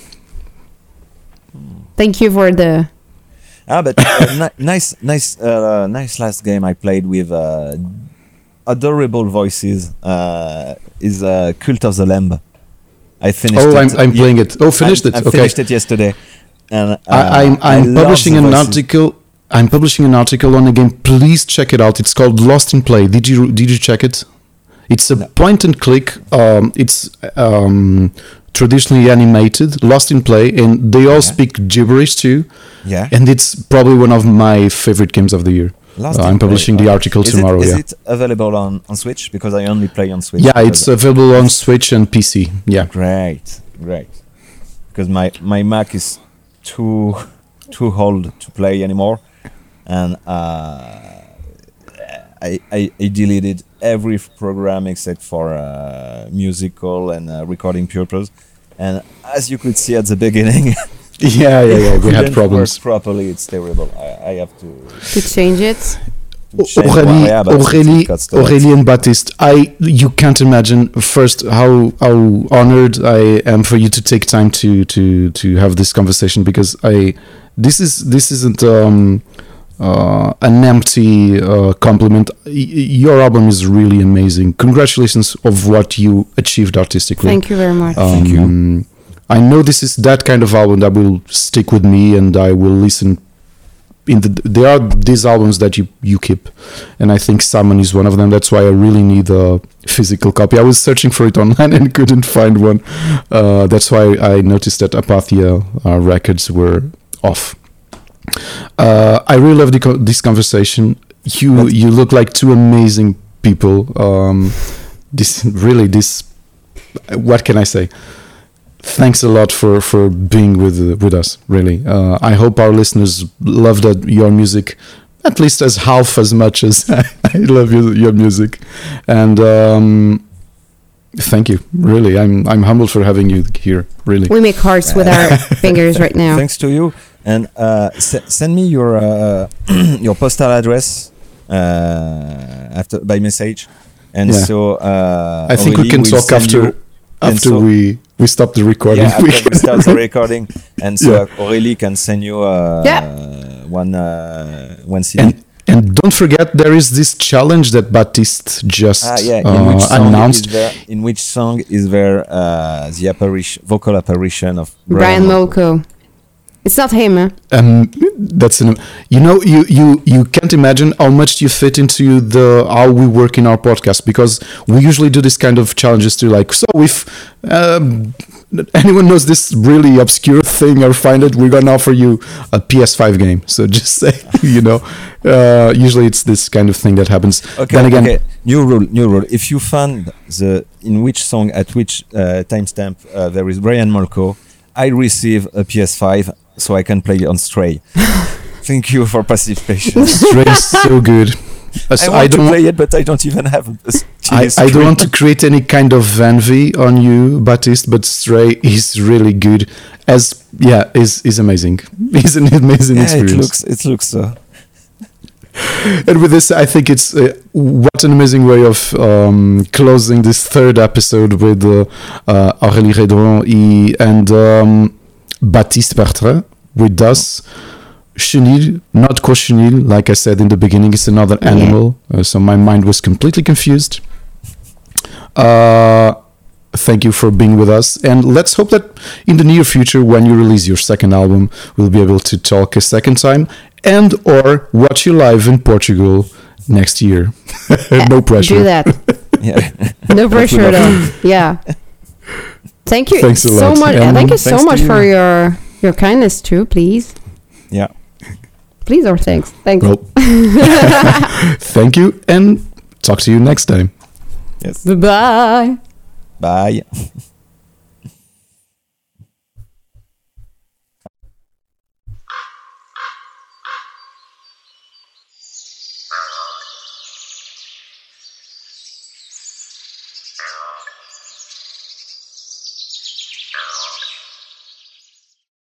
Thank you for the. But nice last game I played with adorable voices is Cult of the Lamb. I finished it. I'm playing it. Finished it. I finished it yesterday. And I'm publishing an article. I'm publishing an article on the game. Please check it out. It's called Lost in Play. Did you check it? It's a point and click. It's traditionally animated, Lost in Play, and they all speak gibberish too. Yeah. And it's probably one of my favorite games of the year. I'm publishing the article tomorrow. Is it available on Switch? Because I only play on Switch. Yeah, it's available on Switch and PC. Yeah. Great. Because my Mac is too old to play anymore, and I deleted every program except for musical and recording purpose. And as you could see at the beginning, yeah, we had problems. Work properly, it's terrible. I have to change it. Aurélie and Baptiste, you can't imagine first how honored I am for you to take time to have this conversation, because this isn't an empty compliment. Your album is really amazing. Congratulations of what you achieved artistically. Thank you very much. Thank you. I know this is that kind of album that will stick with me, and I will listen. There are these albums that you keep, and I think Salmon is one of them. That's why I really need a physical copy. I was searching for it online and couldn't find one. That's why I noticed that Apathia records were off. I really love this conversation. You look like two amazing people. What can I say? Thanks a lot for being with us. Really, I hope our listeners loved your music at least as half as much as I love your music. And thank you. Really, I'm humbled for having you here. Really, we make hearts with our fingers right now. Thanks to you. And send me your postal address by message. And so I think we can talk after we stop the recording. Yeah, after we start the recording, and so Aurélie can send you one CD. And don't forget, there is this challenge that Baptiste just announced. In which song is there the vocal apparition of Brian Molko? It's not him. Huh? That's you can't imagine how much you fit into how we work in our podcast, because we usually do this kind of challenges to like, so if anyone knows this really obscure thing or find it, we're gonna offer you a PS5 game. So just say, usually it's this kind of thing that happens. Okay, then again, new rule. If you find in which song at which timestamp there is Brian Molko, I receive a PS5 so I can play on Stray. Thank you for participation. Stray is so good. I don't play it, but I don't even have I don't want to create any kind of envy on you, Baptiste, but Stray is really good. Is amazing. It's an amazing experience. It looks so. And with this, I think it's what an amazing way of closing this third episode with Aurélie Redron and Baptiste Bertrand with us. Chenille, not Cochenille, like I said in the beginning, it's another animal. So my mind was completely confused. Thank you for being with us. And let's hope that in the near future, when you release your second album, we'll be able to talk a second time and or watch you live in Portugal next year. No pressure. Do that. No pressure at all. Yeah. Thank you so much. Thank you so much for your kindness too, please. Yeah. Please or thanks. Thanks. Well, thank you and talk to you next time. Yes. Bye-bye. Bye.